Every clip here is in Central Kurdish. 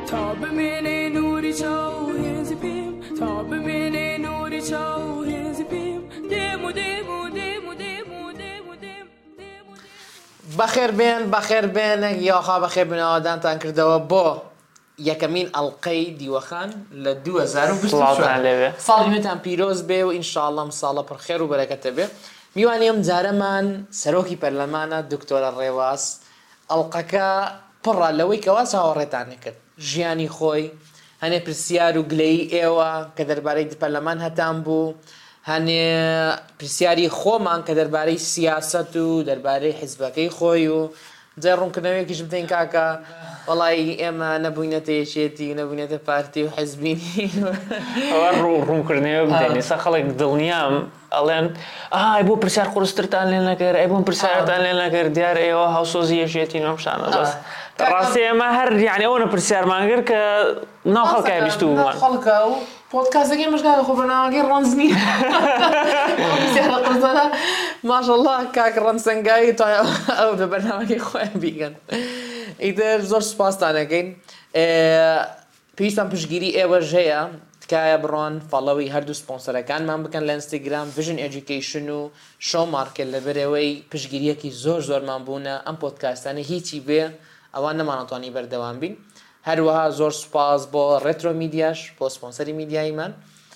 تا ببینی نوری چاو هنزی پیم تا ببینی نوری چاو هنزی پیم دیمو دیمو دیمو دیمو دیمو دیمو بەخێر بێن یاخوا بەخێر بنەوەدانتان کردەوە بۆ یەکەمین ئەڵقەی دیوەخان لە 2024 ساڵی نوێتان پیرۆز بێ و ئینشاءڵڵا ساڵە پڕخێر و بەرەکەتە بێ. میوانی ئەم جارەمان سەرۆکی پەرلەمانە دکتۆرە ڕێواز. ئەڵقەکە پڕە لەوەی کەوا چاوەڕێتانە کرد ژیانی خۆی، هەنێ پرسیار و گلەیی ئێوە کە دەربارەی پەرلەمان هەتان بوو، هەنێ پرسیاری خۆمان کە دەربارەی سیاست و دەربارەی حیزبەکەی خۆی و جای ڕوونکردنەوەیەکیش بتین کاکە وەڵی ئێمە نەبووینەتە یەکێتی و نەبووینەتە پارتی و حیزبینی ئەوە ڕوونکردنەوە بدەین. ئێستا خەڵک دڵنیام ئەڵێن ئای بۆ پرسیار قورسترتان لێ نەکرد، ئەی بۆم پرسیارتان لێ نەکرد، دیارە ئێوە هاوسۆزی یەکێتی نۆم شانە بەس ڕاستی ئێمە هەر یعنی ئەوە پرسیارمان کرد کە ناو خەڵکای بیست و بوومان خەڵکە و پۆدکاستەکەی مشکاکە خۆ بەناوەکەی ڕەنج نییە پرسیارە قورسانە ماشەڵڵا کاک ڕەنسەنگایی تا ئەو بە بەرنامەکەی خۆیان بیگەن. ئیتر زۆر سوپاستانەکەین. پێویستمان پشتگیری ئێوەش هەیە تکایە بڕۆن فەڵەوی هەردوو سپۆنسەرەکانمان بکەن لە ئینستاگرام ڤیژن ئێجوکیشن و شۆ مارکێت لەبەرەوەی پشتگیریەکی زۆرمان بوونە ئەم پۆدکاستانە هیچی بێ ئەوان نەمانەتوانی بەردەوام بین. هەروەها زۆر سوپاس بۆ ڕێترۆ میدیاش بۆ سپۆنسەری میدیاییمان.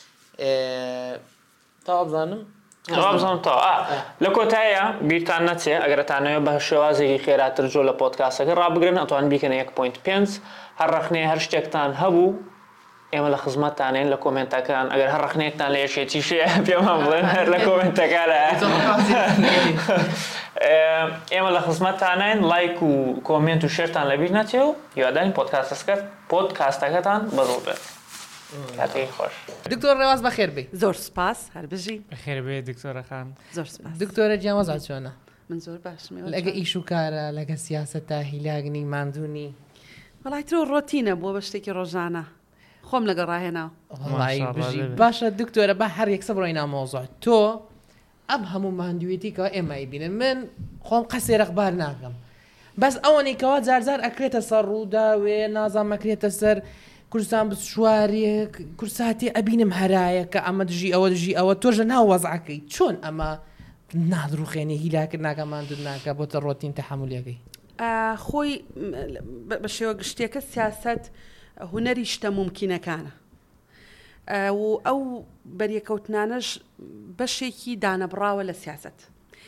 تا بزانم لە کۆتاییە بیرتان نەچێ ئەگەرتانەوە بە شێوازێکی خێراتر جۆ لە پۆدکاستەکە ڕابگرن ئەتوان بیکەنە 1.5 هەر ڕەخنەیە هەر شتێکتان هەبوو ئێمە لە خزمەتتانین لە کۆمنتەکان ئەگەر هەر ڕەخنەیەکتان لە یەکێتی شێ پێمان بڵێن هەر لە کۆمنتەکانە ئێمە لە خزمەتتانین لایک و کۆمنت و شێرتان لەبیر نەچێ و هیوادارین پۆدکاستەکەتان بەڕوو بێت. کاتێکی خۆش. دکتۆر ڕێواز بەخێر بێ. زۆر سپاس هەربژی بەخێر بێ دکتۆرەخان. زۆر سپاس. دکتۆرە جیاوازات چۆنە؟ من زۆر باشم. لەگە ئیش و کارە لەگە سیاسەتە هیلاگنی ماندوونی وەڵای ترۆ ڕۆتینە بووە بە شتێکی ڕۆژانە خۆم لەگە ڕاهێناوە. باشە دکتۆرە بە هەر یەکسە بڕۆینە مۆزۆع تۆ ئەم هەموو ماندوویەتیکەوە ئێمە بینن من خۆم قەسێ ڕەخبار ناکەم بەس ئەوەنێکەوە جارجار ئەکرێتە سەر ڕووداوێ نازان مەکرێتە سەر کوردستان بشوارێک کورساتی ئەبینم هەرایە کە ئەمە دژی ئەوە دژی ئەوە تۆژە ناو وەزعەکەی چۆن ئەمە نادڕوخێنی هیلاکرد ناکە ماندوو ناکە بۆتە ڕۆتین تەحمولیەکەی خۆی بە شێوە گشتێکە سیاست هونەری شتە ممکنەکانە و ئەو بەریەکەوتنانەش بەشێکی دانەبراوە لە سیاست.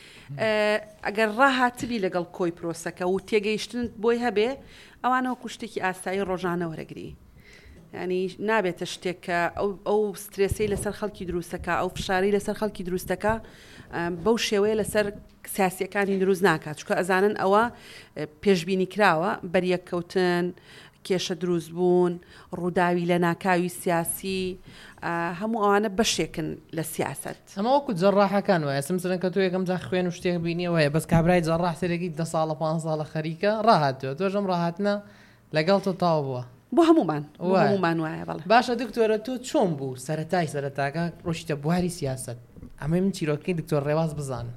ئەگەر ڕاهاتبی لەگەڵ کۆی پرۆسەکە و تێگەیشتن بۆی هەبێ ئەوانەوە کوشتێکی ئاسایی ڕۆژانە وەرەگری. ینی نابێتە شتێککە ئەو سترێسی لەسەر خەڵکی دروستەکە ئەو فشاری لەسەر خەڵکی دروستەکە بەو شێوەیە لەسەر سیاسیەکانی دروست ناکات چکە ئەزانن ئەوە پێشبینی کراوە بەریەککەوتن کێشە دروست بوون ڕووداوی لە ناکاوی سیاسی هەموو ئەوانە بەشێکن لە سیاست. ئەمە وەکو جەڕاحەکان وایە سمسرن کە تۆ یەکەم جا خوێن و شتێک بینیەوەیە بەس کابرای جەڕاح سەرێکی 10 ساڵە 5 ساڵە خەریکە ڕاهاتوە تۆژەم ڕاهاتنە لەگەڵ تۆ تاو بووە بۆ هەمومان وایە بەڵێ. باشە دکتۆرە تۆ چۆن بوو سەرەتاکە ڕۆشتە بواری سیاست ئەمە من چیرۆکەی دکتۆر ڕێواز بزانم.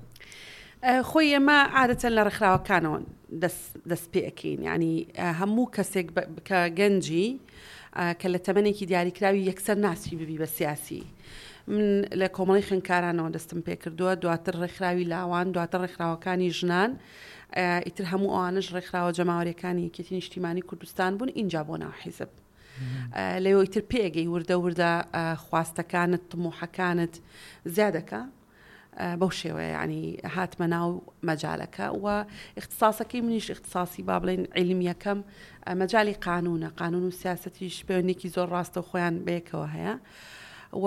خۆی ئێمە عادەتەن لە ڕێکخراوەکانەوە دەست پێەکەین ینی هەموو کەسێک کە گەنجی کە لە تەمەنێکی دیاریکراوی یەکسەر ناسی ببی بە سیاسی. من لە کۆمەڵی خوێندکارانەوە دەستم پێ کردووە دواتر ڕێکخراوی لاوان دواتر ڕێکخراوەکانی ژنان ئیتر هەموو ئەوانش ڕێکخراوە جەماوەریەکانی یەکێتی نیشتیمانی کوردستان بوون اینجا بۆ ناو حیزب لەوە ئیتر پێگەی وردە خواستەکانت تموحەکانت زیادەکە بەو شێوەیە ینی هاتمە ناو مەجالەکە و اختصاسەکەی منیش اختصاسی با بڵێن عیلمیەکەم مەجای قانون و سیاسەتیش پەیوەندێکی زۆر ڕاستە و خۆیان بەیەکەوە هەیە و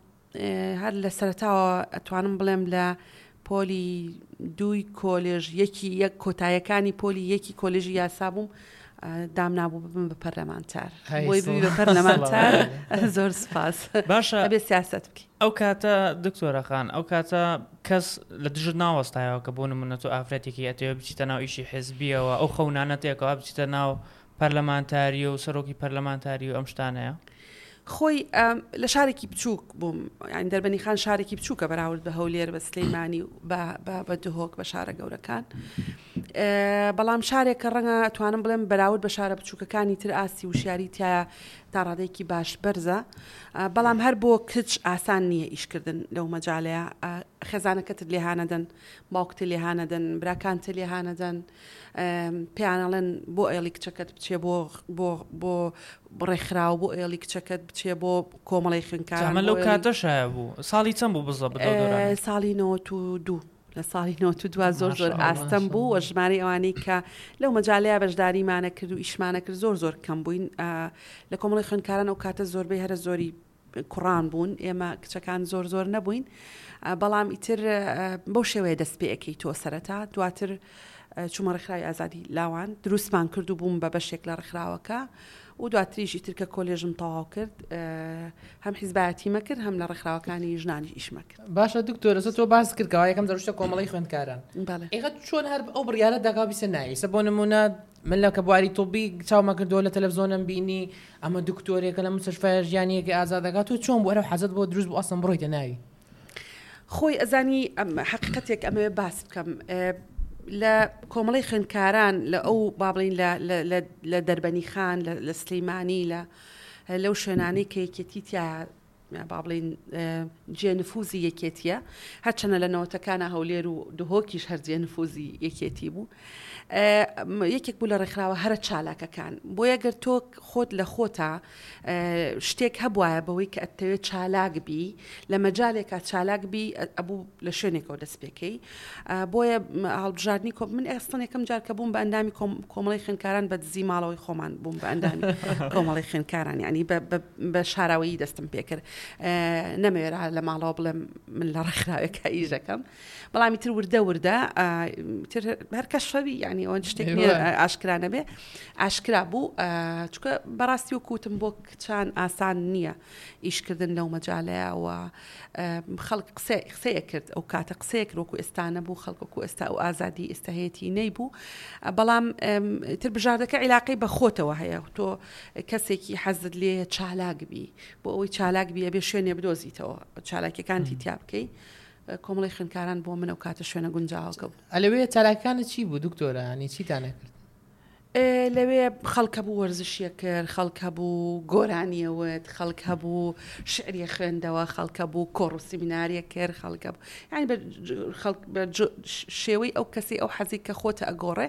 هەر لە سەرەتاوە ئەتوانم بڵێم لە پۆلی 2 کۆلێژ یەک کۆتاییەکانی پۆلی یەکی کۆلێژی یاسا بووم دامنابوو ببم بە پەرلەمانتار بۆی ببی بە پەرلەمانتار زۆر سپاس. باشە ئەبێ سیاست بکەی. ئەو کاتە دکتۆرەخان ئەو کاتە کەس لە دژت ناوەستایەوە کە بۆ نمونە تۆ ئافرەتێکی ئەتەوە بچیتە ناو ئیشی حیزبیەوە ئەو خەونانە تێکەوە بچیتە ناو پەرلەمانتاری و سەرۆکی پەرلەمانتاری و ئەم شتانەیە خۆی لە شارێکی بچووک بووم یعنی دەربەنی خان شارێکی بچووکە بەراورد بە هەولێر بە سلەیمانی و بە دهۆک بە شارە گەورەکان بەڵام شارێکە ڕەنگە توانم بڵێم بەراورد بە شارە بچووکەکانی تر ئاسی وشیاری تایە تا ڕادێکی باش بەرزە بەڵام هەر بۆ کچ ئاسان نییە ئیشکردن لەو مەجاالەیە خێزانەکەتت لێهانەدەن باوکتە لێهانەدەن براکانتە لێهانەدەن پێیانەڵێن بۆ ئێڵی کچەکەت بچێ بۆ بڕێکخراو بۆ ئێڵی کچەکەت بچێ بۆ کۆمەڵی خوێنکاران لەو کاتەشایە بوو ساڵی چەند بوو بزە ساڵی 92 لە ساڵی 92 زۆر ئاستەم بوو وە ژماری ئەوانەی کە لەو مەجاالەیە بەشداریمانە کرد و ئیشمانە کرد زۆر کەم بووین لە کۆمەڵی خوێنکاران ئەو کاتە زۆربەی هەرە زۆری کوڕان بوون ئێمە کچەکان زۆر نەبووین بەڵام ئیتر بەو شێوەیە دەست پێەکەی تۆ سەرەتا دواتر چوومە ڕێکخراوی ئازادی لاوان دروستمان کرد و بووم بە بەشێک لە ڕێکخراوەکە و دواتریشی ترکە کۆلێژم تەواو کرد هەم حیزبایەتیمە کرد هەم لە ڕێکخراوەکانی ژنانی ئیشمە کرد باشە دکتۆرە تۆ باس کردەوە یەکەم دەڕشتە کۆمەڵی خوێندکاران ئێغەت چۆن هەر ئەو بڕیارە داگا بیسە نایسە بۆ نمونە من لە کە بواری تۆبی چاومە کردەوە لە تەلەڤزۆنم بینی ئەمە دکتۆرێکە لە مستشفای ژیانیەکە ئازادەکات و چۆن بۆ ئەرە حەزت بۆ دروست بۆ ئەسم بڕۆیتە ناوی خۆی ئەزانی حقیقەتێک ئەمەوێ باس بکەم لە کۆمەڵی خوێندکاران لە ئەو بابڵین لە دەربەنی خان لە سلەیمانی لەو شوێنانەی کە یەکێتی تیا بابڵین جێنفوزی یەکێتیە هەرچەنە لە نەوەتەکانە هەولێر و دهۆکیش هەر جێنفوزی یەکێتی بوو یەکێک بوو لە ڕێکخراوە هەرە چالاکەکان بۆیە گەر تۆ خۆت لە خۆتە شتێک هەبوایە بەوەی کە ئەتەوێت چالاک بی لە مەجالێکە چالاک بی ئەبوو لە شوێنێکەوە دەست پێکەی بۆیە هەڵبژاردننی من ئێستان یەکەم جار کە بووم بە ئەندامی کۆمەڵی خوێندکاران بە دزی ماڵەوەی خۆمان بووم بە ئەندامی کۆمەڵی خوێندکاران ینی بە شاراوەیی دەستم پێکرد نەمەوێرا لە ماڵەوە بڵێم من لە ڕێکخراوێکە ئیژەکەم بەڵامی تر وردە هەر کەس شەوی ینی ئەوەن شتێک ئاشکرانە بێ ئاشکرا بوو چکە بەڕاستی و کوتم بۆ کچان ئاسان نییە ئیشکردن لەو مەجاالەیەوە خەڵک قسەیە کرد ئەو کاتە قسەیەک ڕۆکو ئێستانە بوو خەڵکۆکو ئێستا و ئازادی ئێستاهەیەتی نەی بوو بەڵام تر بژاردەکە عیلاقی بە خۆتەوە هەیە تۆ کەسێکی حەزت لێ چالاکبی بۆ ئەوەی چالاکبیە بێ شوێنێ بدۆزیتەوە چالاکیەکانتی تیا بکەی کۆمەڵی خوێندکاران بۆ منە و کاتە شوێنە گونجاوەکە بوو ئەلەوەیە چالاکانت چی بوو دکتۆرە هەنی چیتانە کرد لەوێ خەڵکە بوو وەرزشیە کرد خەڵکە بوو گۆرانیەوەت خەڵکە بوو شعریە خوێندەوە خەڵکە بوو کۆڕ و سیمیناریە کرد خەڵکە بوو یعنی بە شێوەی ئەو کەسی ئەو حەزی کە خۆتە ئەگۆڕێ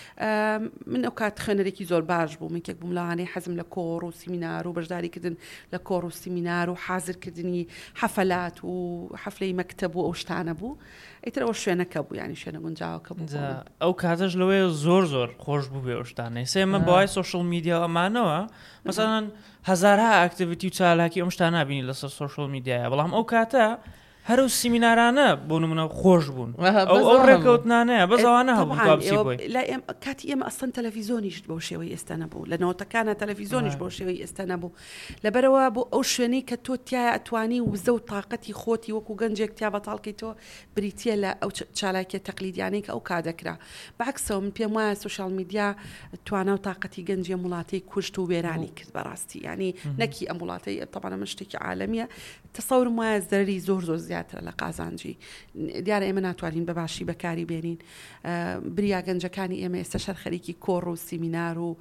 من ئەو کات خوێنەرێکی زۆر باش بوو منکێک بووم لەوانەیە حەزم لە کۆڕ و سیمینار و بەشداریکردن لە کۆڕ و سیمینار و حازرکردنی حەفەلات و حەفلەی مەکتەب و ئەو شتانە بوو ئیتر ئەو شوێنەکە بوو ینی شوێنە گونجاوەکە بوو ئەو کاتەش لەوەی زۆر خۆش بوو بێ شتانەی سێمە بەوای سوشل میدیا ئەمانەوە مەسەڵەن هەزارها ئاکتیڤیتی و چالاکی ئەم شتانە بینی لەسەر سوشل میدیایە بەڵام ئەو کاتە هەر و سیمینارانە بۆ نمونە خۆش بوون ئەو ڕێکەوتنانەیە بەزەوانە هەبوو کاتی ئێمە ئەسڵەن تەلەڤیزۆنیش بۆ شێوەی ئێستا نەبوو لە نەوەتەکانە تەلەڤیزۆنیش بۆ شێوەی ئێستا نەبوو لەبەرەوە بۆ ئەو شوێنەی کە تۆ تایە ئەتوانی وزە و تااقەتی خۆتی وەکو گەنجێک تیا بەتاڵکی تۆ بریتە لە ئەو چالاکیە تەقلیدیانەی کە ئەو کادەکرا بەعکسەوە من پێم وایە سوشال میدیا توانە و تااقەتی گەنجی وڵاتی کوشت و وێرانی کرد بەڕاستی ینی نەکی ئەم وڵاتی تەبانە من شتێکی عالەمیە تەسەورم وایە زەرری زۆر زیاترە لە قازانجی دیارە ئێمە ناتوانین بەباشی بەکاری بێنین بریا گەنجەکانی ئێمە ئێستا شەر خەریکی کۆڕ و سیمینار و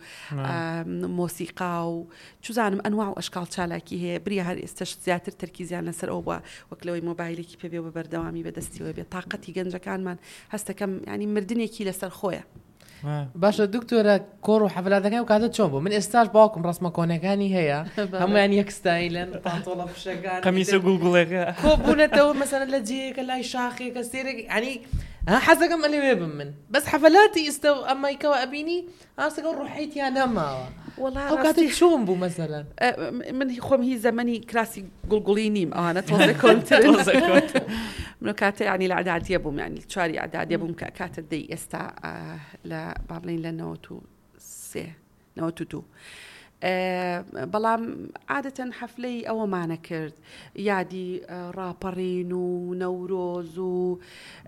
مۆسیقا و چزانم ئەنواع و ئەشکال چالاکی هەیە بریا هەر ئێستش زیاتر تەرکیزیان لەسەر ئەو بووە وەکلەوەی مۆبایلێکی پێبێ و بەردەوامی بەدەستیەوە بێت تااقەتی گەنجەکانمان هەستەکەم ینی مردنێکی لەسەر خۆیە باشە دکتۆرە کۆڕ و حەفلاتەکان و کاتە چۆن بوو من ئێستاش باوکم ڕسمە کۆنەکانی هەیە هەمویان یەکستایلن پانتۆڵە پشەکان قەمیسە گوڵگوڵێکە کۆبوونەتەوە مەسەرە لە جێیەکە لای شاخێکە سێرێک ینی حەزەکەم ئەلێوێ بم من بەس حەفەلاتی ئێستا ئەمایکەوە ئەبینی ئاستەکە ڕوحیتیان نەماوە ئەو کاتە چۆن بوو مەسەلەن من خۆم هی زەمەنی کراسی گوڵگوڵی نیم ئەوانە تۆزە کۆنتر من کاتە ینی لە عەدادیە بووم ینی چواری عەدادیە بووم کە کاتە دەی ئێستا لە بابڵین لە 93 92 بەڵام عادەتەن حەفلەی ئەوەمانە کرد یادی ڕاپەڕین و نەورۆز و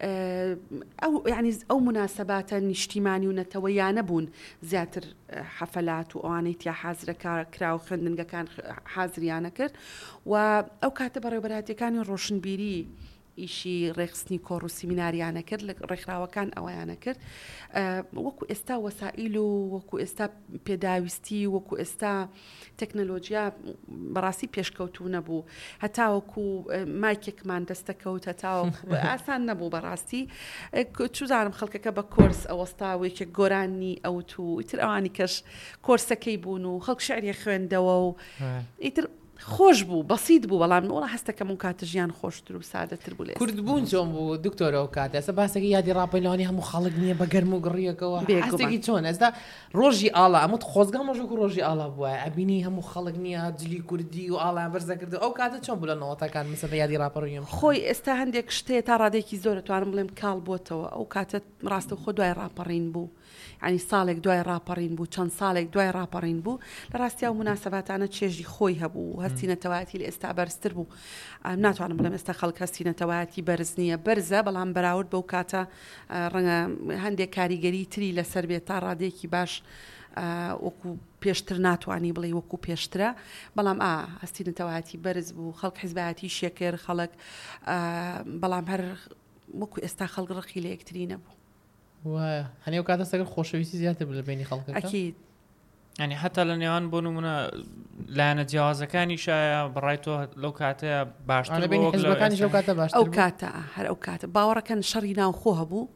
ئەو مناسباتە نیشتیمانی و نەتەوەیانە بوون زیاتر حەفەلات و ئەوانەی تیا حازرە کرا و خوێندنگەکان حازریانە کرد و ئەو کاتە بەڕێوەبەرهاتیەکانی ڕۆشنبیری ئیشی ڕێخستنی کۆڕ و سیمیناریانە کرد لە ڕێکخراوەکان ئەوەیانە کرد وەکو ئێستا وەسائیل و وەکو ئێستا پێداویستی وەکو ئێستا تەکنەلۆجیا بەڕاستی پێشکەوتوو نەبوو هەتاوەکو مایکێکمان دەستەکەوت هەتاوەکو ئاسان نەبوو بەڕاستی چوزانم خەڵکەکە بە کۆرس ئەوەستاوێکە گۆرانی ئەوت و ئیتر ئەوانی کەش کۆرسەکەی بوون و خەڵک شعری خوێندەوە و ئیتر خۆش بوو بەسیت بوو بەڵام وڵا هەستەکەم و کاتە ژیان خۆشتر و سادەتر بوو لێ کوردبوون چۆن بوو دکتۆرە و کات ئێستا باسێکی یادی ڕاپەیلانی هەموو خەڵک نییە بە گەرم و گڕیەکەوە هەستێکی چۆن ئێستا ڕۆژی ئاڵا ئەمەت خۆزگا مەژۆک و ڕۆژی ئاڵا بووە ئەبینی هەموو خەڵک نییە جلی کوردی و ئاڵیان بەرزەکرد ئەو کاتە چۆن بوو لە نەوەتەکان مثل یادی ڕاپەڕیم خۆی ئێستا هەندێک شتێ تا ڕادێکی زۆر توانم بڵێم کاڵ بۆتەوە ئەو کاتە ڕاستە خۆ دوای ڕاپەڕین بوو ینی ساڵێک دوای ڕاپەڕین بوو چەند ساڵێک دوای ڕاپەڕین بوو لە ڕاستیا و مناسباتانە چێژی خۆی هەبوو هەستینەتەواتی لە ئێستا بەرزتر بوو ناتوانم بڵێم ئێستا خەڵک هەستینەتەواتی بەرز نییە بەرزە بەڵام بەراورد بەو کاتە ڕەنگە هەندێک کاریگەری تری لەسەر بێت تا ڕادێکی باش وەکو پێشتر ناتوانانی بڵێ وەکو پێشترە بەڵام هەستینەتەواتی بەرز بوو خەڵک حیزبەتی شێکر خەڵک بەڵام هەر وەکو ئێستا خەڵک ڕقی لە یەکتری نەبوو هەنێو کاتە سەگەر خۆشەویستی زیاتر لە بینی خەڵک ئەکید ینی حتا لە نێوان بۆ نمونە لایەنە جیاوازەکانی شایە بڕای تۆ لەو کاتەیە باشتر حزبەکانی ئەو کاتە باشتر ئەو کاتە هەر ئەو کاتە باوەڕەکەن شەڕی ناو خۆ هەبوو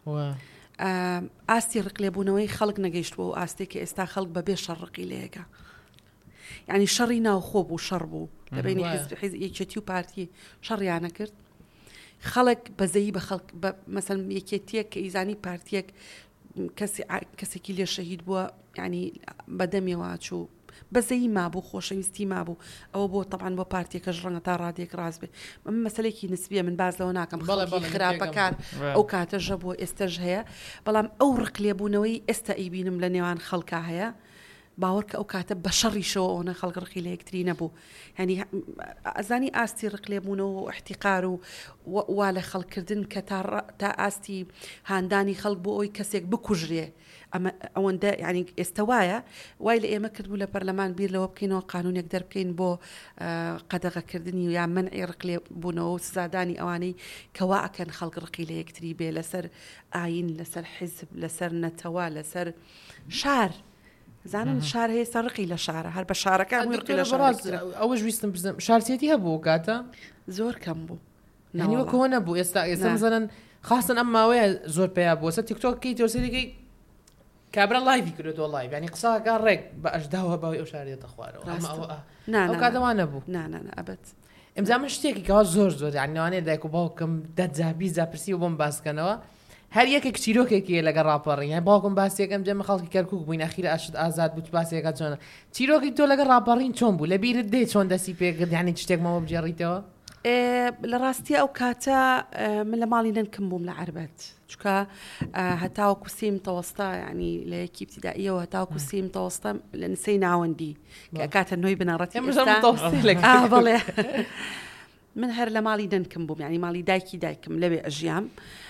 ئاستی ڕقلێبوونەوەی خەڵک نەگەیشت بوو ئاستێکی ئێستا خەڵک بەبێ شەڕقی لەیەکە ینی شەڕی ناو خۆ بوو شەڕ بوو لە بینی یەکێتی و پارتی شەڕیانە کرد خەڵک بەزەیی بە خەڵک مەسەن یەکێتیەک کە ئیزانی پارتیەک کەسێکی لێ شەهید بووە ینی بەدەمێوە چوو بەزەیی مابوو خۆشەویستی مابوو ئەوە بۆ طبعاً بۆ پارتیەکەش ڕەنگە تا ڕادێک ڕاست بێ مەسەلێکی نسبیە من باز لەوە ناکەم خەڵکی خراپەکان ئەو کاتەژە بووە ئێستەش هەیە بەڵام ئەو ڕقلێبوونەوەی ئێستا ئەیبینم لە نێوان خەڵکا هەیە باوەڕ کە ئەو کاتە بە شەڕیشەوە ئەوە خەڵک ڕقی لە یەکتری نەبوو ینی ئەزانی ئاستی ڕقلێبوونەوە و احتیقار و وا لە خەڵکردن کە تا ئاستی هاندانی خەڵک بۆ ئەوی کەسێک بکوژرێ ئەوەندە ینی ئێستا وایە وای لە ئێمە کردبوو لە پەرلەمان بیر لەوە بکەینەوە قانونێک دەربکەین بۆ قەدەغەکردنی و یا منعی ڕقلێبوونەوە و سزادانی ئەوانەی کەوا ئەکەن خەڵک ڕقی لە یەکتری بێ لەسەر ئاین لەسەر حیزب لەسەر نەتەوە لەسەر شار زانم شار هەیە سەرقی لە شارە هەر بە شارەکان ئەوەش ویستم بزم شارسێتی هەبوو کاتە زۆر کەم بوو نەوەکەوە نەبوو ئێستا مزەن خاستن ئەم ماوەیە زۆر پێیا بووە تیکتۆکەی تۆسەرێکی کابرا لایڤی کردێتەوە لایڤ ینی قساکان ڕێک بە ئەشداوە باوی ئەو شارێتە خوارەوە ئەو کاتەوان نەبوو ئەبەت ئەمجا من شتێکی کەوا زۆر یانوانێ دایک و باوکم دەجابی زاپرسی و بۆم باسکەنەوە هەر یەکێک چیرۆکێکی لەگە ڕاپەڕین یان باوکم باسیەکەم جەمە خەڵکی کەرکووک بووین ئەخیرە ئاشت ئازاد بوو باسیەکە چۆنە چیرۆکی تۆ لەگە ڕاپەڕین چۆن بوو لە بیرت دێ چۆن دەستی پێکرد یانی شتێکمەوە بجێڕیتەوە لە ڕاستی ئەو کاتە من لە ماڵی نەنکەم بووم لە عربەت چکە هەتاوەکو سیم تەوەستا ینی لە یەکی ابتیدائیەوە هەتاوەکو سیم تەوەستا لە نسەی ناوەندی کە کاتە نوۆی بنەڕەتی بەڵێ من هەر لە ماڵی نەنکەم بووم ینی ماڵی دایکم لەوێ ئەژیام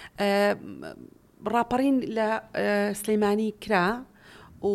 ڕاپەڕین لە سلەیمانی کرا و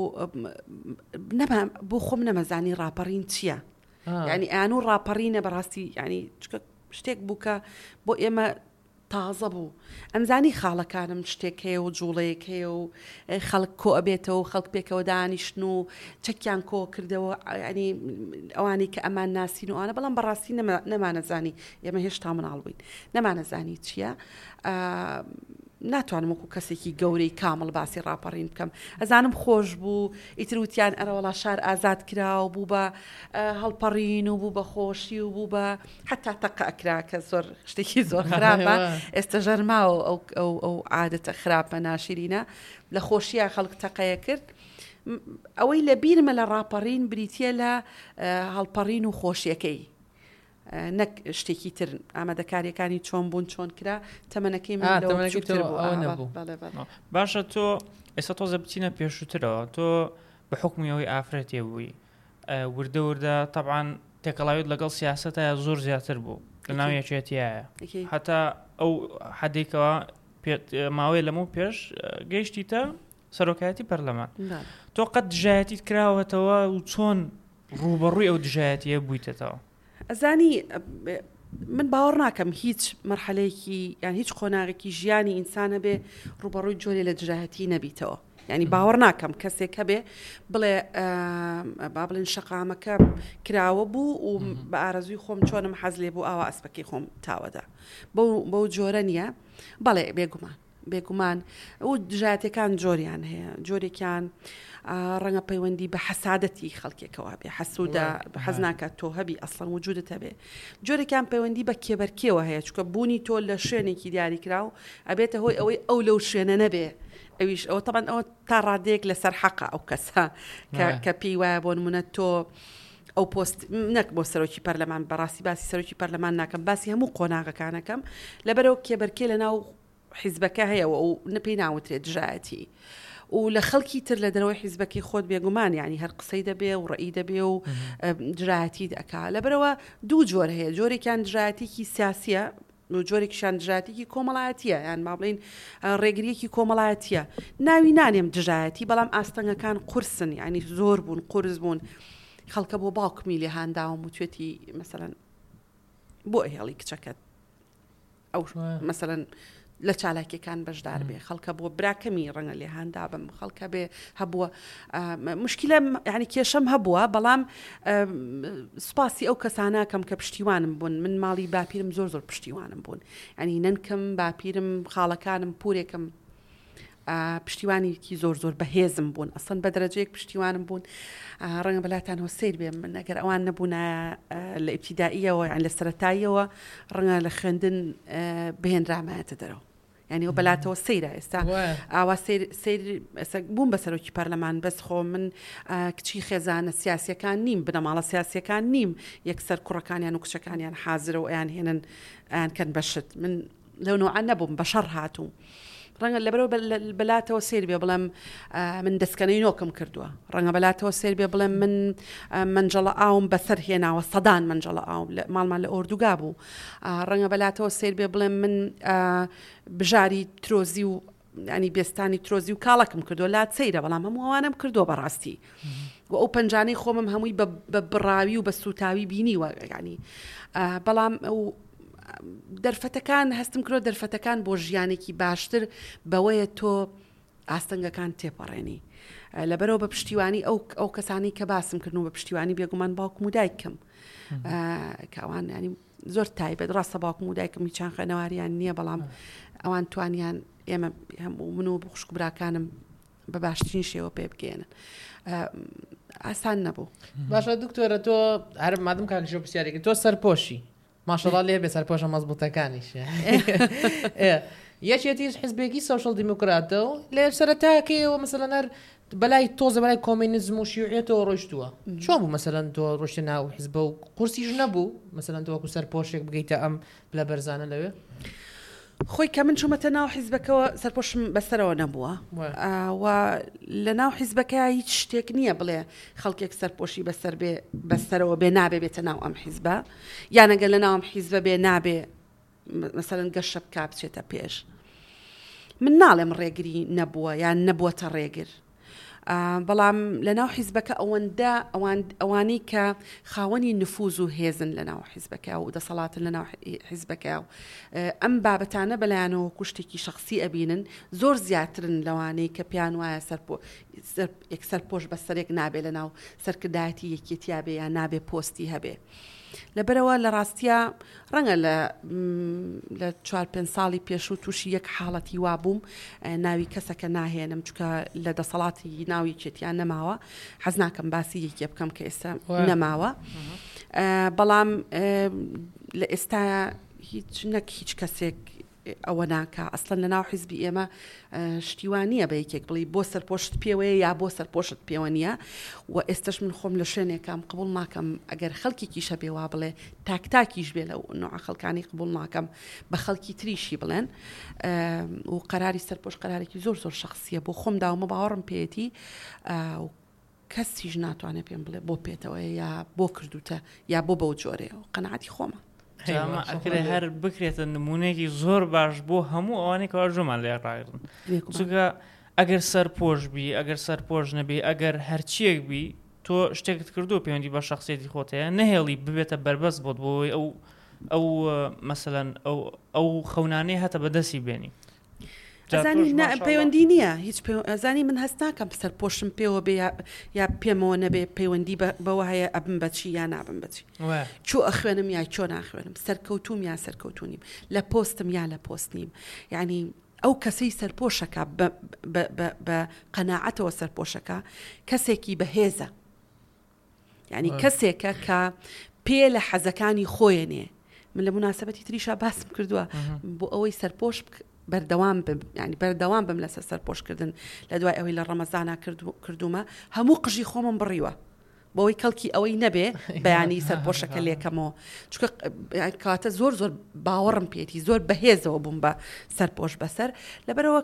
بۆ خۆم نەمەزانی ڕاپەڕین چییە ینی ئەو ڕاپەڕینە بەڕاستی ینی شتێک بوو کە بۆ ئێمە تازە بوو ئەمزانی خاڵەکانم شتێک هەیە و جوڵەیەک هەیە و خەڵک کۆ ئەبێتەوە و خەڵک پێکەوە دانیشتن و چەکیان کۆ کردەوە ینی ئەوانەی کە ئەمان ناسین و ئەوانە بەڵام بەڕاستی نەمانەزانی ئێمە هێشتا مناڵ بووین نەمانەزانی چییە ناتوانم وەکو کەسێکی گەورەی کامل باسی ڕاپەڕین بکەم ئەزانم خۆش بوو ئیتروتیان ئەرەوەڵا شار ئازاد کرا و بوو بە هەڵپەڕین و بوو بە خۆشی و بوو بە حتا تەقە ئەکرا کە زۆر شتێکی زۆر خراپە ئێستا ژەرماوە ئەو عادەتە خراپە ناشرینە لە خۆشیە خەڵک تەقەیە کرد ئەوەی لە بیرمە لە ڕاپەڕین بریتە لە هەڵپەڕین و خۆشیەکەی نەک شتێکی تر ئامادەکاریەکانی چۆن بوون چۆن کرا تەمەنەکەی باشە تۆ ئێستا تۆزە بچینە پێشووترەوە تۆ بحكم يوي آفرت يبوي ورده طبعا تكلايد لقل سياسة زور زياتر بو لناو يشيتيا حتى أو حديكوا ماوي لمو بيش جيشتي تا سروكاتي برلمان تو قد جاتي تكراوه توا وتون روبروي أو دجاتي يبويته توا أزاني من باورناكم هیچ مرحلەیەکی یان هیچ قۆناغێکی ژیانی ئینسانە بێ ڕوبەڕووی جۆرێ لە دژایەتی نەبیتەوە یعنی باوەڕ ناکەم کەسێک هەبێ بڵێ با بڵێن شەقامەکە کراوە بوو و بە ئارەزووی خۆم چۆنم حەز لێ بوو ئاوا ئەسپەکەی خۆم تاوەدا بەو جۆرە نییە بەڵێ بێگومان و دژایەتەکان جۆریان هەیە جۆرێکیان ڕەنگە پەیوەندی بە حەسادەتی خەڵکێکەوە بێ حەسوودە حەز ناکات تۆ هەبی ئەسڵەن وجودت هەبێ جۆرێکیان پەیوەندی بە کێبەرکێوە هەیە چکە بوونی تۆ لە شوێنێکی دیاریکراو ئەبێتە هۆی ئەوەی ئەو لەو شوێنە نەبێ ئەویش ئەوە تەبەن ئەوە تا ڕادەیەک لەسەر حەقە ئەو کەسە کە پێی وایە بۆ نمونە تۆ ئەو پۆست نەک بۆ سەرۆکی پەرلەمان بەڕاستی باسی سەرۆکی پەرلەمان ناکەم باسی هەموو قۆناغەکانەکەم لەبەرەوە کێبەرکێ لەناو حیزبەکە هەیەەوە و نەپێی ناوترێت دژایەتی و لە خەڵکی تر لە دەرەوەی حیزبەکەی خۆت بێگومان یعنی هەر قسەی دەبێ و ڕێی دەبێ و دژایەتی دەکا لەبەرەوە دوو جۆر هەیە جۆرێکیان دژایەتێکی سیاسیە و جۆرێکیشان دژایەتێکی کۆمەڵایەتیە یان با بڵین ڕێگریەکی کۆمەڵایەتیە ناوی نانێم دژایەتی بەڵام ئاستەنگەکان قورسن یعنی زۆر بوون قورس بوون خەڵکە بۆ باوکمی لێ هانداوم و توێتی مەسەلەن بۆ هێڵی کچەکەت ئەو مەسەلەن لە چالاکیەکان بەشدار بێ خەڵکە بۆ براکەمی ڕەنگە لێ هاندا بم خەڵکە بێ هەبووە مشکلە یعنی کێشەم هەبووە بەڵام سوپاسی ئەو کەسانەکەم کە پشتیوانم بوون من ماڵی باپیرم زۆر پشتیوانم بوون ینی ننکەم باپیرم خاڵەکانم پورێکم پشتیوانێکی زۆر بەهێزم بوون ئەسڵەن بە دەرەجەیەک پشتیوانم بوون ڕەنگە بەلاتان هۆسەیر بێم من ئەگەر ئەوان نەبوونە لە ئیبتیدائیەوە یان لە سەرەتاییەوە ڕەنگە لە خوێندن بهێنرامایەتە دەرەوە یعنی ئەو بەلاتەوە سەیرە ئێستا ئاوا سیر بووم بە سەرۆکی پەرلەمان بەس خۆ من کچی خێزانە سیاسیەکان نیم بنەماڵە سیاسیەکان نیم یەکسەر کوڕەکانیان و کچەکانیان حازرە و ئەیان هێنن ئەیان کەن بەشت من لەو نوعان نەبووم بەشەڕ هاتووم ڕەنگە لەبەرەوە بەلاتەوە سیر بێ بڵێم من دەستکەنەی نۆکم کردووە ڕەنگە بەلاتەوە سیر بێ بڵێم من منجەڵە ئاوم بەسەر هێناوە سەدان منجەڵە ئاوم ماڵمان لە ئۆردوگا بوو ڕەنگە بەلاتەوە سیر بێ بڵێم من بژاری ترۆزی و ینی بێستانی ترۆزی و کاڵەکم کردو لات سەیرە بەڵام هەموو ئەوانم کردو بەڕاستی و ئەو پەنجانەی خۆمم هەمووی بە بڕاوی و بە سوتاوی بینیوە ینی بەڵام دەرفەتەکان هەستم کرۆ دەرفەتەکان بۆ ژیانێکی باشتر بەوەیە تۆ ئاستەنگەکان تێپەڕێنی لەبەرەوە بە پشتیوانی ئەو کەسانی کە باسم کردن و بە پشتیوانی بێگومان باوکم و دایکم کەوان ینی زۆر تایبەت ڕاستە باوکم و دایکم هیچیان خوێنەواریان نییە بەڵام ئەوان توانیان ئێمە هەموو من و خوشک و براکانم بە باشترین شێوە پێ بگەێنن ئاسان نەبوو باشە دکتۆرە تۆ هەر مادەم کاکشۆ پرسیارێکی تۆ سەرپۆشی ماشەڵڵا لێ بێ سەرپۆشە مەزبوطەکانیش یەکێتی حیزبێکی سۆشڵ دیموکراتە و لێ سەرەتاکەیەوە مەسەلەن هەر بەلای تۆزە بەلای کۆمینیزم و شیوعێتەوە ڕۆیشتووە چۆن بوو مەسەلەن تۆ ڕۆشتە ناو حیزبە و قورسیش نەبوو مەسەلەن تۆ وەکو سەرپۆشێک بگەیتە ئەم بلە بەرزانە لەوێ خۆی کە من چوومەتە ناو حیزبەکەەوە سەرپۆشم بەسەرەوە نەبووە و لە ناو حیزبەکە هیچ شتێک نییە بڵێ خەڵکێک سەرپۆشی بەسەر بێ بەسەرەوە بێ نابێ بێتە ناو ئەم حیزبە یانەگەر لە ناوم حیزبە بێ نابێ مەسەلەن گەشە بکا بچێتە پێش من ناڵێم ڕێگری نەبووە یان نەبووەتە ڕێگر بەڵام لە ناو حیزبەکە ئەوەندە ئەوانەی کە خاوەنی نفوز و هێزن لە ناو حیزبەکە و دەسەڵاتن لە ناو حیزبەکە و ئەم بابەتانە بەلایەنەوە کوشتێکی شخصی ئەبینن زۆر زیاترن لەوانەی کە پیان وایە سەرپۆش بەسەرێک نابێ لە ناو سەرکردایەتی یەکێتیا بێ یان نابێ پۆستی هەبێ لەبەرەوە لە ڕاستیە ڕەنگە لە 4-5 ساڵی پێشوو تووشی یەک حاڵەتی وا بووم ناوی کەسەکە ناهێنم چکە لە دەسەڵاتی ناوی چێتیان نەماوە حەز ناکەم باسی یەکێ بکەم کە ئێستا نەماوە بەڵام لە ئێستا هیچ کەسێک ئەوە ناکە ئەسڵەن لە ناو حیزبی ئێمە شتیوانیە بە یەکێک بڵی بۆ سەرپۆشت پێوەیە یا بۆ سەرپۆشت پێوە نیە و ئێستش من خۆم لە شوێنێکم قبول ناکەم ئەگەر خەڵکێکی شەبێ وا بڵێ تاکتاکیش بێ لەو نوع خەڵکانی قبول ناکەم بە خەڵکی تریشی بڵێن و قەراری سەرپۆش قەرارێکی زۆر شخصیە بۆ خۆم داومە باوەڕم پێێتی کەسیش ناتوانێت پێم بڵێ بۆ پێێتەوە یا بۆ کردوتە یا بۆ بەو جۆرەیە و قەنەعەتی خۆمە ئەکرێ هەر بکرێتە نمونەیەکی زۆر باش بۆ هەموو ئەوانەی کەوا ژۆمان لێ ڕاگرن چونکە ئەگەر سەرپۆش بی ئەگەر سەرپۆش نەبی ئەگەر هەرچیەک بی تۆ شتێکت کردو پەیوەندی بە شخصیەتی خۆتەیە نەهێڵی ببێتە بەربەست بۆت بۆی ئەو مەسەلەن ئەو خەونانەی هەتە بەدەستی بێنی ئەزانی پەیوەندی نییە هیچ ئەزانی من هەست ناکەم سەر پۆشم پێوە بێ یا پێمەوە نەبێ پەیوەندی بەوە هەیە ئەبم بەچی یا نابم بەچی چۆ ئەخوێنم یا چۆ ناخوێنم سەرکەوتوم یا سەرکەوتونیم لە پۆستم یا لە پۆست نیم یعنی ئەو کەسەی سەرپۆشەکە بە قەناعەتەوە سەرپۆشەکە کەسێکی بەهێزە یعنی کەسێکە کە پێ لە حەزەکانی خۆیانێ من لە مناسبەتی تریشا باسم کردووە بۆ ئەوەی سەرپۆش بەردەوام ینی بەردەوام بم لەسەر سەرپۆشکردن لە دوای ئەوەی لە ڕەمەزانە کردومە هەموو قژی خۆمم بڕیوە بۆەوەی کەڵکی ئەوەی نەبێ بەیانی سەرپۆشەکە لێکەمەوە چکە کاتە زۆر باوەڕم پێێتی زۆر بەهێزەوە بووم بە سەرپۆش بەسەر لەبەرەوە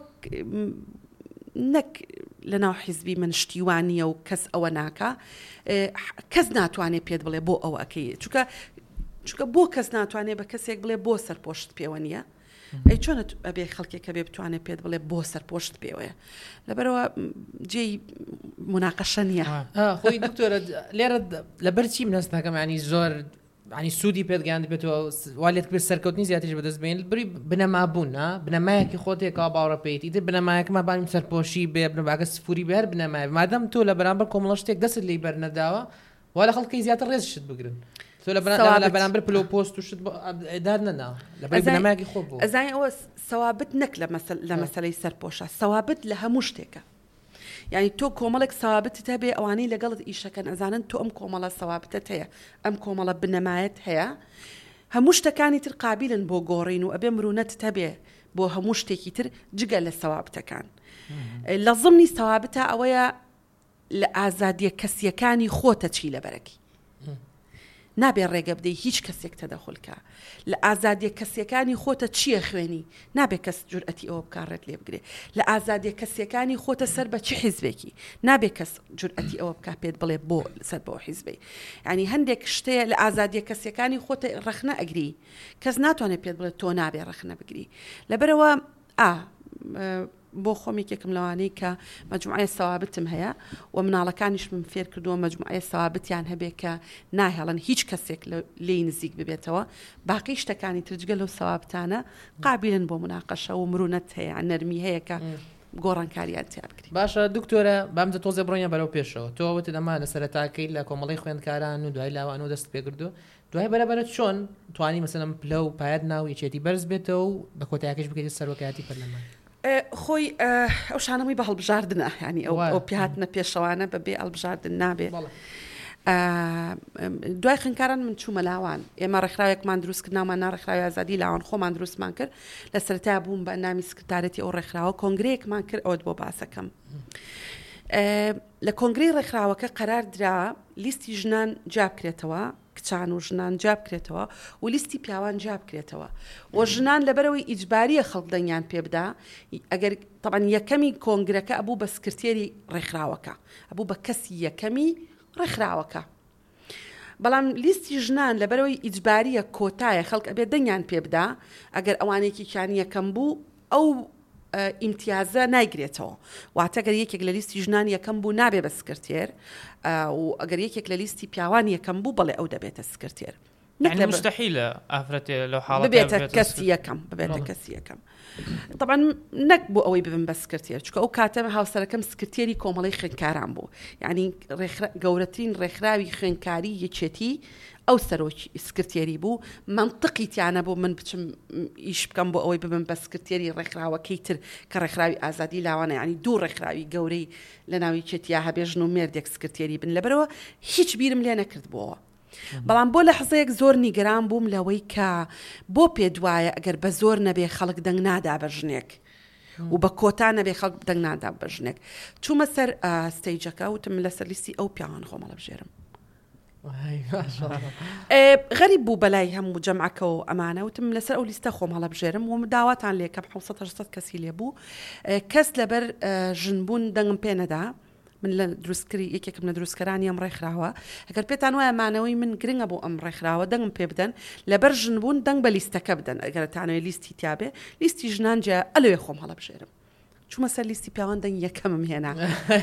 نەک لە ناو حیزبی من شتیوانیە و کەس ئەوە ناکە کەس ناتوانێت پێت بڵێ بۆ ئەوە ئەەکەی چکە بۆ کەس ناتوانێت بە کەسێک بڵێ بۆ سەرپۆشت پێوە نیە ئەی چۆنت ئەبێ خەڵکێکە بێ بتوانێت پێت بڵێ بۆ سەرپۆشت پێوەیە لەبەرەوە جێی مناقەشە نییە خۆی دکتۆرە لێرە لەبەر چی منەست ناکەم ینی زۆر ینی سوودی پێتگەیاند بێتەوە والێت کرد سەرکەوتنی زیاتریش بەدەست بێن بری بنەمابوون بنەمایەکی خۆتێکا باوەڕە پێیتی تر بنەمایەکمە بانیم سەرپۆشی بێ بنەباگە سفوری بێر بنەمای مادەم تۆ لە بەرامبەر کۆمەڵە شتێک دەست لی بەرنەداوە وا لە خەڵکی زیاتر ڕێزشت بگرن تۆ لە بەرامبەر پلۆ پۆست و شت دار نەنا لەبەر بنەمایەکی خۆ بوو ئەزای ئەوە سەوابت نەک لە مەسەلەی سەرپۆشە سەوابت لە هەموو شتێکە یعنی تۆ کۆمەڵێک سەوابتت هەبێ ئەوانەی لەگەڵت ئیشەکەن ئەزانن تۆ ئەم کۆمەڵە سەوابتت هەیە ئەم کۆمەڵە بنەمایەت هەیە هەموو شتەکانی تر قابلن بۆ گۆڕین و ئەبێ مرونەت هەبێ بۆ هەموو شتێکی تر جگە لە سەوابتەکان لە ضمنی سەوابتە ئەوەیە لە ئازادیە کەسیەکانی خۆتە چی لەبەرەکی نابێ ڕێگە بدەی هیچ کەسێک تەدەخولکە لە ئازادیە کەسیەکانی خۆتە چییە خوێنی نابێ کەس جورئەتی ئەوە بکارڕێت لێ بگرێ لە ئازادیە کەسیەکانی خۆتە سەر بە چی حیزبێکی نابێ کەس جورئەتی ئەوە بکا پێت بڵێ بۆ سەر بۆ حیزبی ینی هەندێک شتەیە لە ئازادیە کەسیەکانی خۆتە ڕەخنە ئەگری کەس ناتوانێت پێت بڵێت تۆ نابێ ڕەخنە بگری لەبەرەوە بۆ خۆمێکێکم لەوانەی کە مەجموعە سەوابتم هەیە و مناڵەکانیش من فێر کردووە مەجموعە سەوابتیان هەبێ کە ناهێڵن هیچ کەسێک لێی نزیک ببێتەوە باقی شتەکانی ترجگە لەو سەوابتانە قابلن بۆ مناقەشە و مرونەت هەیە نەرمی هەیە کە گۆڕانکاریان تیا بکرێت باشە دکتۆرە بامدە تۆزە بڕۆنیان بەرەو پێشەوە تۆوەت ئەمە لە سەرەتاکەی لە کۆمەڵی خوێندکاران و دوای لاوانەوە دەست پێکردو دوای بەرەبەرت چۆن توانی مەسەلەن پلە و پایەت ناو یەکێتی بەرز بێتەوە و بە کۆتاییەکەش بکەیت سەرۆکایەتی پەرلەمان خۆی ئەو شانەمەی بە هەڵبژاردنە ینی ئەو پیهاتنە پێشەوانە بەبێ هەڵبژاردن نابێ دوای خوێندکاران من چوومە لاوان ئێمە ڕێکخراوێکمان دروست کرد نامان ناڕێکخراوی ئازادی لاوان خۆمان دروستمان کرد لە سەرەتا بووم بە نامی سکرتارەتی ئەو ڕێکخراوە کۆنگرەیەکمان کرد ئەوت بۆ باسەکەم لە کۆنگرەی ڕێکخراوەکە قەرار درا لیستی ژنان جاب کرێتەوە کچان و ژنان جاب کرێتەوە و لیستی پیاوان جاب کرێتەوە و ژنان لەبەرەوەی ئیجباریە خەڵک دەنگیان پێ بدا ئەگەر طبعاً یەکەمی کۆنگرەکە ئەبوو بە سکرتێری ڕێکخراوەکە ئەبوو بە کەسی یەکەمی ڕێکخراوەکە بەڵام لیستی ژنان لەبەرەوەی ئیجباریە کۆتایە خەڵک ئەبێ دەنگیان پێ بدا ئەگەر ئەوانێکی کیانی یەکەم بوو ئەو ئیمتیازە نایگرێتەوە واتەگەر یەکێک لە لیستی ژنان یەکەم بوو نابێ بە سکرتێر و ئەگەر یەکێک لە لیستی پیاوان یەکەم بوو بەڵێ ئەو دەبێتە سکرتێر مستحیلە ئافرەتێ لەو حاڵە ببێتە کەسی یەکەم ببێتە کەسی یەکەم طبعا نەک بۆ ئەوەی ببن بە سکرتێر چکە ئەو کاتەمە هاوسەرەکەم سکرتێری کۆمەڵی خوێندکاران بوو یعنی گەورەترین ڕێکخراوی خوێندکاری یەکێتی ئەو سەرۆکی سکرتێری بوو منطقی تیانە بۆ من بچم ئیش بکەم بۆ ئەوەی ببم بە سکرتێری ڕێکخراوەکەی تر کە ڕێکخراوی ئازادی لاوانە ینی دوو ڕێکخراوی گەورەی لە ناوی چێتیا هەبێژن و مێردێک سکرتێری بن لەبەرەوە هیچ بیرم لێ نەکرد بۆەوە بەڵام بۆ لە حزەیەک زۆر نیگەران بووم لەوەی کە بۆ پێ دوایە ئەگەر بە زۆر نەبێ خەڵک دەنگ نادا بە ژنێک و بە کۆتا نەبێ خەڵک دەنگ نادا بە ژنێک چوومە سەر ستەیجەکە وتم لەسەر لیستی ئەو پیاوان خۆمەڵە بژێرم غەریب بوو بەلای هەموو جەمعەکە و ئەمانە وتم لەسەر ئەو لیستە خۆم هەڵە بژێرم و داواتان لێکەم 700 کەسی لێبوو کەس لەبەر ژنبوون دەنگم پێ نەدا من دروستکاری یەکێکم لە دروستکەرانی ئەم ڕێکخراوە ئەگەر پێتان وایە مانەوەی من گرنگە بۆ ئەم ڕێکخراوە دەنگم پێ بدەن لەبەر ژن بوون دەنگ بە لیستەکە بدەن ئەگەرتانەوەی لیستی تیاابێ لیستی ژنان جا ئەلوێ خۆم هەڵەبژێرم چوومە سەر لیستی پیاوان دەنگ یەکەمم هێنا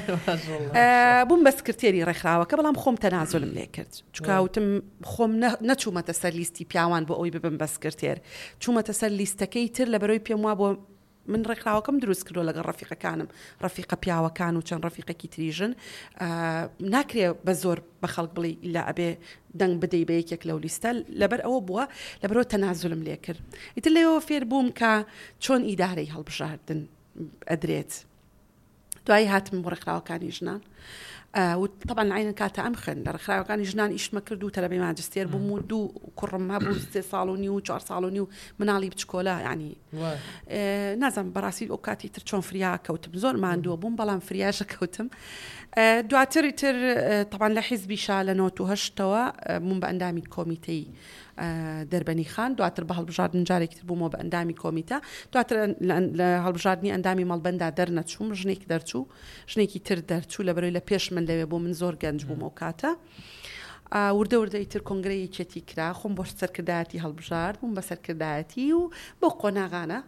بووم بە سکرتێری ڕێکخراوەکە بەڵام خۆم تەنازۆلم لێ کرد چکاوتم خۆم نەچوومەتە سەر لیستی پیاوان بۆ ئەوی ببم بە سکرتێر چوومەتە سەر لیستەکەی تر لە بەرەوەی پێم وا بۆ من ڕێکخراوەکەم دروست کردو لەگەڵ ڕەفیقەکانم ڕەفیقە پیاوەکان و چەند ڕەفیقێکی تریژن ناکرێ بە زۆر بە خەڵک بڵێ ئیلا ئەبێ دەنگ بدەی بە یەکێک لەو لیستە لەبەر ئەوە بووە لەبەرەوە تەنازولم لێ کرد ئیتر لێەوە فێر بووم کە چۆن ئیدارەی هەڵبژاردن ئەدرێت دوایی هاتم بۆ ڕێکخراوەکانی ژنان طبعا عین کاتە ئەم خوێن لە ڕێکخراوەکانی ژنان ئیشمە کرد و تەلەبەی ماجستێر بووم و دوو کوڕم هەبوو 3 ساڵ و نیو 4 ساڵ و نیو مناڵی بچکۆلا ینی نازانم بەڕاستی ئەو کاتی تر چۆن فریا کەوتم زۆر ماندووە بووم بەڵام فریاشە کەوتم دواتری تر طبعا لە حیزبی شا لە 98ەوە بووم بە ئەندامی کۆمیتەی دەربەنی خان دواتر بە هەڵبژاردن جارێکی تر بوومەوە بە ئەندامی کۆمیتە دواتر لە هەڵبژاردننی ئەندامی مەڵبەندا دەرنەچووم ژنێکی دەرچوو ژنێکی تر دەرچوو لە بەرەوەی لە پێش من لەوێ بۆ من زۆر گەنج بووم ئەو کاتە وردە وردەی تر کۆنگرەی چێتی کرا خۆم بۆ سەرکردایەتی هەڵبژارد بووم بە سەرکردایەتی و بۆ قۆناغانە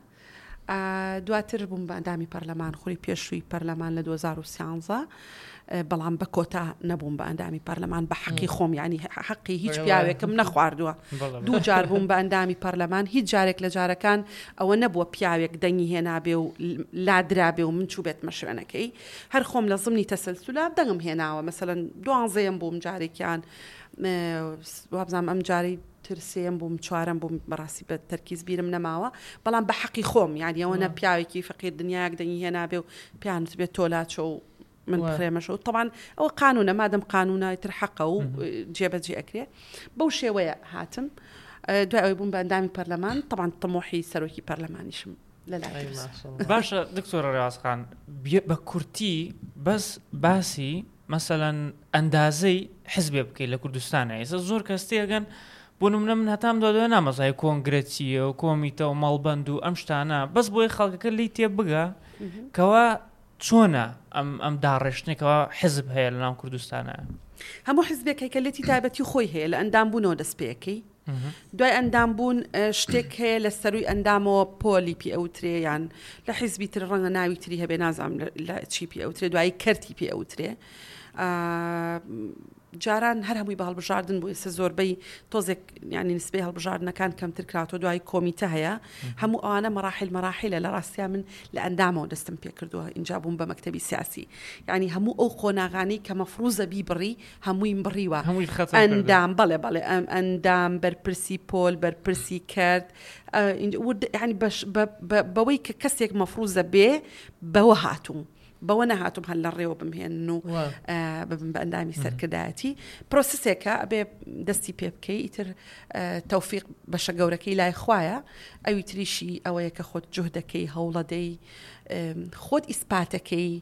دواتر بووم بە ئەندامی پەرلەمان خوری پێشووی پەرلەمان لە 2013 بەڵام بە کۆتا نەبووم بە ئەندامی پەرلەمان بە حەقی خۆم ینی حەقی هیچ پیاوێکم نەخواردووە دوو جار بووم بە ئەندامی پەرلەمان هیچ جارێک لە جارەکان ئەوە نەبووە پیاوێک دەنگی هێنابێ و لادرابێ و من چوو بێتمە شوێنەکەی هەر خۆم لە زمنی تەسەلسولا دەنگم هێناوە مەسەلەن 12ەم بووم جارێکیان وابزانام ئەم جاری ترسێم بووم چوارم بووم بەڕاستی بە تەرکیز بیرم نەماوە بەڵام بە حەقی خۆم یعنی ئەوە نە پیاوێکی فەقیر دنیاک دەنگی هێنابێ و پیانت بێت تۆلاچە و من بخرێمەشە و طبعا ئەوە قانونە مادەم قانونە تر حەقە و جێبەجێ ئەکرێ بەو شێوەیە هاتم دوای ئەوەی بووم بە ئەندامی پەرلەمان طبعا تەمۆحی سەرۆکی پەرلەمانیشم لەلای باشە دکتۆرە ڕێوازخان بە کورتی بەس باسی مەسەلەن ئەندازەی حزبێ بکەیت لە کوردستانە ئێستا زۆر کەس تێگەن بۆ نمونە من هەتام دوای نامەزای کۆنگرێتیە و کۆمیتە و مەڵبەند و ئەم شتانە بەس بۆی خەڵکەکە لی تێ بگە کەوا چۆنە ئەم داڕێشتێکەوە حزب هەیە لە ناو کوردستانە هەموو حزبێکی کەلێتی تایبەتی خۆی هەیە لە ئەندام بوونەوە دەستپێکی دوای ئەندام بوون شتێک هەیە لە سەروی ئەندامەوە پۆلی پی ئەوترێ یان لە حیزبی تر ڕەنگە ناوی تری هەبێ نازام لە چی پی ئەوترێ دوایی کەرتی پی ئەوترێ جاران هەر هەمووی بە هەڵبژاردن بوو ئێستا زۆربەی تۆزێک ینی نسبەی هەڵبژاردنەکان کەمتر کراتەوە دوای کۆمیتە هەیە هەموو ئەوانە مەراحیلە لە ڕاستیا من لە ئەندامەوە دەستم پێ کردووە اینجا بووم بە مەکتەبی سیاسی ینی هەموو ئەو قۆناغانی کە مەفروزە بیبڕی هەمووی بڕیوە ئەندام بەڵێ ئەندام بەرپرسی پۆل بەرپرسی کرد ینی بەوەی کە کەسێک مەفروزە بێ بەوە هاتووم بەوە نەهاتوم هەل لە ڕێوە بمهێن و ببم بە ئەندامی سەرکردایەتی پرۆسسێکە ئەبێ دەستی پێ بکەی ئیتر تەوفیق بەشە گەورەکەی لای خوایە ئەوی تریشی ئەوەیە کە خۆت جوهدەکەی هەوڵەدەی خۆت ئیسپاتەکەی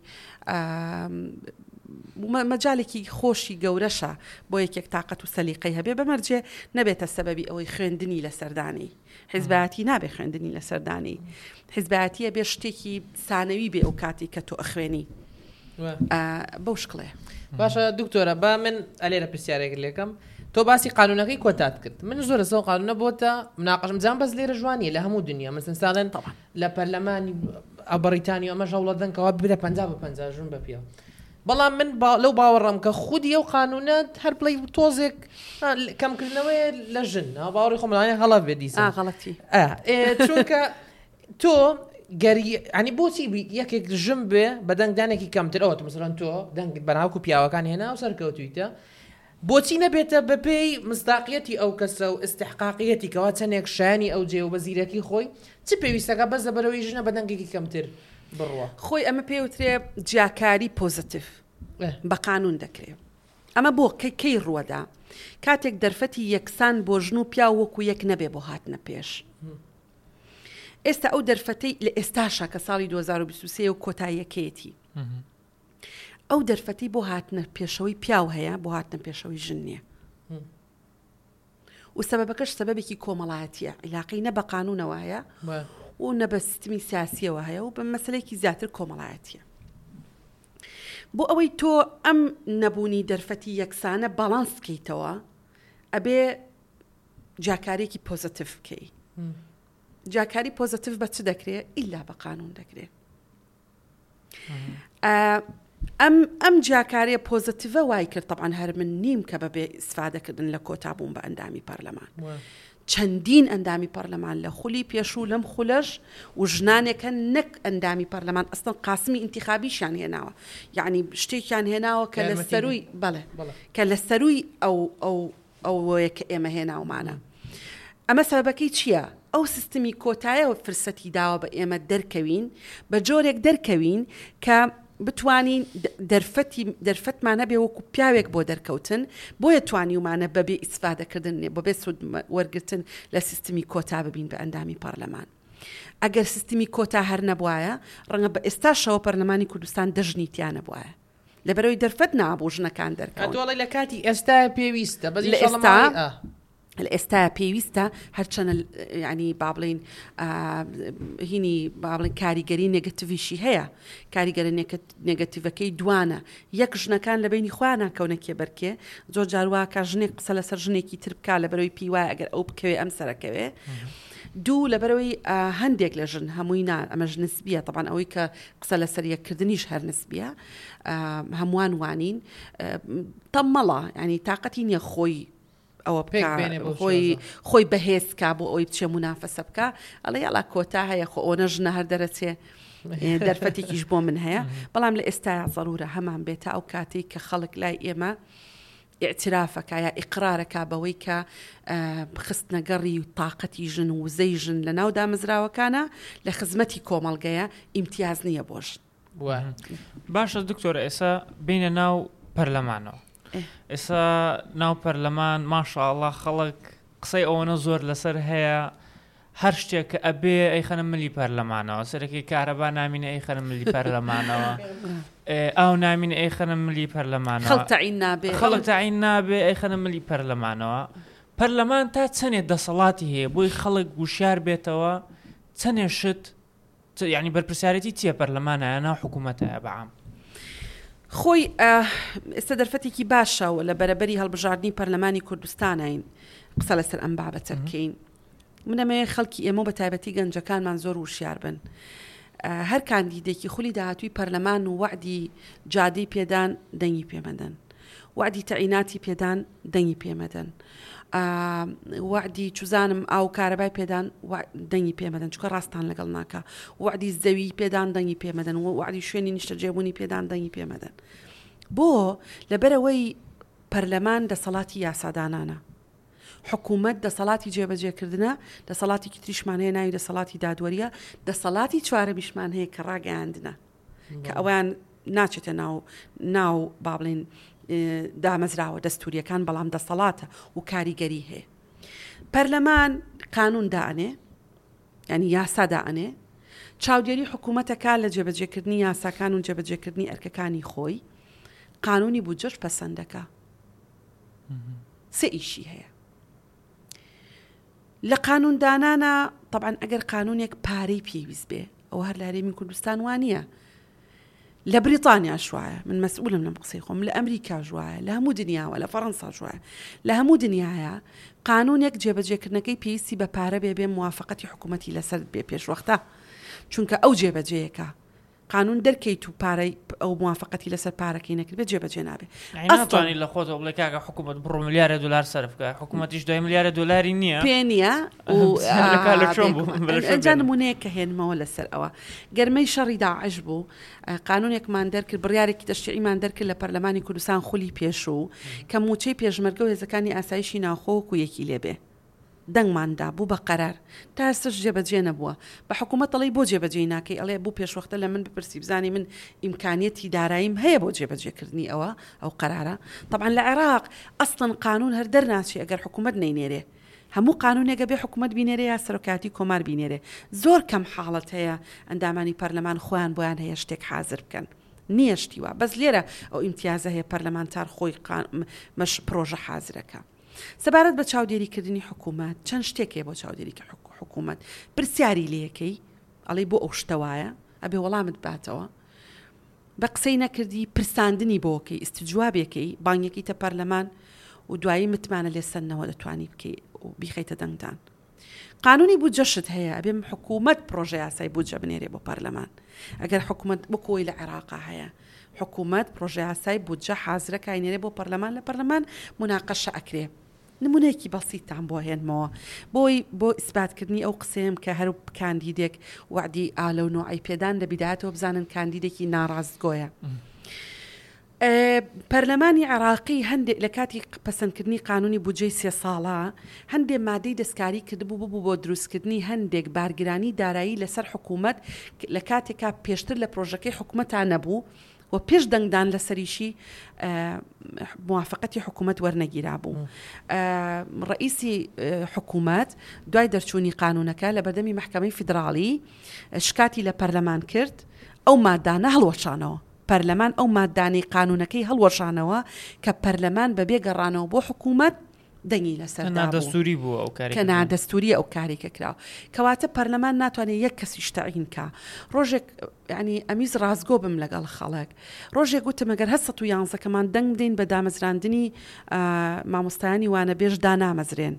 مەجالێکی خۆشی گەورەشە بۆ یەکێک تااقەت و سەلیقەی هەبێ بەمەرجێ نەبێتە سەبەبی ئەوەی خوێندنی لە سەردانی حیزبەتی نابێ خوێندنی لە سەردانی حیزبەتیە بێ شتێکی سانەوی بێ ئەو کاتی کە تۆ ئەخوێنی بەو شکڵێ باشە دکتۆرە با من ئەلێرە پرسیارێک لێکم تۆ باسی قانونەکەی کۆتات کرد من زۆر سەو قانونە بۆتە مناقەشم جان بەس لێرە جوانیە لە هەموو دنیا مثلا ساڵێن لە پەرلەمانی بەریتانی ئەمە ژەوڵەدەنکەوە برە 50 ژون بە پێ بەڵام من لەو باوەڕم کە خودی ئەو قانونەت هەر بڵی تۆزێک کەمکردنەوەی لە ژن باوەڕی خۆمڵانە هەڵە بێ دیسە غەڵەتی چونکە تۆ گەری عنی بۆچی یەکێک ژم بێ بە دەنگدانێکی کەمتر ئەوە مثلەن تۆ دەنگ بەناوکو پیاوەکان هێنا و سەرکەوتویتە بۆچی نەبێتە بەپێی مستاقیەتی ئەو کەسە و استحقاقیەتی کەوا چەندێک شانی ئەو جێ و بە زیرەکی خۆی چ پێویستەکە بەس بەرەوەی ژنە بە دەنگێکی کەمتر بڕوە خۆی ئەمە پێوترێ جیاکاری پۆزتیف بە قانون دەکرێت ئەمە بۆ کەی ڕووەدا کاتێک دەرفەتی یەکسان بۆ ژن و پیا وەکو یەک نەبێ بۆ هاتنە پێش ئێستا ئەو دەرفەتەی لە ئێستاشە کە ساڵی 2023 و کۆتاییەکەیەتی ئەو دەرفەتی بۆ هاتنە پێشەوەی پیاو هەیە بۆ هاتنە پێشەوەی ژن نییە و سەبەبەکەش سەبەبێکی کۆمەڵایەتیە عیلاقی نە بە قانونەوە هەیە و نە بە سیستمی سیاسیەوە هەیە و بە مەسلەیەکی زیاتر کۆمەڵایەتیە بۆ ئەوەی تۆ ئەم نەبوونی دەرفەتی یەکسانە باڵانسکەیتەوە ئەبێ جاکارێکی پۆزتیڤ بکەی. جاکاری پۆزتیڤ بە چ دەکرێت؟ ئیلا بە قانون دەکرێت. ئەم جاکاریە پۆزتیڤە وای کرد طبعاً هەر من نیم کە بەبێ ئیسفادەکردن لە کۆتابوون بە ئەندامی پەرلەمان. چەندین ئەندامی پەرلەمان لە خولی پێشوو لەم خولەش و ژنانێکە نەک ئەندامی پەرلەمان ئەستن قاسمی ئینتیخابیشیان هێناوە، یعنی شتێکیان هێناوە کە لە سەروی کە لە سەروی ئەوەیە کە ئێمە هێناومانە. ئەمە سەبەکەی چییە؟ ئەو سیستمی کۆتاییەوە فرسەتی داوە بە ئێمە دەرکەوین بە جۆرێک دەرکەوین کە بتوانین دەرفەتمانە بێ وەکو پیاوێک بۆ دەرکەوتن بۆیە توانیومانە بەبێ ئیسفادەکردن بەبێ سود وەرگرتن لە سیستمی کۆتا ببین بە ئەندامی پەرلەمان. ئەگەر سیستمی کۆتا هەر نەبوایە ڕەنگە بە ئێستاشەوە پەرلەمانی کوردستان دەژنیتیان نەبوایە لەبەرەوەی دەرفەت نابوو ژنەکان دەرکەون. دوڵی لە کاتی ئێستا پێویستە لە ئێستا پێویستە هەرچەنە ینی با بڵین هینی با بڵین کاریگەری نێگەتیڤیشی هەیە، کاریگەرە نێگەتیڤەکەی دوانە یەک ژنەکان لە بینی خۆیان ناکەونە کێبەرکێ زۆر جاروا کە ژنێک قسە لەسەر ژنێکی تر بکا لەبەرەوەی پێی وایە ئەگەر ئەو بکەوێ ئەم سەرەکەوێ. دوو لەبەرەوەی هەندێک لە ژن هەمووی ئەمەش نسبیە طبعاً ئەوەی کە قسە لەسەر یەککردنیش هەر نسبیە هەمووان وانین تەمەڵە ینی تااقەتی نییە خۆی ئەوە خۆی بەهێزکا بۆ ئەوی بچێ منافەسە بکە ئەڵێ یاڵا کۆتا هەیە خۆ ئەوە ژنە هەر دەرەچێ دەرفەتێکیش بۆ من هەیە. بەڵام لە ئێستایا ضرورە هەمان بێتە ئەو کاتێک کە خەڵک لای ئێمە اعترافەکە یا ئیقرارەکە بەوەی کە خستنەگەڕی و تااقەتی ژن و وزەی ژن لە ناو دامەزراوەکانە لە خزمەتی کۆمەڵگەیە ئیمتیاز نییە بۆش. باشە دکتۆرە ئێستا بینە ناو پەرلەمانەوە ئێستا ناو پەرلەمان ماشاءالله خەڵک قسەی ئەوەنە زۆر لەسەر هەیە هەر شتێک کە ئەبێ ئەیخەنە ملی پەرلەمانەوە سەرەکی کارەبا نامینە ئەیخەنە ملی پەرلەمانەوە ئەو نامینە ئەیخەنە ملی پەرلەمانەوە خەڵک تەعین نابێ ئەیخەنە ملی پەرلەمانەوە. پەرلەمان تا چەندێک دەسەڵاتی هەیە بۆی خەڵک گوشیار بێتەوە چەندێ شت یعنی بەرپرسیارەتی چییە پەرلەمانە ناو حکوومەتە بەعام خۆی ئێستا دەرفەتێکی باشەوە لە بەرەبەری هەڵبژاردننی پەرلەمانی کوردستانین قسە لەسەر ئەم بابەتە بکەین. منەمەیە خەڵکی ئێمە بە تایبەتی گەنجەکانمان زۆر وشیار بن. هەر کاندیدێکی خولی داهاتووی پەرلەمان و وعدی جادەی پێدان دەنگی پێمەدەن، وعدی تەعیناتی پێدان دەنگی پێمەدەن، وعدی چوزانم ئاو کارەبای پێدان دەنگی پێمەدەن چکە ڕاستان لەگەڵ ناکە، وعدی زەوی پێدان دەنگی پێمەدەن و وعدی شوێنی نیشتە جێبوونی پێدان دەنگی پێمەدەن. بۆ لەبەرەوەی پەرلەمان دەسەڵاتی یاسادانانە، حکوومەت دەسەڵاتی جێبەجێکردنە، دەسەڵاتی تریشمان هەیە ناوی دەسەڵاتی دادوەریە، دەسەڵاتی چوارەمیشمان هەیە کە ڕاگەیاندنە کە ئەویان ناچێتە ناو بابڵین دامەزراوە دەستوریەکان بەڵام دەسەڵاتە و کاریگەری هەیە. پەرلەمان قانون دائنێ ینی یاسا دائنێ، چاودێری حکوومەتەکە لە جێبەجێکردنی یاساکان و جێبەجێکردنی ئەرکەکانی خۆی، قانونی بودجەش پەسەندەکە. سێ ئیشی هەیە لە قانوندانانە. طبعاً ئەگەر قانونێک پارەی پێویست بێ ئەو هەر لە هەرێمی کوردستان وانە، لە بریتانیا شوایە من مەسئولم لەم قسەی خۆم، لە ئەمریکا ژوایە، لە هەموو دنیاوە، لە فەڕەنسا ژوایە، لە هەموو دنیاە قانونێک جێبەجێکردنەکەی پێویستی بە پارە بێ موافقەتی حکوومەتی لەسەر بێ پێشوەختە چونکە ئەو جێبەجێیەکە قانون دەرکەیت و پارەی ئەو موافقەتی لەسەر پارەکەی نەکرد بێ جێبەجێ نابێ. ئەستوانی لە خۆتەوە بڵێ کاکە حکوومەت بڕۆ ملیارە دلار سەرف بکە، حکوومەتیش 2 ملیارە دلاری نییە پێ نییە ئەجا نمونەیە کە هێنمەوە لەسەر ئەوە گەرمەی شەڕی داعش بوو، قانونێکمان دەرکرد بڕیارێکی تەشریعیمان دەرکرد لە پەرلەمانی کوردستان خولی پێشوو کە موچەی پێشمەرگە و هێزەکانی ئاسایشی ناوخۆوەکو یەکی لێبێ دەنگماندا بوو بە قەرار تا ئێستاش جێبەجێ نەبووە. بە حکوومەت ئەڵێ بۆ جێبەجێ ناکەی، ئەڵێ بوو پێشوەختە لە من بپرسی بزانی من ئیمکانیەتی داراییم هەیە بۆ جێبەجێکردنی ئەو قەرارە. طبعاً لە عێراق ئەسڵن قانون هەر دەرناچی ئەگەر حکوومەت نەینێرێ، هەموو قانونێکە بێ حکوومەت بینێرێ یا سەرۆکاتی کۆمار بینێرێ. زۆر کەم حاڵەت هەیە ئەندامانی پەرلەمان خۆیان بۆیان هەیە شتێک حازر بکەن، نییە شتیوە بەس لێرە ئەو ئیمتیازە هەیە پەرلەمانتار خۆی مەش پرۆژە حازرەکە. سەبارەت بە چاودێریکردنی حکوومەت چەند شتێکێ بۆ چاودێری حکوومەت پرسیاری لەکەی ئەڵێ بۆ ئەو شتەوایە ئەبێ وەڵامت باتەوە بقسەی نەکردی پرساندنی بۆکەی استجوابێکی بانگێکی تە پەرلەمان و دوایی متمانە لێسەنەوە دەتوانی بکەی و بیخەیتە دەنگدان. قانونی بودجەشت هەیە ئەبێ حکوومەت پرۆژە یاسای بودجە بنێرێ بۆ پەرلەمان. ئەگەر حکوومەت بکۆی لە عێراقا هەیە حکوومەت پرۆژە یاسای بودجە حازرە کاینێرێ بۆ پەرلەمان لە پەرلەمان مناقەشە ئەکرێ. نمونەیەکی بەسیتان بۆ هێنمەوە بۆ ئیسباتکردنی ئەو قسەیەم کە هەرو کاندیدێک وعدی ئالە و نوعی پێدان لە بیداتەوە بزانن کاندیدێکی ناڕاستگۆیە. پەرلەمانی عێراقی هەندێک لە کاتی پەسەندکردنی قانونی بودجەی 3 ساڵە هەندێک مادەی دەستکاری کردبوو ببوو بۆ دروستکردنی هەندێک بارگرانی دارایی لەسەر حکوومەت لە کاتێکا پێشتر لە پرۆژەکەی حکوومەتان نەبوو و پێش دەنگدان لەسەریشی موافقەتی حکوومەت وەرنەگیرا بوو. ڕئیسی حکوومەت دوای دەرچوونی قانونەکە لە بەردەمی محکەمەی فیدراڵی شکاتی لە پەرلەمان کرد ئەو مادانە هەڵوەشانەوە. پەرلەمان ئەو مادانەی قانونەکەی هەڵوەشانەوە کە پەرلەمان بەبێ گەڕانەوە بۆ حکوومەت دەنگی لەسەر نادەستوری بوو ئەو کاری کە نادەستوری ئەو کارێکە کراوە کەواتە پەرلەمان ناتوانێت یەک کەسیش تەعین کە ڕۆژێک ینی ئەمیز ڕازگۆ بم لەگەڵ خەڵک ڕۆژێک گوتم ئەگەر 11کەمان دەنگ بدەین بە دامەزراندنی مامۆستایانی وانە بێژ دانامەزرێن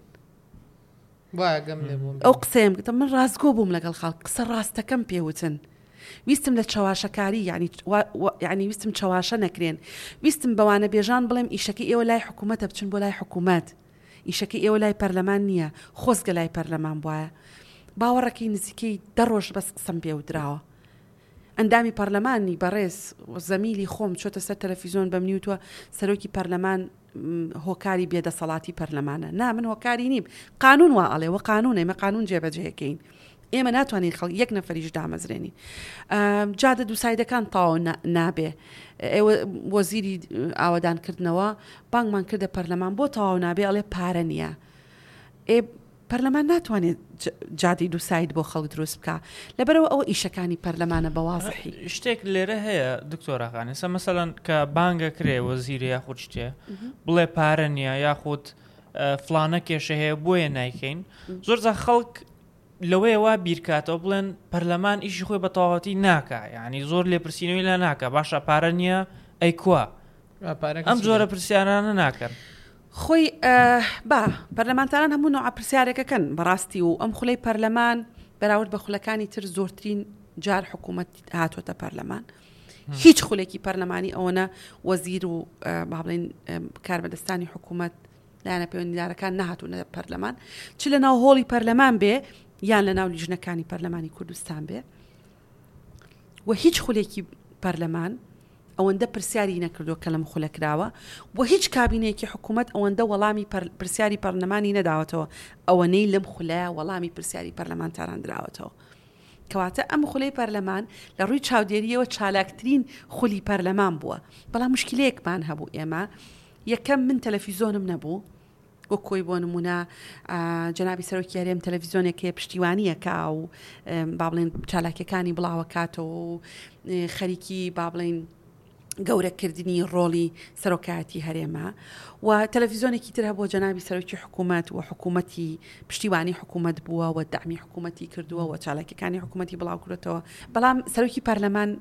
ئەو قسەیەم گوتم من ڕازگۆ بووم لەگەڵ خەڵک قسە ڕاستەکەم پێوتن ویستم لە چاواشەکاری یعنی ویستم چاواشە نەکرێن ویستم بەوانە بێژان بڵێم ئیشەکە ئێوە لای حکوومەتە بچن بۆ لای حکوومەت ئیشەکە ئێوە لای پەرلەمان نییە خۆزگە لای پەرلەمان بواە باوەڕەکەی نزیکەی دەڕۆژ بەس قسەم پێودراوە ئەندامی پەرلەمانی بەڕێز زەمیلی خۆم چۆتە سەر تەلەڤیزۆن بەمنی وتووە سەرۆکی پەرلەمان هۆکاری بێدەسەڵاتی پەرلەمانە نا من هۆکاری نیم قانون وا ئەڵێ وە قانونە ئێمە قانون جێبەجێەکەین ئێمە ناتوانین خەڵک یەک نەفەریش دامەزرێنی جادە دووسایدەکان تاو نابێ ئێوە وەزیری ئاوەدانکردنەوە بانگمان کردە پەرلەمان بۆ تاو نابێ ئەڵێ پارە نییە پەرلەمان ناتوانێت جادی دووساید بۆ خەڵک دروست بکە لەبەرەوە ئەوە ئیشەکانی پەرلەمانە بەوازحی شتێک لێرە هەیە دکتۆراخانی سە مەسەڵەن کە بانگە کرێ وەزیری یاخود شتێ بڵێ پارە نییە یاخود فلانە کێشە هەیە بۆیە نایکەین زۆرجار خەڵک لەوەیە وا بیرکاتەوە بڵێن پەرلەمان ئیشی خۆی بە تەواوەتی ناکە یعنی زۆر لێپرسینەوەی لە ناکە باشە پارە نییە ئەی کووە ئەم جۆرە پرسیارانە ناکەن خۆی با پەرلەمانتانان هەموو نوع پرسیارێکەکەن بەڕاستی و ئەم خولەی پەرلەمان بەراورد بە خولەکانی تر زۆرترین جار حکوومەت هاتوۆتە پەرلەمان هیچ خولێکی پەرلەمانی ئەوەنە وەزیر و با بڵێن کاربەدەستانی حکوومەت لایەنە پەیوەندیدارەکان نەهاتوونە پەرلەمان چ لە ناو هۆڵی پەرلەمان بێ یان لە ناو لیژنەکانی پەرلەمانی کوردستان بێ و هیچ خولێکی پەرلەمان ئەوەندە پرسیاری نەکردو کە لەم خولە کراوە و هیچ کابینەیەکی حکوومەت ئەوەندە وەڵامی پرسیاری پەرلەمانی نەداوەتەوە ئەوەنەی لەم خولە وەڵامی پرسیاری پەرلەمانتاران دراوەتەوە کەواتە ئەم خولەی پەرلەمان لە ڕووی چاودێریەوە چالاکترین خولی پەرلەمان بووە بەڵام مشکلەیەکمان هەبوو ئێمە یەکەم من تەلەڤیزۆنم نەبوو وە کۆی بۆ نمونە جەنابی سەرۆکی یاریەم تەلەڤیزۆنێکی پشتیوانیەکە و با بڵێن چالاکیەکانی بڵاوە کاتەوە و خەریکی با بڵێن گەورەکردنی ڕۆڵی سەرۆکایەتی هەرێمە و تەلەڤیزۆنێکی تر هەبووە جەنابی سەرۆکی حکوومەت و حکوومەتی پشتیوانی حکوومەت بووە و دامی حکوومەتی کردووە و چالاکیەکانی حکوومەتی بڵاو کردێتەوە بەڵام سەرۆکی پەرلەمان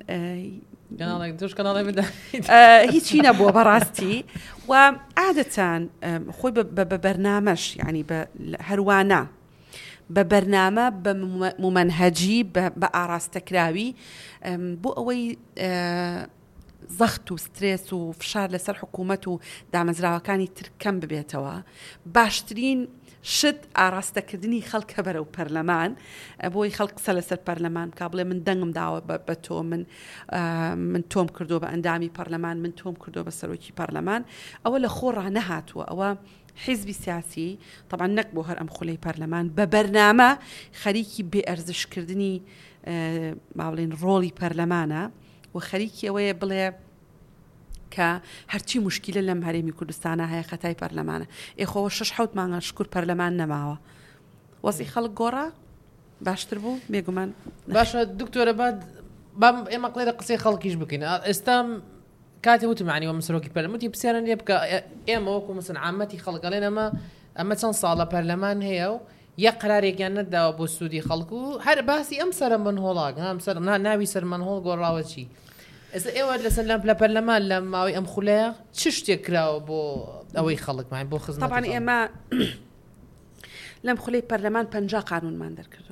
هیچی نەبووە بەڕاستی و عادەتەن خۆی بە بەرنامەش ینی هەروانە بە بەرنامە بە مومەنهەجی بە ئاراستەکراوی بۆ ئەوەی زەخت و سترێس و فشار لەسەر حکوومەت و دامەزراوەکانی تر کەم ببێتەوە باشترین شت ئاراستەکردنی خەڵکە بەرەو پەرلەمان بۆی خەڵک قسە لەسەر پەرلەمان کا بڵێ من دەنگم داوە بە تۆ من تۆم کردو بە ئەندامی پەرلەمان من تۆم کردو بە سەرۆکی پەرلەمان ئەوە لە خۆڕا نەهاتووە ئەوە حیزبی سیاسی طبعا نەک بۆ هەر ئەم خولەی پەرلەمان بە بەرنامە خەریکی بێئەرزشکردنی با بڵێن ڕۆڵی پەرلەمانە و خەریکی ئەوەیە بڵێ کە هەرچی مشکلە لەم هەرێمی کوردستانە هەیە خەتای پەرلەمانە ئێخۆوە 6-7 مانگە شکر پەرلەمان نەماوە وەزی خەڵک گۆڕا باشتر بوو بێگومان باشە دکتۆرە بام ئێمە قڵێرە قسەی خەڵکیش بکەین ئێستام کاتی وتمانی وە مسەرۆکی پەرلەموتی پرسیارە لێ بکە ئێمە وەکو مەسەن عامەتی خەڵکەڵێن ئەمە چەند ساڵە پەرلەمان هەیە و یەک قرارێکیان نەداوە بۆ سوودی خەڵک و هەر باسی ئەم سەرە منهۆڵاک ناوی سەر منهۆڵ گۆڕاوە چی ئێوە لەسەر لە پەرلەمان لە ماوەی ئەم خولەیە چ شتێک کراوە بۆ ئەوەی خەڵکمان بۆ خزمەت طبعا ئێمە لەم خولەی پەرلەمان 50 قانونمان دەرکردووە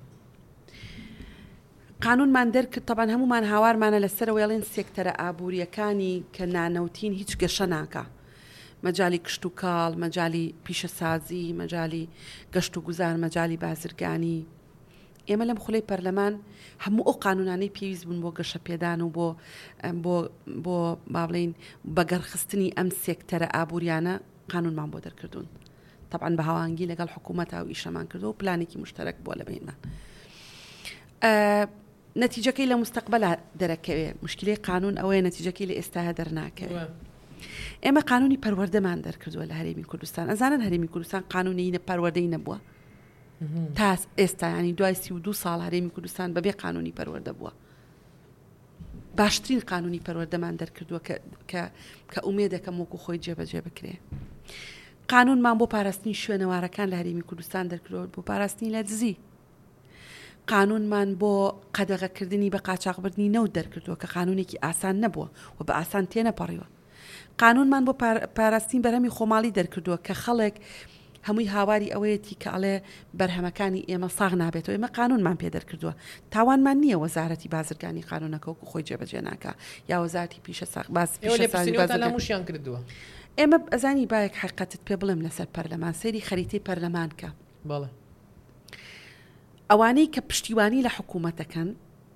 قانونمان دەرکرد طبعا هەمومان هاوارمانە لەسەر وێڵێن سێکتەرە ئابوووریەکانی کە نانەوتین هیچ گەشە ناکە مەجای کشت و کاڵ مەجای پیشەسازی مەجای گەشت و گوزار مەجای بازرگانی ئێمە لەم خولەی پەرلەمان هەموو ئەو قانونانەی پێویست بوون بۆ گەشە پێدان و بۆ باڵین بەگەڕخستنی ئەم سێکتەرە ئابوووریانە قانونمان بۆ دەرکردوون طبعا بە هاوانگی لەگەڵ حکوومەت و ئیشەمان کردو و پلانێکی مشتەرەک بۆ لە بینمان نەتیجەکەی لە مستەقبەلا دەرەکەوێ مشکلەی قانون ئەوەیە نەتیجەکەی لە ئێستاە دەرناکەوێ ئێمە قانونی پەروەردەمان دەرکردووە لە هەرێمی کوردستان ئەزانن هەرێمی کوردستان قانونی پەروەردەی نەبووە تا ئێستا ینی دوای 32 ساڵ هەرێمی کوردستان بەبێ قانونی پەروەردە بووە باشترین قانونی پەروەردەمان دەرکردووە کە ئومێدەکەم وەکو خۆی جێبەجێ بکرێ قانونمان بۆ پاراستنی شوێنەوارەکان لە هەرێمی کوردستان دەرکردەوە بۆ پاراستنی لە دزی قانونمان بۆ قەدەغەکردنی بە قاچاقبردنی نەوت دەرکردووە کە قانونێکی ئاسان نەبووە و بە ئاسان تێنەپەڕیوە قانونمان بۆ پاراستنی بەرهەمی خۆماڵی دەرکردووە کە خەڵک هەمووی هاواری ئەوەیەتی کە ئەڵێ بەرهەمەکانی ئێمە ساغ نابێتەوە ئێمە قانونمان پێ دەرکردووە تاوانمان نییە وەزارەتی بازرگانی قانونەکە وەکو خۆی جێبەجێ ناکە یا وەزارەتی پیشە موشیان کردووە ئێمە ئەزانی باەک حقیقەتت پێ بڵێم لەسەر پەرلەمان سەیری خەریتەی پەرلەمان کە بەڵێ ئەوانەی کە پشتیوانی لە حکوومەتەکەن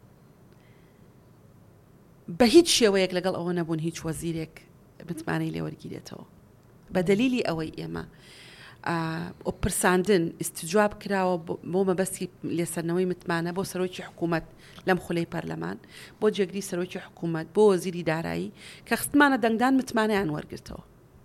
بە هیچ شێوەیەک لەگەڵ ئەوە نەبوون هیچ وەزیرێک متمانەی لێوەرگیرێتەوە بە دلیلی ئەوەی ئێمە پرساندن استجواب کراوە بۆ مەبەستی لێسەرنەوەی متمانە بۆ سەرۆکی حکوومەت لەم خولەی پەرلەمان بۆ جێگری سەرۆکی حکوومەت بۆ وەزیری دارایی کە خستمانە دەنگدان متمانەیان وەرگرتەوە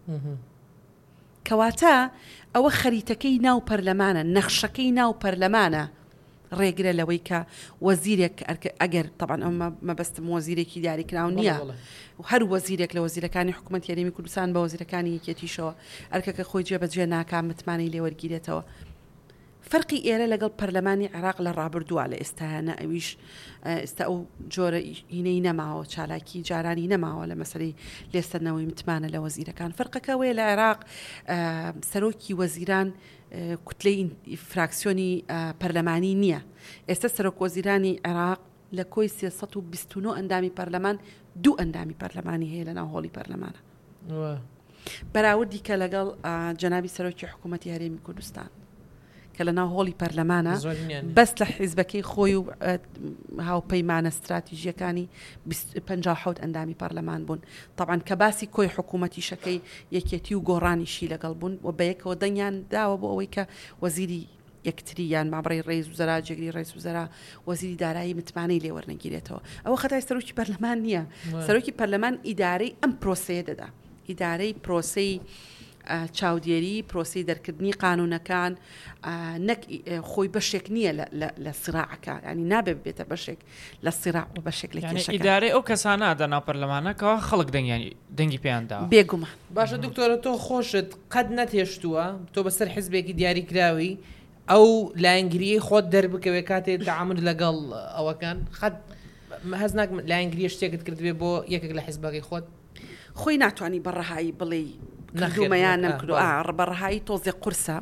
کەواتە ئەوە خەریتەکەی ناو پەرلەمانە نەخشەکەی ناو پەرلەمانە ڕێگرە لەوەی کە وەزیرێک ئەگەر طبعا ئەمە مەبەستم وەزیرێکی دیاریکراو نییە هەر وەزیرێک لە وەزیرەکانی حکوومەتی هەرێمی کوردستان بە وەزیرەکانی یەکێتیشەوە ئەرکەکە خۆی جێبەجێ ناکام متمانەی لێوەرگیرێتەوە فەرقی ئێرە لەگەڵ پەرلەمانی عێراق لە ڕابردووە لە ئێستاانە ئەویش ئێستا ئەو جۆرە هینەی نەماوە چالاکی جارانی نەماوە لە مەسەری لێستەرنەوەی متمانە لە وەزیرەکان فەرقەکەوەیە لە عێراق سەرۆکی وەزیران کوتلەی فراکسیۆنی پەرلەمانی نییە ئێستا سەرۆک وەزیرانی عێراق لە کۆی 329 ئەندامی پەرلەمان 2 ئەندامی پەرلەمانی هەیە لە ناو هۆڵی پەرلەمانە بەراوردی کە لەگەڵ جەنابی سەرۆکی حکوومەتی هەرێمی کوردستان کە لە ناو هۆڵی پەرلەمانە بەس لە حیزبەکەی خۆی و هاوپەیمانە استراتیژیەکانی 57 ئەندامی پەرلەمان بوون طبعا کە باسی کۆی حکوومەتی شەکەی یەکێتی و گۆڕانیشی لەگەڵ بوون و بەیەکەوە دەنگیان داوە بۆ ئەوەی کە وەزیری یەکتریان مابڕی ڕێز وزەرا جێگری ڕێز وزەرا وەزیری دارایی متمانەی لێوەرنەگیرێتەوە ئەوە خەتای سەرۆکی پەرلەمان نییە سەرۆکی پەرلەمان ئیدارەی ئەم پرۆسەیە دەدا ئیدارەی پرۆسەی چاودێری پرۆسی دەرکردنی قانونەکان نەک خۆی بەشێک نییە لە سراعەکە ینی نابێت بێتە بەشێک لە سراع و بەشێک لە کێشەکە ئیدارەی ئەو کەسانە دەنا پەرلەمانەکەەوە خەڵک دەنگی پێیاندا بێگومان باشە دکتۆرە تۆ خۆشت قەت نەتێشتووە تۆ بەسەر حیزبێکی دیاریکراوی ئەو لاینگریەی خۆت دەربکەوێ کاتێ تعامل لەگەڵ ئەوەکان هەز ناک لاینگریە شتێکت کردوێ بۆ یەکێک لە حیزبەکەی خۆت خۆی ناتوانانی بەڕەهایی بڵێ نەخدومەیان نەمکردو بەڕەهایی تۆزێ قورسە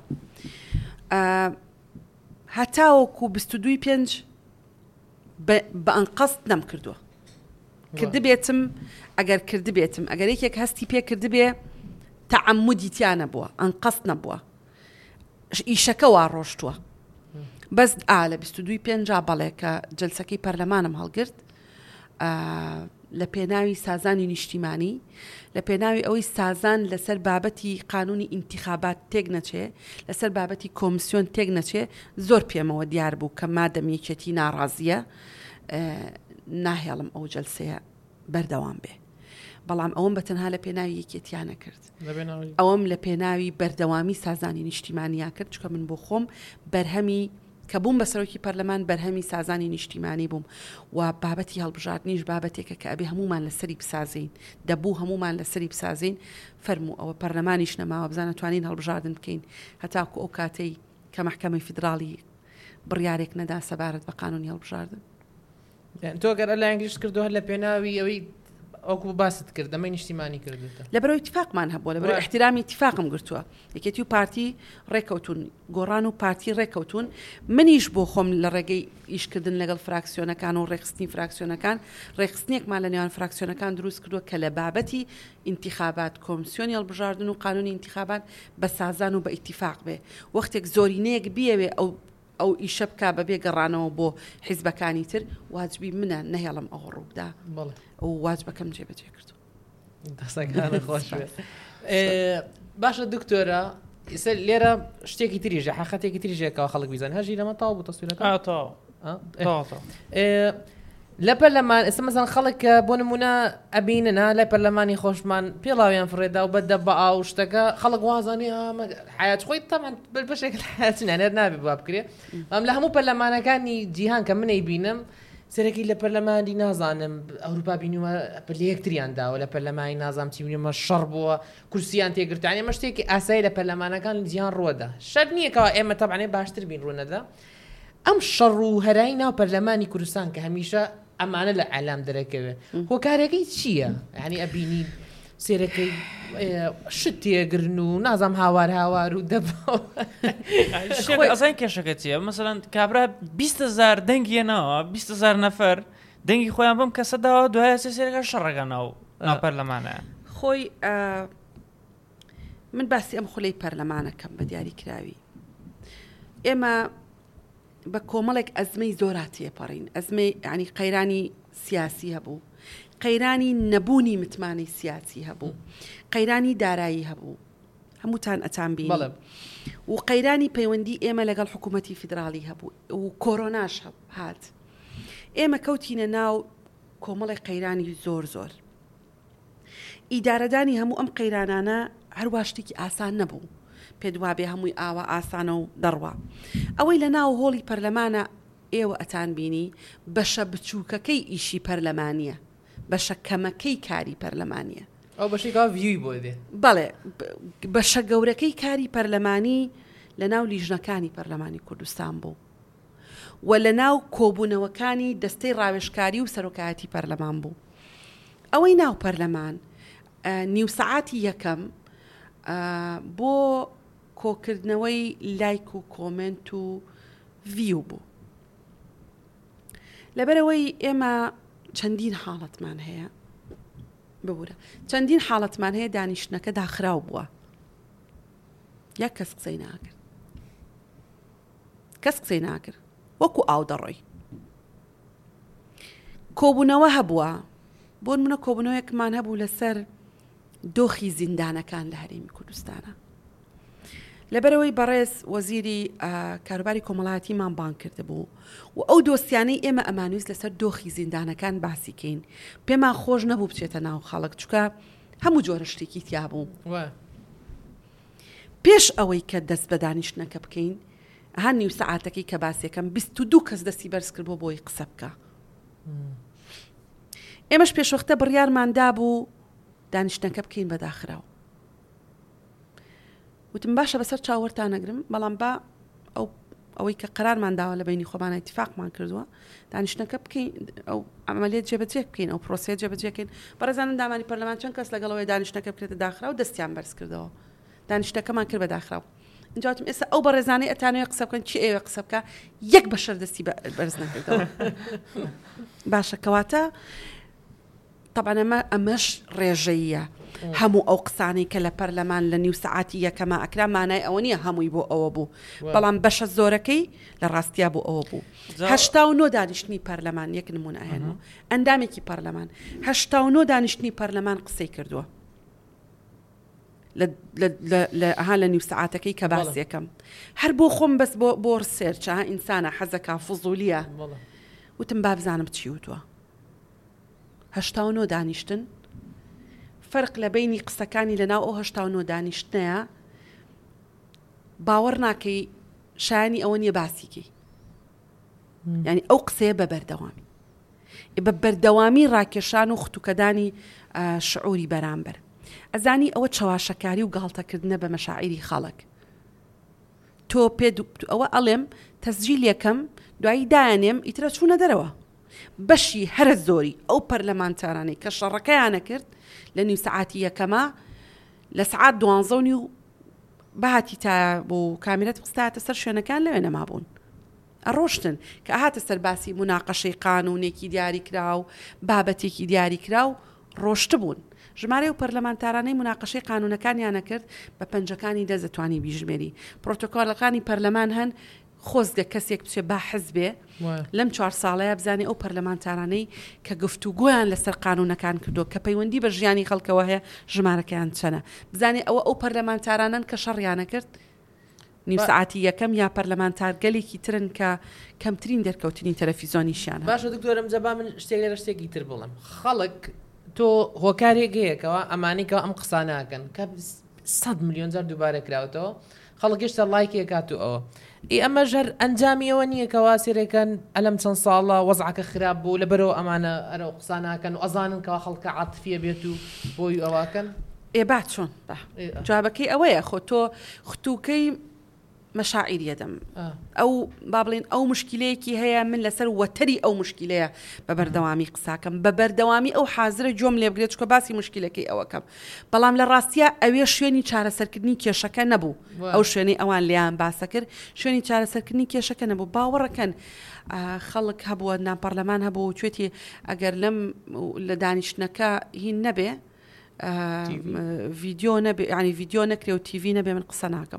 هەتاوەکو 22/5 بە ئەنقەست نەمکردووە کردبێتم ئەگەر کردبێتم ئەگەر یەکێک هەستی پێ کردبێ تەعەممودی تیانە بووە ئەنقەست نەبووە ئیشەکە وا ڕۆشتووە بەس لە 22/5 بەڵێ کە جەلسەکەی پەرلەمانم هەڵگرت لە پێناوی سازانی نیشتیمانی لە پێناوی ئەوەی سازان لەسەر بابەتی قانونی ئینتیخابات تێک نەچێ لەسەر بابەتی کۆمیسیۆن تێک نەچێ زۆر پێمەوە دیار بوو کە مادەم یەکێتی ناڕازیە ناهێڵم ئەو جەلسەیە بەردەوام بێ بەڵام ئەوم بەتەنها لە پێناوی یەکێتیانە کرد ئەوەم لە پێناوی بەردەوامی سازانی نیشتیمانیا کرد چکە من بۆ خۆم بەرهەمی کە بووم بە سەرۆکی پەرلەمان بەرهەمی سازانی نیشتیمانی بووم و بابەتی هەڵبژاردنیش بابەتێکە کە ئەبێ هەمومان لەسەری بسازین دەبوو هەمومان لەسەری بسازین فەرموو ئەوە پەرلەمانیش نەماوە بزانە توانین هەڵبژاردن بکەین هەتاکو ئەو کاتەی کە مەحکەمەی فیدراڵی بڕیارێک نەدا سەبارەت بە قانونی هەڵبژاردن يعني تۆ گەر لە ئەنگلیش کردو هەر لە پێناوی ئەوەی ئەوکو باست کرد دەمەی نیشتیمانی کردوتە لەبەرەوەی اتفاقمان هەبووە لەبەرەوەی احترامی اتفاقم گرتووە یەکێتی و پارتی ڕێکەوتون گۆڕان و پارتی ڕێکەوتون منیش بۆ خۆم لە ڕێگەی ئیشکردن لەگەڵ فراکسیۆنەکان و ڕێخستنی فراکسیۆنەکان ڕێخستنێکمان لە نێوان فراکسیۆنەکان دروست کردووە کە لە بابەتی انتخابات کۆمسیۆنی هەڵبژاردن و قانونی انتخابات بە سازان و بە ئیتیفاق بێ وەختێک زۆرینەیەک بیەوێ ئەو ئیشە بکا بەبێ گەڕانەوە بۆ حیزبەکانی تر واجبی منە نەهێڵم ئەوە ڕوودا ئەو واجبەکەم جێبەجێ کردو دەسەکانە خۆش باشە دکتۆرە لێرە شتێکی تریژە حقەتێکی تریژێکەوە خەڵک بیزان هەژی لەمە تاو بوو تەسویرەکە لە پەرلەمان ئێستا مەسەڵەن خەڵک بۆ نمونە ئەبیننا لای پەرلەمانی خۆشمان پێڵاویان فڕێدا و بەدە بە ئاو شتەکە خەڵک وازانی حیات خۆی تەمان بەشێک حیاتنانێت نابێت بوا بکرێ ئەم لە هەموو پەرلەمانەکانی جیهان کە منەی بینم سەرەکی لە پەرلەمانی نازانم ئەوروپا بینیوە لە یەکتریانداوە لە پەرلەمانی نازام چیونیمە شەڕ بووە کورسیان تێگرتوانی ئەمە شتێکی ئاسایی لە پەرلەمانەکان جیهان ڕووەدا شەر نییەکەوە ئێمە تەبعانێ باشتر بین ڕوونەدا ئەم شەڕ و هەرای ناو پەرلەمانی کوردستان کە هەمیشە ئەمانە لە ئالام دەرەکەوێ هۆکارەکەی چییە؟ یعنی ئەبینی سێرەکەی شت تێگرن و نازام هاوار و ئەزای کێشەکە چیە؟ مەسەڵەن کابرا 20,000 دەنگیەنەوە 20,000 نەفەر دەنگی خۆیان بم کەسەداوە دوایە سێرەکە شەڕەکە ناو پەرلەمانە خۆی من باسی ئەم خولەی پەرلەمانەکەم بە دیاریکراوی ئێمە بە کۆمەڵێک ئەزمەی زۆراتی پەڕین ئەزمەی ینی قەیرانی سیاسی هەبوو قەیرانی نەبوونی متمانەی سیاسی هەبوو قەیرانی دارایی هەبوو هەمووتان ئەتان بینی و قەیرانی پەیوەندی ئێمە لەگەڵ حکوومەتی فیدراڵی هەبوو و کۆرۆناش هات ئێمە کەوتینە ناو کۆمەڵی قەیرانی زۆر ئیدارەدانی هەموو ئەم قەیرانانە هەروە شتێکی ئاسان نەبوو پێدوابێ هەمووی ئاوە ئاسانە و دەڕوە ئەوەی لە ناو هۆڵی پەرلەمانە ئێوە ئەتان بینی بەشە بچووکەکەی ئیشی پەرلەمانیە بەشە کەمەکەی کاری پەرلەمانیە ئەو بەشێکا ڤیوی بۆ دێ بەڵێ بەشە گەورەکەی کاری پەرلەمانی لە ناو لیژنەکانی پەرلەمانی کوردستان بوو و لە ناو کۆبوونەوەکانی دەستەی ڕاوێژکاری و سەرۆکایەتی پەرلەمان بوو ئەوەی ناو پەرلەمان نیو سەعاتی یەکەم بۆ کۆکردنەوەی لایک و کۆمنت و ڤیو بوو لەبەرەوەی ئێمە چەندین حاڵەتمان هەیە ببوورە چەندین حاڵەتمان هەیە دانیشتنەکە داخراو بووە یەک کەس قسەی ناکرد وەکو ئاو دەڕۆی کۆبوونەوە هەبووە بۆ منە کۆبوونەوەیەکمان هەبوو لەسەر دۆخی زیندانەکان لە هەرێمی کوردستانە لەبەرەوەی بەڕێز وەزیری کاروباری کۆمەڵایەتیمان بان کرده بوو و ئەو دۆستیانەی ئێمە ئەمانویست لەسەر دۆخی زیندانەکان باسیکەین پێمان خۆش نەبوو بچێتە ناو خەڵک چکە هەموو جۆرە شتێکی تیا بوو پێش ئەوەی کە دەست بە دانیشتنەکە بکەین هەر نیو سەعاتەکەی کە باسیەکەم 22 کەس دەستی بەرز کرد بۆی قسە بکە ئێمەش پێشوەختە بڕیارماندا بوو دانیشتنەکە بکەین بەداخراوە وتم باشە بەسەر چاوەڕتان نەگرم بەڵام با ئەوەی کە قەرارمان داوە لە بینی خۆمانە ئیتیفاقمان کردووە دانیشتنەکە بکەین ئەو ئەمەلیێت جێبەجێ بکەین ئەو پرۆسێت جێبەجێکەین بەڕێزانم دامانی پەرلەمان چەند کەس لەگەڵەوەی دانیشتنەکە بکرێتە داخرا و دەستیان بەرز کردەوە دانیشتەکەمان کرد بە داخراوە اینجاتم ئێستا ئەو بەڕێزانەی ئەتانوێ قسە بکەن چی ئێوە قسە بکە یەک بەشەر دەستی بەرز نەکردەوە باشە کەواتە طبعا ئەمەش ڕێژەیە هەموو ئەو قسانەی کە لە پەرلەمان لە نیو سەعاتی یەکەمە ئەکرا مانای ئەوە نییە هەمووی بۆ ئەوە بوو بەڵام بەشە زۆرەکەی لە ڕاستیا بۆ ئەوە بوو 89 دانیشتنی پەرلەمان یەک نمونە ئەهێنەوە ئەندامێکی پەرلەمان 89 دانیشتنی پەرلەمان قسەی کردووە لە نیو سەعاتەکەی کە باس یەکەم هەر بۆ خۆم بەس بۆ ڕسێرچە ئینسانە حەزەکە فوزولیە وتم با بزانم چی وتووە 89 دانیشتن فەرق لە بینی قسەکانی لەناو ئەو 89 دانیشتنەیە باوەڕ ناکەی شایانی ئەوە نیە باسیکەی یعنی ئەو قسەیە بە بەردەوامی ڕاکێشان و خوتوکەدانی شعوری بەرامبەر ئەزانی ئەوە چاواشەکاری و گاڵتەکردنە بە مەشاعیری خەڵک تۆ پێ ئەوە ئەڵێم تەسجیل یەکەم دوایی دایانێم ئیترە چوونە دەرەوە بەشی هەرە زۆری ئەو پەرلەمانتارانەی کە شەڕەکەیانە کرد لە نیو سەعاتی یەکەمە لە سعات 12 و بەهاتی تا بۆ کامێرەت قستاتە سەر شوێنەکان لەوێ نەمابوون ئەڕۆشتن کە هاتە سەر باسی مناقەشەی قانونێکی دیاری کرا و بابەتێکی دیاری کرا و ڕۆشت بوون ژمارە و پەرلەمانتارانەی مناقەشەی قانونەکانیانە کرد بە پەنجەکانی دەزەتوانی بیژمێری پرۆتۆکۆلەکانی پەرلەمان هەن خۆزگە کەسێک بچێ با حزبێ لەم 4 ساڵەیە بزانێ ئەو پەرلەمانتارانەی کە گفتوگۆیان لەسەر قانونەکان کردو کە پەیوەندی بە ژیانی خەڵکەوە هەیە ژمارەکەیان چەنە بزانێ ئەو پەرلەمانتارانن کە شەڕیانە کرد نیو ساعتی یەکەم یا پەرلەمانتار گەلێکی ترن کە کەمترین دەرکەوتنی تەلەڤیزۆنیشیانە باشە دکتۆرم جەبا من شتێک لە شتێکی تر بڵم خەڵک تۆ هۆکارێک هەیەکەوە ئەمانێکەوە ئەم قساناکەن کە 100 میلیۆن جار دووبارە کراوەوە خەڵک گەشتە لایکێک کاتو ئەوە ئەمە ژەر ئەنجامیەوە نییە کەوا سێرەکەن ئەلەم چەند ساڵە وەزعەکە خراپ بوو لەبەرەوە ئەمانە ئەرە قساناکەن و ئەزانن کەوا خەڵکە عاتفیە بێت و بۆی ئەواکەن با چۆن جوابەکەی ئەوەیە خۆ تۆ خوتوکەی مەشاعیریە دەم ئەو با بڵێن ئەو مشکلەیەکی هەیە من لەسەر وەتەری ئەو مشکلەیە بە بەردەوامی قساکەم بە بەردەوامی ئەو حازرە جۆم لێ بگرێت چکە باسی مشکلەکەی ئەوەکەم بەڵام لە ڕاستیە ئەوێ شوێنی چارەسەرکردنی کێشەکە نەبوو ئەو شوێنەی ئەوان لیان باسە کرد شوێنی چارەسەرکردنی کێشەکە نەبوو باوەڕەکەن خەڵک هەبووە ناپەرلەمان هەبوو توێتی ئەگەر لەم لە دانیشتنەکە هین نەبێ ڤیدیۆ نەبێ ینی ڤیدیۆ نەکرێ و تیڤی نەبێ من قسە ناکەم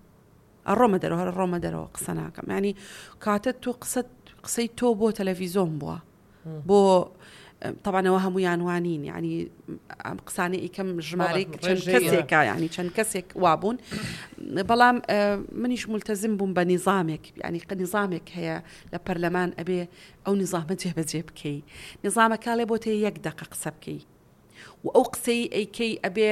ڕۆمە دەرەوە هەر ڕۆمە دەرەوە قسە ناکەم ینی کاتە تۆ قسەی تۆ بۆ تەلەڤیزۆن بووە بۆ طبعاەوە هەموویان وانین ینی ئەم قسانەی ئیکەم ژمارەی چەند کەسێکە ینی چەند کەسێک وابوون بەڵام منیش ملتەزم بووم بە نیزامێک ینی نیزامێک هەیە لە پەرلەمان ئەبێ ئەو نیزامە جێبەجێ بکەی نیزامە کاڵێ بۆ تێ 1 دقیقە قسە بکەی و ئەو قسەی ئەیکەی ئەبێ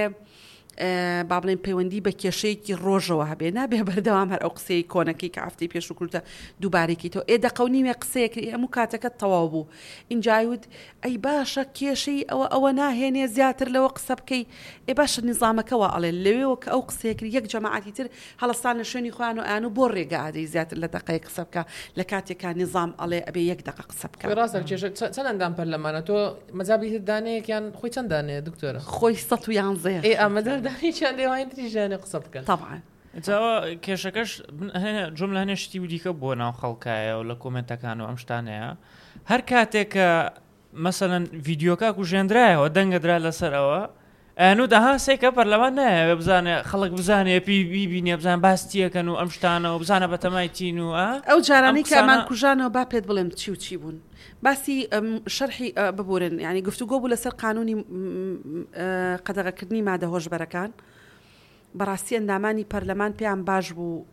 با بڵێن پەیوەندی بە کێشەیەکی ڕۆژەوە هەبێ نابێ بەردەوام هەر ئەو قسەی کۆنەکەی کە ئافتەی پێش و کورتە دووبارێکی تۆ دەقەونیمێ قسەیەکری هەموو کاتەکەت تەواو بوو اینجاود ئەی باشە کێشەی ئەوە ناهێنێ زیاتر لەوە قسە بکەی باشە نیزامەکەەوە ئەڵێ لەوێەوە کە ئەو قسەیەکری 1 جەماعەتی تر هەڵستان لە شوێنی خۆیان و ئەیان و بۆ ڕێگە ئادەی زیاتر لە دقەی قسە بکە لە کاتێکا نیزام ئەڵێ ئەبێ 1 دقیقە قسە بکە ڕاستە کێشە چەند ئەندام پەرلەمانە تۆ مەجابی دانەیەکیان خۆی چەند دانەیە دکتۆرە خۆی 111 ئەمەدەردانی چەند تریژانێ قسە بکەن طبعا جاوە کێشەکەش جملە هەنێ شتی و دیکە بۆ ناو خەڵکایە و لە کۆمنتەکان و ئەم شتانەیە هەر کاتێک کە مەسەلەن ڤیدیۆکە کوژێنرایەوە دەنگەدرا لەسەرەوە ئەنو داها سێکە پەرلەمان نایە بزانێ خەڵک بزانێ ببینێ بزان باستیەکەن و ئەم شتانە و بزانە بەتەمای تین و ئەو جارانی کە ئەمان کوژانەوە با پێت بڵێم چی و چی بوون باسی شەرحی ببورن ینی گفتوگۆ بوو لەسەر قانونی قەدەغەکردنی مادە هۆشبەرەکان بەڕاستی ئەندامانی پەرلەمان پێیان باش بوو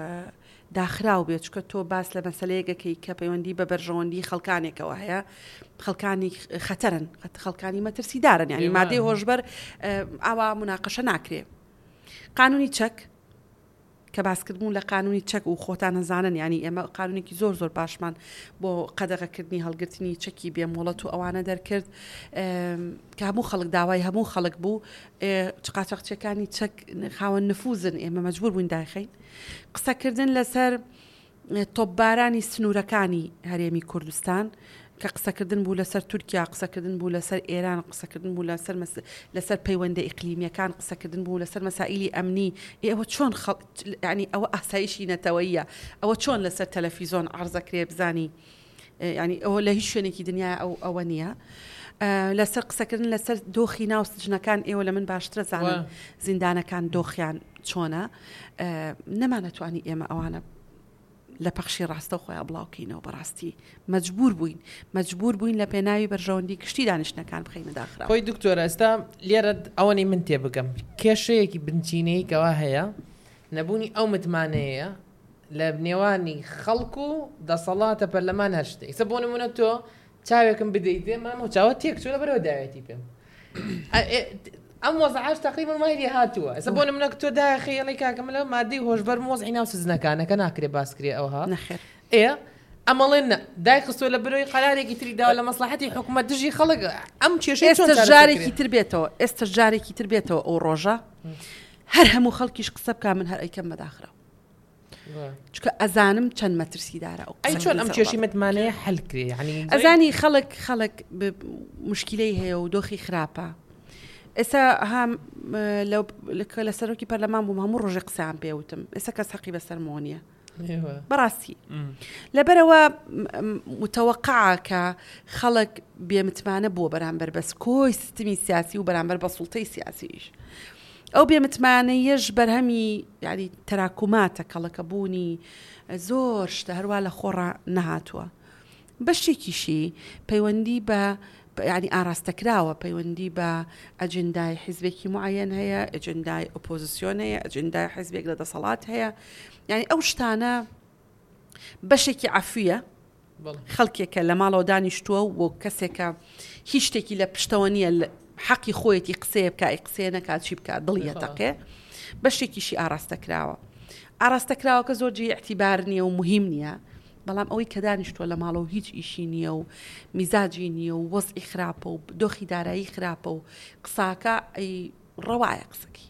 داخراو بێت چکە تۆ باس لە مەسەلەیەکەکەی کە پەیوەندی بە بەرژەوەندی خەڵکانێکەوە هەیە خەڵکانی خەتەرن خەڵکانی مەترسیدارن ینی مادەی هۆشبەر ئاوا مناقەشە ناکرێ قانونی چەک کە باسکردبوون لە قانونی چەک و خۆتان نەزانن ینی ئێمە قانونێکی زۆر باشمان بۆ قەدەغەکردنی هەڵگرتنی چەکی بێمۆڵەت و ئەوانە دەرکرد کە هەموو خەڵک داوای هەموو خەڵک بوو قاچاقچیەکانی چەک خاوەن نفوزن ئێمە مەجبور بووین داخین قسەکردن لەسەر تۆپبارانی سنوورەکانی هەرێمی کوردستان کە قسەکردن بوو لەسەر تورکیا قسەکردن بوو لەسەر ئێران قسەکردن بوو لەسەر پەیوەندە ئیقلیمیەکان قسەکردن بوو لەسەر مەسائیلی ئەمنی ئێوە چۆن ینی ئەوە ئاسایشی نەتەوەیە ئەوە چۆن لەسەر تەلەڤیزۆن عەرزەکرێ بزانی ینی ئەوە لە هیچ شوێنێکی دنیا ئەوە نییە لەسەر قسەکردن لەسەر دۆخی ناو سجنەکان ئێوە لە من باشترە زانن زیندانەکان دۆخیان چۆنە نەمانەتوانی ئێمە ئەوانە لە پەخشی ڕاستە خۆیان بڵاوکەینەوە بەڕاستی مەجبور بووین لە پێناوی بەرژەوەندی کشتی دانیشتنەکان بخەینە داخرا خۆی دکتۆرە ئێستا لێرە ئەوەی من تێ بگەم کێشەیەکی بنچینەی کەوا هەیە نەبوونی ئەو متمانەیە لە نێوانی خەڵکو و دەسەڵاتە پەرلەمان هەر شتێک سە بۆ نمونە تۆ چاوێکم بدەیت مامە چاوە تێک چوە لەبەرەوە داوێتی پێم ئەم وەزعاش تقریبا مایلی هاتووە ئێستا بۆ نمونە تۆ داخەیەڵی کاکەم لە مادەی هۆشبەر مۆزعی ناو سزنەکانەکە ناکرێ باسکرێ ئەوها نەخێر ئەمەڵێن دای خستۆ لە بەرەوەی قەرارێکی تری داوە لە مەسلحەتی حکوومەت دژی خەڵک ئەم کێشەی ئێستا جارێکی تر بێتەوە ئەو ڕۆژە هەر هەموو خەڵکیش قسە بکە من هەر ئەیکەم بەداخرا چکە ئەزانم چەند مەترسیدارە ئەو ئەی چۆن ئەم کێشی متمانەیە حەلکرێ ینی ئەزانی خەڵک مشکلەی هەیە و دۆخی خراپە ئێستا هەم لە سەرۆکی پەرلەمان بووم هەموو ڕۆژێ قسەیان پێوتم ئێستا کەس حەقی بەسەرمەوە نییە بەڕاستی لەبەرەوە متەوەقعە کە خەڵک بێمتمانە بووە بەرامبەر بەس کۆی سیستمی سیاسی و بەرامبەر بە سوڵتەی سیاسیش ئەو بێمتمانەیەش بەرهەمی یعنی تەراکوماتە کەڵەکە بوونی زۆر شتە هەروە لە خۆڕە نەهاتووە بەشێکیشی پەیوەندی بە ینی ئاراستەکراوە پەیوەندی بە ئەجندای حیزبێکی معەن هەیە ئەجندای ئۆپۆزیسیۆن هەیە ئەجندای حیزبێک لە دەسەڵات هەیە یعنی ئەو شتانە بەشێکی عەفویە خەڵکێکە لە ماڵەوە دانیشتووە و کەسێکە هیچ شتێکی لە پشتەوە نییە حەقی خۆیەتی قسەیە بکە قسەیە نەکات چی بکات دڵیە تەقێ بەشێکیشی ئاراستەکراوە کە زۆرجی اعتیبار نییە و مهم نییە بەڵام ئەوەی کە دانیشتووە لە ماڵەوە هیچ ئیشی نییە و میزاجی نییە و وەزئی خراپە و دۆخی دارایی خراپە و قساکە ئەی ڕەوایە قسەکی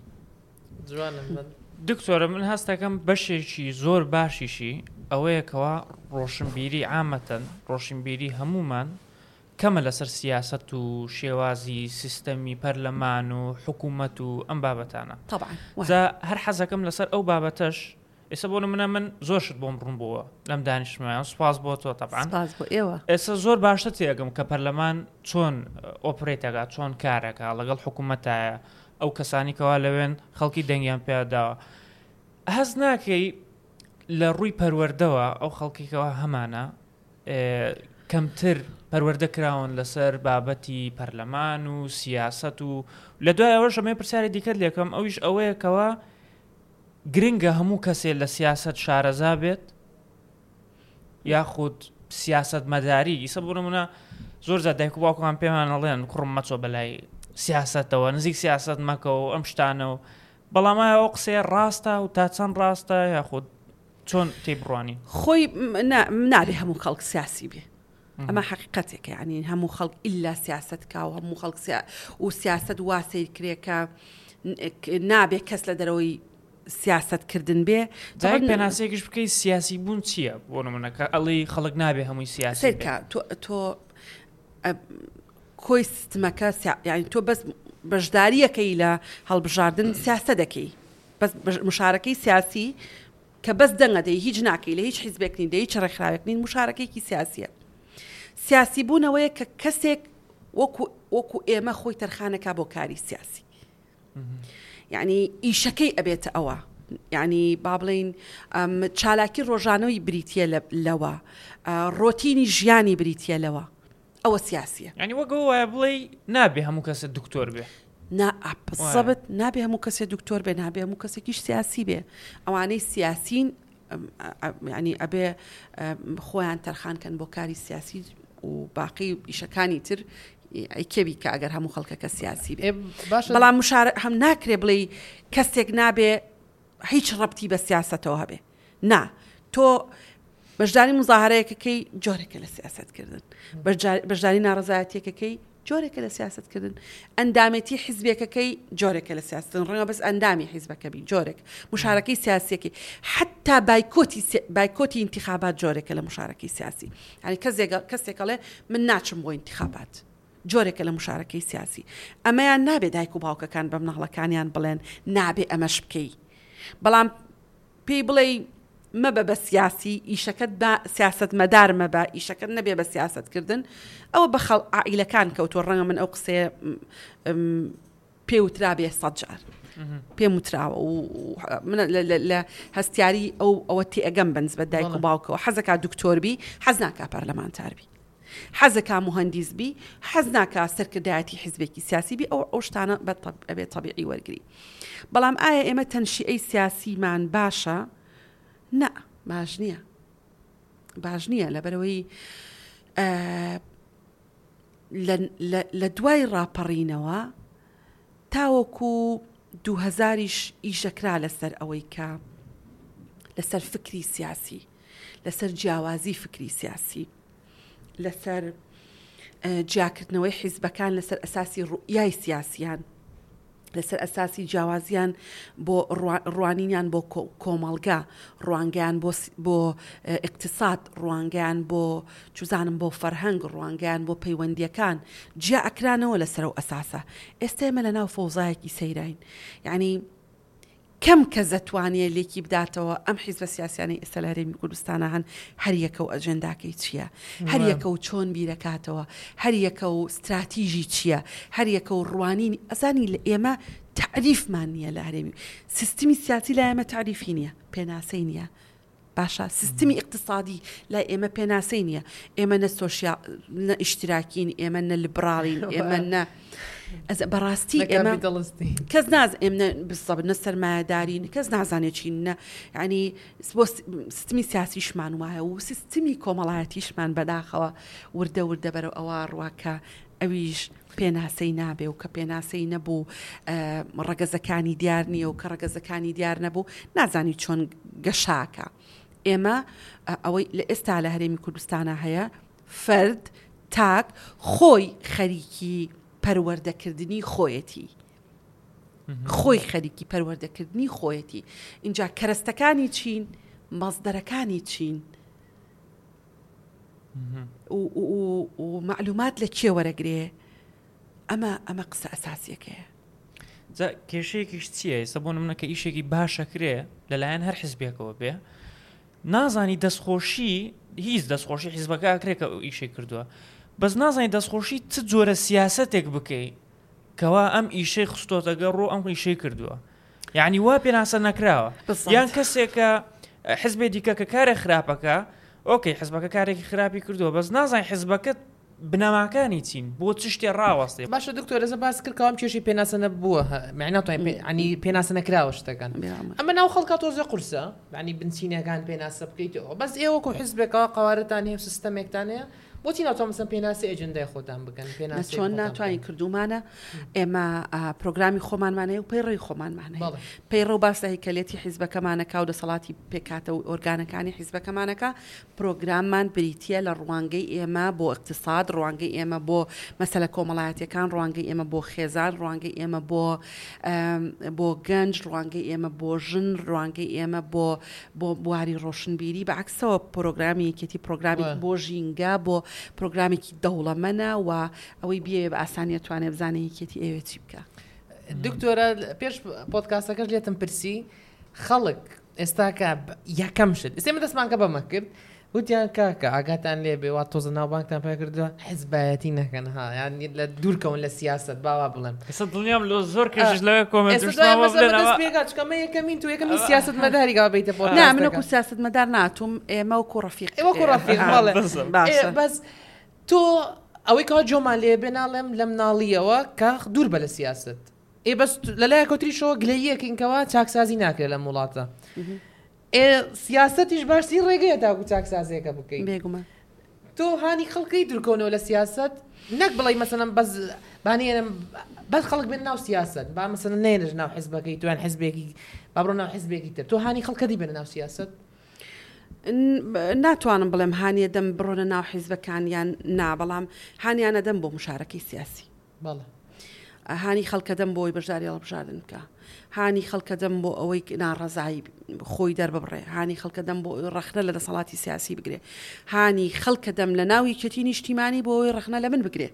دکتۆرە من هەستەکەم بەشێکی زۆر باشیشی ئەوەیەکەوە ڕۆشنبیری عامەتەن ڕۆشنبیری هەمومان کەمە لەسەر سیاست و شێوازی سیستەمی پەرلەمان و حکوومەت و ئەم بابەتانە هەر حەزەکەم لەسەر ئەو بابەتەش ئێستا بۆ منە من زۆر شت بۆم ڕوون بووە لەم دانیشتمایان سوپاس بۆ تۆ تەبعاً ئێستا زۆر باشتر تێگەم کە پەرلەمان چۆن ئۆپرێتەکە چۆن کارەکە لەگەڵ حکوومەتایە ئەو کەسانی کەوا لەوێن خەڵکی دەنگیان پێداوە هەز ناکەی لە ڕووی پەروەردەوە ئەو خەڵکیکەوە هەمانە کەمتر پەروەردە کراون لەسەر بابەتی پەرلەمان و سیاست و لە دوای ئەوەش ئەمێ پرسیاری دیکەت لێکم ئەویش ئەوەیەکەوە گرنگە هەموو کەسێ لە سیاست شارەزا بێت یاخود سیاست مەداری ئیسە بۆ نمونە زۆر زە دایک و باوکمان پێمان ئەڵێن کوڕم مەچۆ بەلای سیاستەوە نزیک سیاست مەکە و ئەم شتانە و بەڵامە ئەو قسەیە ڕاستە و تا چەند ڕاستە یاخود چۆن تێبڕوانی خۆی نابێ هەموو خەڵک سیاسی بێ ئەمە حقیقەتێکە ینی هەموو خەڵک ئللا سیاست کا و هەموو خەڵک و سیاست وا سیرکرێکە نابێ کەس لە دەرەوەی سیاستکردن بێ پێناسەیەکیش بکەی سیاسی بوون چییە بۆ نمونەکە ئەڵی خەڵک نابێ هەمووی سیاسی تۆ کۆی سیستمەکە ینی تۆ بەس بەشداریەکەی لە هەڵبژاردن سیاستە دەکەی بەس مشارەکەی سیاسی کە بەس دەنگە دەی هیچ ناکەی لە هیچ حیزبێک نین دەی هیچ ڕێکخراوێک نین مشارەکەیکی سیاسیە سیاسی بوونەوەیە کە کەسێک وەکو ئێمە خۆی تەرخانەکە بۆ کاری سیاسی یعنی ئیشەکەی ئەبێتە ئەوە یعنی با بڵین چالاکی ڕۆژانەوەی بریتە لەوە ڕۆتینی ژیانی بریتە لەوە ئەوە سیاسیە ینی وەگە وایە بڵێ نابێ هەموو کەسە دکتۆر بێ سەبت نابێ هەموو کەسێ دکتۆر بێ نابێ هەموو کەسێکیش سیاسی بێ ئەوانەی سیاسین ینی ئەبێ خۆیان تەرخانکەن بۆ کاری سیاسی و باقی ئیشەکانی تر کێوی کە ئەگەر هەموو خەڵکەکە سیاسی بێ بەڵام هەم ناکرێ بڵێ کەسێک نابێ هیچ ڕەبتی بە سیاستەوە هەبێ نا تۆ بەشداری مزاهرەیەکەکەی جۆرێکە لە سیاستکردن بەشداری ناڕەزایەتیەکەکەی جۆرێکە لە سیاستکردن ئەندامەتی حیزبێکەکەی جۆرێکە لە سیاستن ڕەنگە بەس ئەندامی حیزبەکەبی جۆرێک مشارەکەی سیاسیەکەی حتا بایکۆتی انتخابات جۆرێکە لە مشارەکەی سیاسی ینی کەسێکەڵێ من ناچم بۆ انتخابات جۆرێکە لە مشارەکەی سیاسی ئەمەیان نابێ دایک و باوکەکان بە مناڵەکانیان بڵێن نابێ ئەمەش بکەی بەڵام پێی بڵێ مەبە بە سیاسی ئیشەکەت بە سیاست مەدار مەبە ئیشەکەت نەبێ بە سیاستکردن ئەوە بە خەڵ عائیلەکان کەوتۆ ڕەنگە من ئەو قسێ پێوترا بێ 100 جار پێم وتراوە و لە هەستیاری ئەوە تێئەگەم بەنز بە دایک و باوکەوە حەزەکە دکتۆربی حەز ناکا پەرلەمانتاربی حەزەکە مهندیسبی حەز ناکا سەرکردایەتی حیزبێکی سیاسی بی ئەو شتانە ئەبێ تەبیعی وەرگری بەڵام ئایا ئێمە تەنشیئەی سیاسیمان باشە نا باش نییە لەبەرەوەی لە دوای ڕاپەڕینەوە تاوەکو 2000ش ئیشەکرا لەسەر ئەوەی کە لەسەر فکری سیاسی لەسەر جیاوازی فکری سیاسی لەسەر جیاکردنەوەی حیزبەکان لەسەر ئەساسی ڕوئیای سیاسیان لەسەر ئەساسی جیاوازیان بۆ ڕوانینیان بۆ کۆمەڵگا ڕوانگەیان بۆ اقتصاد ڕوانگەیان بۆ چوزانم بۆ فەرهەنگ ڕوانگەیان بۆ پەیوەندیەکان جیا ئەکرانەوە لەسەر و ئەساسە ئێستا ئێمە لە ناو فەوزایەکی سەیراین یعنی کەم کە زەتوانێت لێکی بداتەوە ئەم حیزبە سیاسیانەی ئێستا لە هەرێمی کوردستانە هەن هەریەکە و ئەجەنداکەی چییە هەریەکە و چۆن بیرەکاتەوە هەریەکە و استراتیژی چییە هەریەکە و ڕوانینی ئەزانی لە ئێمە تعریفمان نییە لە هەرێمی سیستمی سیاسی لە ئێمە تعریفی نییە پێناسەی نییە باشە سیستمی اقتصادی لە ئێمە پێناسەی نییە ئێمە نە ئیشتراکین ئێمە نە لیبراڵین ئێمە نە بەڕاستی ئێمە کەس ناز ئێمە بسەب نە سەرمایهدارین کەس نازانێت چین نە ینی بۆ سیستمی سیاسیشمان وایە و سیستمی کۆمەڵایەتیشمان بەداخەوە وردە وردە بەرەو ئەوە ڕواکە ئەویش پێناسەی نابێ و کە پێناسەی نەبوو ڕەگەزەکانی دیار نییە و کە ڕەگەزەکانی دیار نەبوو نازانی چۆن گەشاکە ئێمە ئەوەی لە ئێستا لە هەرێمی کوردستانە هەیە فرد تاک خۆی خەریکی پەروەردەکردنی خۆیەتی خۆی خەریکی پەروەردەکردنی خۆیەتی اینجا کەرەستەکانی چین مەزدەرەکانی چین و معلومات لە کێ وەرەگرێ ئەمە قسە ئەساسیەکەیە کێشەیەکیش چییە ئێستا بۆ نمونە کە ئیشێکی باشەکرێ لەلایەن هەر حیزبێکەوە بێ نازانی دەستخۆشی هیچ دەستخۆشی حیزبەکە ئەکرێت کە ئیشێک کردووە بەس نازانی دەستخۆشی چ جۆرە سیاسەتێک بکەی کەوا ئەم ئیشەی خستۆتەگە ڕۆ ئەم ئیشەی کردووە یعنی وا پێناسە نەکراوە یان کەسێکە حیزبێ دیکە کە کارێ خراپەکە ئۆکەی حیزبەکە کارێکی خراپی کردووە بەس نازانی حیزبەکەت بنەماکانی چین بۆ چ شتێ ڕاوەستێ باشە دکتۆر ئێستا باس کرد کەوام کێشی پێناسە نەبووە عنی پێناسە نەکراوە شتەکان ئەمە ناو خەڵکە تۆزە قورسە عنی بنچینەکان پێناسە بکەیتەوە بەس ئێوەکو حیزبێکەوە قوارەتان هەیە و سیستەمێکتان هەیە بۆچی ناتوانن پێناسی ئەجندای خۆتان بکەن پێناسی چۆن ناتوانین کردومانە ئێمە پرۆگرامی خۆمانمانەیە و پەیڕۆی خۆمانمانەیە پەیڕۆ باس لە هیکەلێتی حیزبەکەمانەکە و دەسەڵاتی پێکاتە و ئۆرگانەکانی حیزبەکەمانەکە پرۆگراممان بریتیە لە ڕوانگەی ئێمە بۆ اقتصاد ڕوانگەی ئێمە بۆ مەسەلە کۆمەڵایەتیەکان ڕوانگەی ئێمە بۆ خێزان ڕوانگەی ئێمە بۆ گەنج ڕوانگەی ئێمە بۆ ژن ڕوانگەی ئێمە بۆ بواری ڕۆشنبیری بەعکسەوە پرۆگرامی یەکێتی پرۆگرامی بۆ ژینگە بۆ پرۆگرامێکی دەوڵەمەنە و ئەوەی بێ بە ئاسانیە توانێ بزانێ یەکێتی ئێوە چی بکە دکتۆرە پێش پۆدکاستەکەش لێتم پرسی خەڵک ئێستاکە یەکەم شت ئێمە دەستمان کە بەمە کرد وتیان کاکە ئاگاتان لێ بێ وا تۆزە ناوبانکتان پێ کردووە حیزبایەتی نەکەن ها یان لە دوورکەون لە سیاست باوا بڵێم ئێستا دڵنیام لە زۆر کێشش لەوێ کۆمەنتچکەمە یەکەمین تو یەکەمی سیاست مەداری گابیتە بۆ نا منەکو سیاست مەدار ناتوم ئێمە وەکو ڕەفیق وەکو ڕەفیق بەس تۆ ئەوەی کەوا جۆمان لێ بێناڵێم لە مناڵیەوە کە دوور بە لە سیاست بەس لەلایە کۆتریشەوە گلەیەکینکەوە چاکسازی ناکرێت لە وڵاتە سیاستیش باشی ڕێگەیە تاکو چاکسازیەکە بکەین بێگومە تۆ هانی خەڵکی دوورکەونەوە لە سیاست نەک بڵێ مەسەلەن بەس بانێنم بەس خەڵک بێن ناو سیاست با مەسەلەن نێنش ناو حیزبەکەی توان حیزبێکی با بڕۆ ناو حیزبێکی تر تۆ هانی خەڵکەدی بێنە ناو سیاست ناتوانم بڵێم هانیە دەم بڕۆنە ناو حیزبەکانیان نابەڵام هانیانە دەم بۆ مشارەکەی سیاسی بەڵێ هانی خەڵکە دەم بۆی بەشداری هەڵبژاردن بکە هانی خەڵکە دەم بۆ ئەوەی ناڕەزایی خۆی دەرببڕێ هانی خەڵکە دەم بۆ ڕەخنە لە دەسەڵاتی سیاسی بگرێ هانی خەڵکە دەم لە ناوی کەتی نیشتیمانی بۆ ئەوەی ڕەخنە لە من بگرێ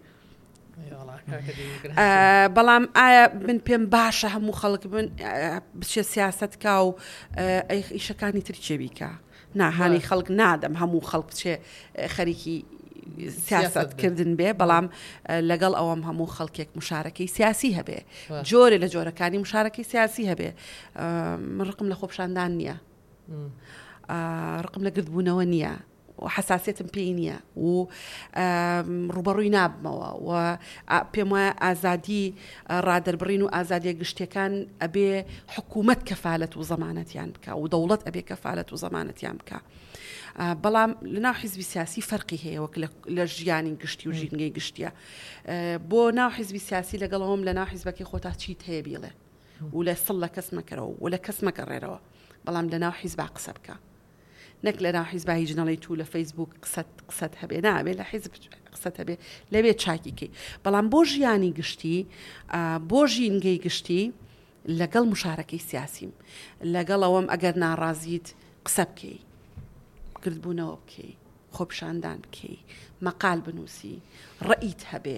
بەڵام ئایا من پێم باشە هەموو خەڵک من بچێ سیاست کا و ئیشەکانی تر چێبیکە ناهانی خەڵک نادەم هەموو خەڵک بچێ خەریکی سیاستکردن بێ بەڵام لەگەڵ ئەوەم هەموو خەڵکێک مشارەکەی سیاسی هەبێ جۆرە لە جۆرەکانی مشارەکەی سیاسی هەبێ من ڕقم لە خۆپشاندان نییە ڕقم لە گردبوونەوە نییە و حساسیتم پێی نییە و ڕوبەڕووی نابمەوە و پێم وایە ئازادی ڕادەربڕین و ئازادیە گشتەکان ئەبێ حکوومەت کەفالەت و زەمانەتیان بکە و دەوڵەت ئەبێ کەفالەت و زەمانەتیان بکە بەڵام لەناو حیزبی سیاسی فەرقی هەیە وەک لە ژیانی گشتی و ژینگەی گشتیە بۆ ناو حیزبی سیاسی لەگەڵەوەم لە ناو حیزبەکەی خۆتا چیت هەیە بیڵێ و لە سڵ لە کەس مەکەرەوە و لە کەس مەگەڕێرەوە بەڵام لە ناو حیزبا قسە بکە نەک لە ناو حیزبایی جنەڵی تو لە فەیسبوک قسەت هەبێ نابێت لە حیزب قسەت هەبێ لەوێت چاکیکەی بەڵام بۆ ژیانی گشتی بۆ ژینگەی گشتی لەگەڵ مشارەکەی سیاسیم لەگەڵەوەم ئەگەر ناڕازیت قسە بکەی کردبوونەوە بکەی خۆپشاندان بکەی مەقال بنووسی ڕئیت هەبێ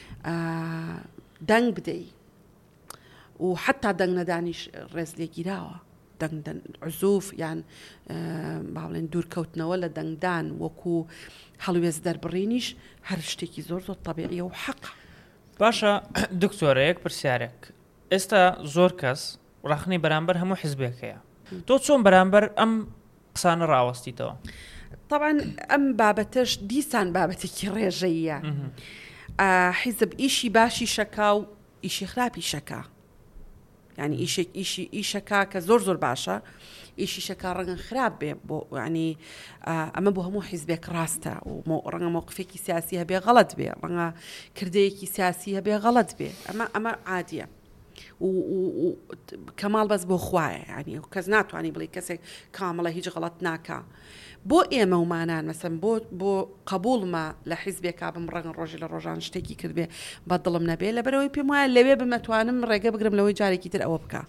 دەنگ بدەی و حتا دەنگ نەدانیش ڕێز لێگیراوە دەنگ عزوف یان باڵێن دوورکەوتنەوە لە دەنگدان وەکو هەڵوێز دەربڕینیش هەر شتێکی زۆر زۆر تەبیعیە و حەق باشە دکتۆرەیەک پرسیارێک ئێستا زۆر کەس ڕاخنەی بەرامبەر هەموو حیزبێکەیە تۆ چۆن بەرامبەر ئەم قسانە ڕاوەستیتەوە طبعا ئەم بابەتەش دیسان بابەتێکی ڕێژەیە حیزب ئیشی باشی شەکا و ئیشی خراپی شەکا یعنی ئیشەکە کە زۆر زۆر باشە ئیشی شەکا ڕەنگە خراپ بێ بۆ ینی ئەمە بۆ هەموو حیزبێک ڕاستە و ڕەنگە مووقفێکی سیاسی هەبێ غەڵەت بێ ڕەنگە کردەیەکی سیاسی هەبێ غەڵەت بێ ئەمە عادیە و کەماڵ بەس بۆ خوایە ینی کەس ناتوانانی بڵێ کەسێک کامەڵە هیچ غەڵەت ناکا بۆ ئێمە ومانان مەسەن بۆ قبولمە لە حیزبێکا بم ڕەنگە ڕۆژی لە ڕۆژان شتێکی کردبێ بە دڵم نەبێ لەبەرەوەی پێم وایە لەوێ بمەتوانم ڕێگە بگرم لەوەی جارێکی تر ئەوە بکە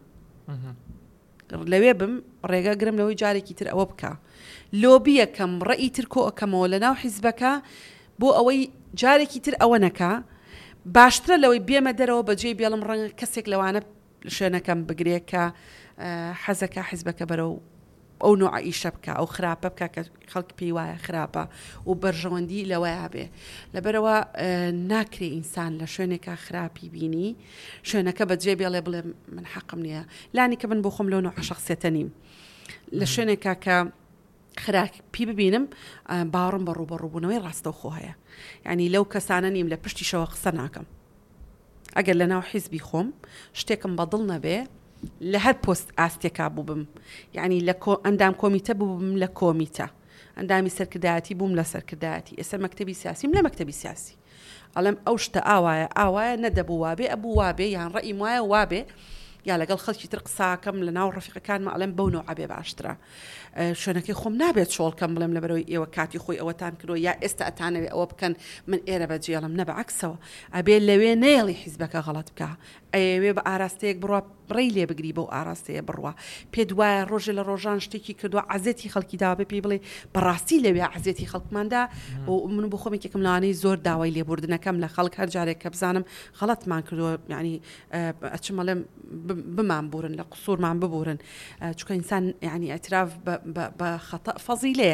لەوێ بم ڕێگە گرم لەوەی جارێکی تر ئەوە بکە لۆبیەکەم ڕەئی تر کۆ ئەەکەمەوە لە ناو حیزبەکە بۆ ئەوەی جارێکی تر ئەوە نەکە باشترە لەوەی بێمە دەرەوە بەجێ بێڵم ڕەنگە کەسێک لەوانە شوێنەکەم بگرێت کە حەزەکە حیزبەکە بەرەو ئەو نوع ئیشە بکە ئەو خراپە بکە کە خەڵک پێی وایە خراپە و بەرژەوەندی لەوەیە بێ لەبەرەوە ناکرێ ئینسان لە شوێنێکە خراپی بینی شوێنەکە بەجێ بێڵێ بڵێ من حەقم نییە لانی کە من بۆ خۆم لەو نوع شەخسیەتە نیم لە شوێنێکە کە خراپی ببینم باوەڕم بە ڕووبەڕووبوونەوەی ڕاستەوخۆ هەیە یعنی لەو کەسانە نیم لە پشتیشەوە قسە ناکەم ئەگەر لە ناو حیزبی خۆم شتێکم بەدڵ نەبێ لە هەر پۆست ئاستێکا بوو بم یعنی لە ئەندام کۆمیتە بوو بم لە کۆمیتە ئەندامی سەرکردایەتی بووم لە سەرکردایەتی ئێستا مەکتەبی سیاسیم لە مەکتەبی سیاسی ئەڵێم ئەو شتە ئاوایە نەدەبوو وابێ ئەبوو وابێ یان ڕەئی وایە وابێ یا لەگەڵ خەڵکی تر قساکەم لە ناو ڕەفیقەکانمە ئەڵێم بەو نوع عەبێ باشترە شوێنەکەی خۆم نابێت شۆڵکەم بڵێم لەبەرەوەی ئێوە کاتی خۆی ئەوەتان کردو یا ئێستا ئەتانەوێ ئەوە بکەن من ئێرە بەجێڵم نە بەعەکسەوە ئەبێ لەوێ نێڵی حیزبەکە غەڵەت بکە ئەوێ بە ئاراستەیەک بڕوا ڕێی لێ بگری بەو ئاراستەیە بڕوا پێ دوایە ڕۆژێ لە ڕۆژان شتێکی کردووە عەزێتی خەڵکی داوە بێ پێی بڵێ بەڕاستی لەوێ عەزێتی خەڵکماندا و من بۆ خۆم یەکێکم لەوانەی زۆر داوای لێبوردنەکەم لە خەڵک هەر جارێک کە بزانم غەڵەتمان کردووە یعنی ئەچمەڵێم بمان بورن لە قسوورمان ببورن چونکە ئینسان یعنی ئەتراف بە خەتە فەزیلەیە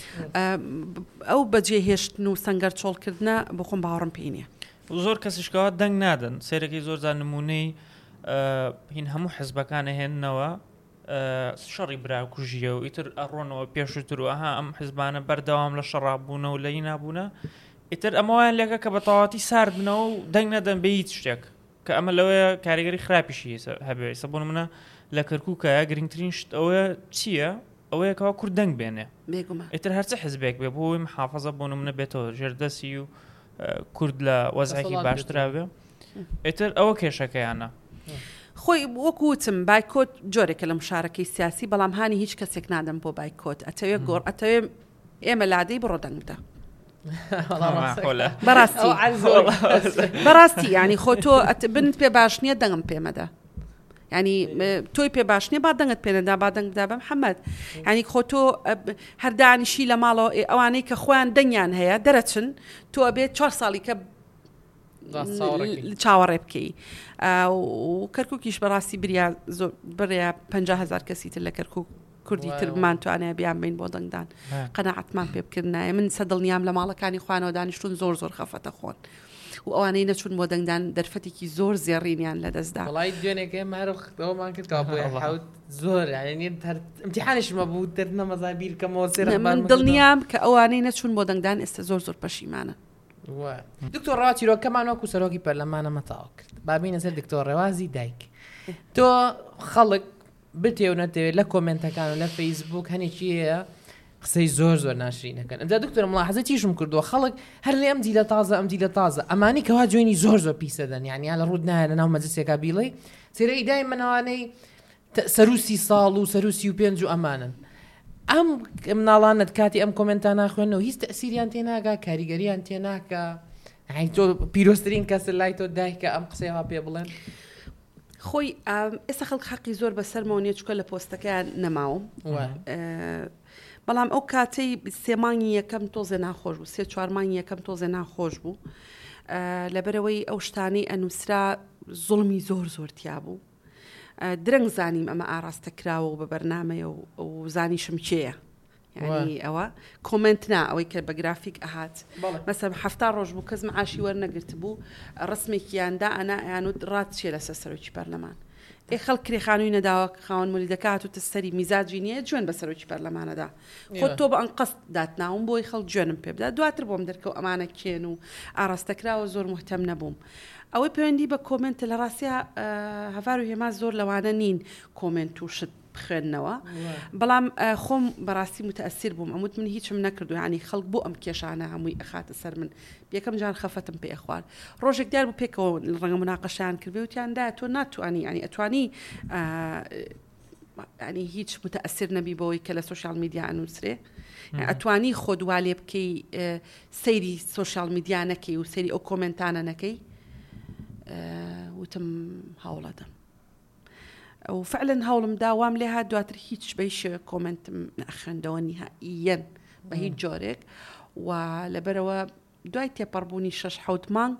ئەو بەجێهێشتن و سەنگەر چۆڵکردنە بۆ خۆم باوەڕم پێی نییە زۆر کەسیشکەوە دەنگ نادەن سێرەکەی زۆرجان نمونەی هین هەموو حیزبەکانە هێننەوە شەڕی براکوژیە و ئیتر ئەڕۆنەوە پێشتر و ئەها ئەم حیزبانە بەردەوام لە شەڕابوونە و لەی نابوونە ئیتر ئەمەوایان لێکە کە بە تەواتی سارد بنەوە و دەنگ نەدەن بە هیچ شتێک کە ئەمە لەوەیە کاریگەری خراپیشی هەبێ سەبوون منە لە کەرکووکە گرنگترین شت ئەوە چییە ئەوەیەکەوە کورد دەنگ بێنێ ئیتر هەرچە حیزبێک بێ بۆی محافەزە بۆ نمونە بێتەوە ژێردەسی و کورد لە وەزعێکی باشترا ئیتر ئەوە کێشەکەیانە خۆی وەکوتم بایکۆت جۆرێکە لە مشارەکەی سیاسی بەڵام هانی هیچ کەسێک نادەم بۆ بایکۆت ئەتەوێ گۆڕ ئەتەوێ ئێمە لادەی بڕۆ دەنگ بدە بەڕاستی ینی خۆ تۆ بنت پێ باش نییە دەنگم پێمەدە ینی تۆی پێ باش نییە با دەنگت پێنەدا با دەنگدا بەم محەممەد ینی خۆ تۆ هەردانیشی لە ماڵەوە ئەوانەی کە خۆیان دەنگیان هەیە دەرەچن تۆ ئەبێت 4 ساڵی کە چاوەڕێ بکەی و کەرکووکیش بەڕاستی بریا 50,000 کەسی تر لە کەرکووک کوردی تر بمانتوانێ بیان بین بۆ دەنگدان قەناعەتمان پێ بکردنایە من سەدڵنیام لە ماڵەکانی خوانەوە دانیشتون زۆر زۆر خەفەتە خۆن و ئەوانەی نەچون بۆ دەنگدان دەرفەتێکی زۆر زێڕینیان لە دەستدا وڵای دوێنێکە مارەوەمان کردەوە بۆ حوت زۆر ئیمتیحانشمە بوو دەرنەمەزای بیرکەمەوە سێرە من دڵنیام کە ئەوانەی نەچون بۆ دەنگدان ئێستا زۆر زۆر پەشیمانە دکتۆر ڕاوچیرۆکەمان وەکو سەرۆکی پەرلەمانە مەتاڵ کرد بابینە سەر دکتۆر ڕێوازی دایک تۆ خەڵک بتێ و نەتەوێت لە کۆمنتەکان و لە فەیسبوک هەنێکی هەیە قسەی زۆر زۆر ناشرینەکەن ئەمدا دکتۆر مڵاحەزە تیشم کردووە خەڵک هەر لێ ئەم دیلە تازە ئەم دیلە تازە ئەمانی کەوا جوێنی زۆر زۆر پیسەدەن یعنی لە ڕوود نایە لە ناو مەجلسێکا بیڵێ سێرە ئیدای منەوانەی سەروسی ساڵ و سەروسی و پێنج و ئەمانن ئەم مناڵانت کاتی ئەم کۆمنتان ناخوێنەوە هیچ تەسیریان تێناگا کاریگەریان تێناکە تۆ پیرۆستترین کەس لای تۆ دایکە ئەم قسەیەوە پێ بڵێن خۆی ئێستا خەڵک حەقی زۆر بەسەرمەوە چکە لە پۆستەکەیان نەماوم بەڵام ئەو کاتەی سێمانی یەکەم تۆزێ ناخۆش بوو 3-4 مانگی یەکەم تۆزێ ناخۆش بوو لەبەرەوەی ئەو شتانەی ئەنووسرا زوڵمی زۆر تیا بوو درەنگ زانیم ئەمە ئاراستەکراوە و بە بەرنامەیە و زانیشم چێیە یعنی ئەوە کۆمنت نا ئەوەی کە بە گرافیک ئەهات مەسەب 7 ڕۆژ بوو کەس معاشی وەرنەگرت بوو ڕسمێکیاندا ئەنا ئەیانوت ڕات چێ لەسەر سەرۆکی پەرلەمان خەڵک کرێخانووی نەداوە خاوەن ملی دەکات و تەسەری میزاجی نییە جوێن بە سەرۆکی پەرلەمانەدا خۆت تۆ بە ئەن قەست داتناوم بۆی خەڵک جوێنم پێ بدات دواتر بۆم دەرکەوت ئەمانە کێن و ئاراستەکراوە زۆر محتەم نەبووم ئەوەی پەیوەندی بە کۆمنت لە ڕاستیە هەڤار و هێما زۆر لەوانە نین کۆمنت و شت بخوێننەوە بەڵام خۆم بەڕاستی متەئەسیر بووم ئەموت من هیچم نەکردو ینی خەڵک بۆ ئەم کێشانە هەمووی ئەخاتە سەر من یەکەم جار خەفەتم پێ خوارد ڕۆژێک دیار بوو پێکەوە ڕەنگە مناقەشیان کردبێ وتیاندا تۆ ناتوانی ینی ئەتوانی ینی هیچ متەئەسیر نەبی بەوەی کە لە سوشیال میدیا ئەنووسرێ ئەتوانی خۆ دوالێ بکەی سەیری سوشیال میدیا نەکەی و سەیری ئەو کۆمنتانە نەکەی وتم هەوڵەدەم و فعلا هەوڵم داوام لێ هات دواتر هیچ بەیش کۆمنتم نەخێندەوە نیهائیەن بە هیچ جۆرێک و لەبەرەوە دوای تێپەڕبوونی 6-7 مانگ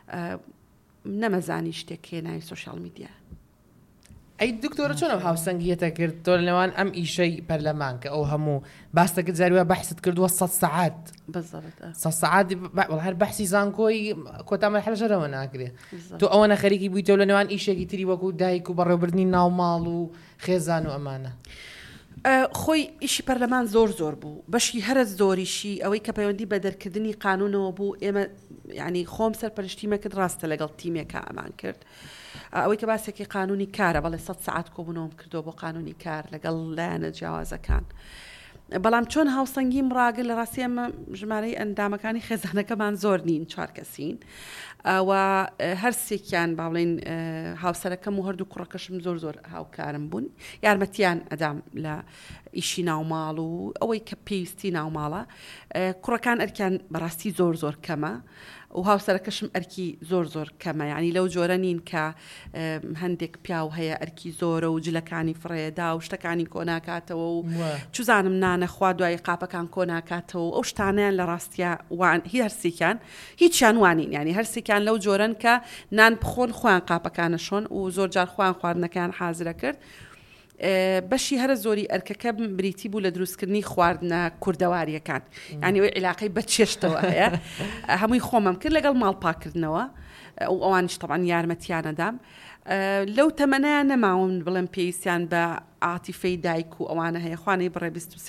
نەمەزانی شتێک هێناوی سوشیال میدیا ئەی دکتۆرە چۆن ئەم هاوسەنگیەتە کرد تۆ لەوان ئەم ئیشەی پەرلەمان کە ئەو هەموو باستەکە جاروە بەحست کردووە 100 سەعات 100 سەعات هەر بەحسی زانکۆی کۆتامە حەلەژەرەوە ناکرێت تۆ ئەوەنە خەریکی بوویتەوە لە نێوان ئیشێکی تری وەکو دایک و بەڕێوەبردنی ناوماڵ و خێزان و ئەمانە خۆی ئیشی پەرلەمان زۆر بوو بەشی هەرە زۆریشی ئەوەی کە پەیوەندی بە دەرکردنی قانونەوە بوو ئێمە ینی خۆم سەرپەرشتیمە کرد ڕاستە لەگەڵ تیمێکە ئەمان کرد ئەوەی کە باسێکی قانونی کارە بەڵێ 100 سەعات کۆبوونەوەم کردو بۆ قانونی کار لەگەڵ لایەنە جیاوازەکان بەڵام چۆن هاوسەنگیم ڕاگەل لە ڕاستی ئەمە ژمارەی ئەندامەکانی خێزانەکەمان زۆر نین 4 کەسین و هەرسێکیان باڵێن هاوسەرەکەم و هەردوو کوڕەکەشم زۆر هاوکارم بوون یارمەتیان ئەدام لە ئیشی ناوماڵ و ئەوەی کە پێویستی ناوماڵە کوڕەکان ئەرکیان بەڕاستی زۆر کەمە و هاوسەرەکەشم ئەرکی زۆر کەمە ینی لەو جۆرە نین کە هەندێک پیاو هەیە ئەرکی زۆرە و جلەکانی فڕێدا و شتەکانی کۆناکاتەوە و چوزانم نانەخوا دوای قاپەکان کۆناکاتەوە ئەو شتانیان لە ڕاستیە هەرسێکیان هیچیان وانین ینی هەرسێکیان لەو جۆرن کە نان بخۆن خۆیان قاپەکانە شۆن و زۆر جار خۆیان خواردنەکان حازرە کرد بەشی هەرە زۆری ئەرکەکە بریتی بوو لە دروستکردنی خواردنە کوردەواریەکان ینی ئەوەی عیلاقەی بە چێشتەوە هەیە هەمووی خۆمەم کرد لەگەڵ ماڵپاکردنەوە ئەوانش تەبان یارمەتیانەدام لەو تەمەنیان نەماون بڵێم پێویستیان بە عاتیفەی دایک و ئەوانە هەیە خوانەی بڕێ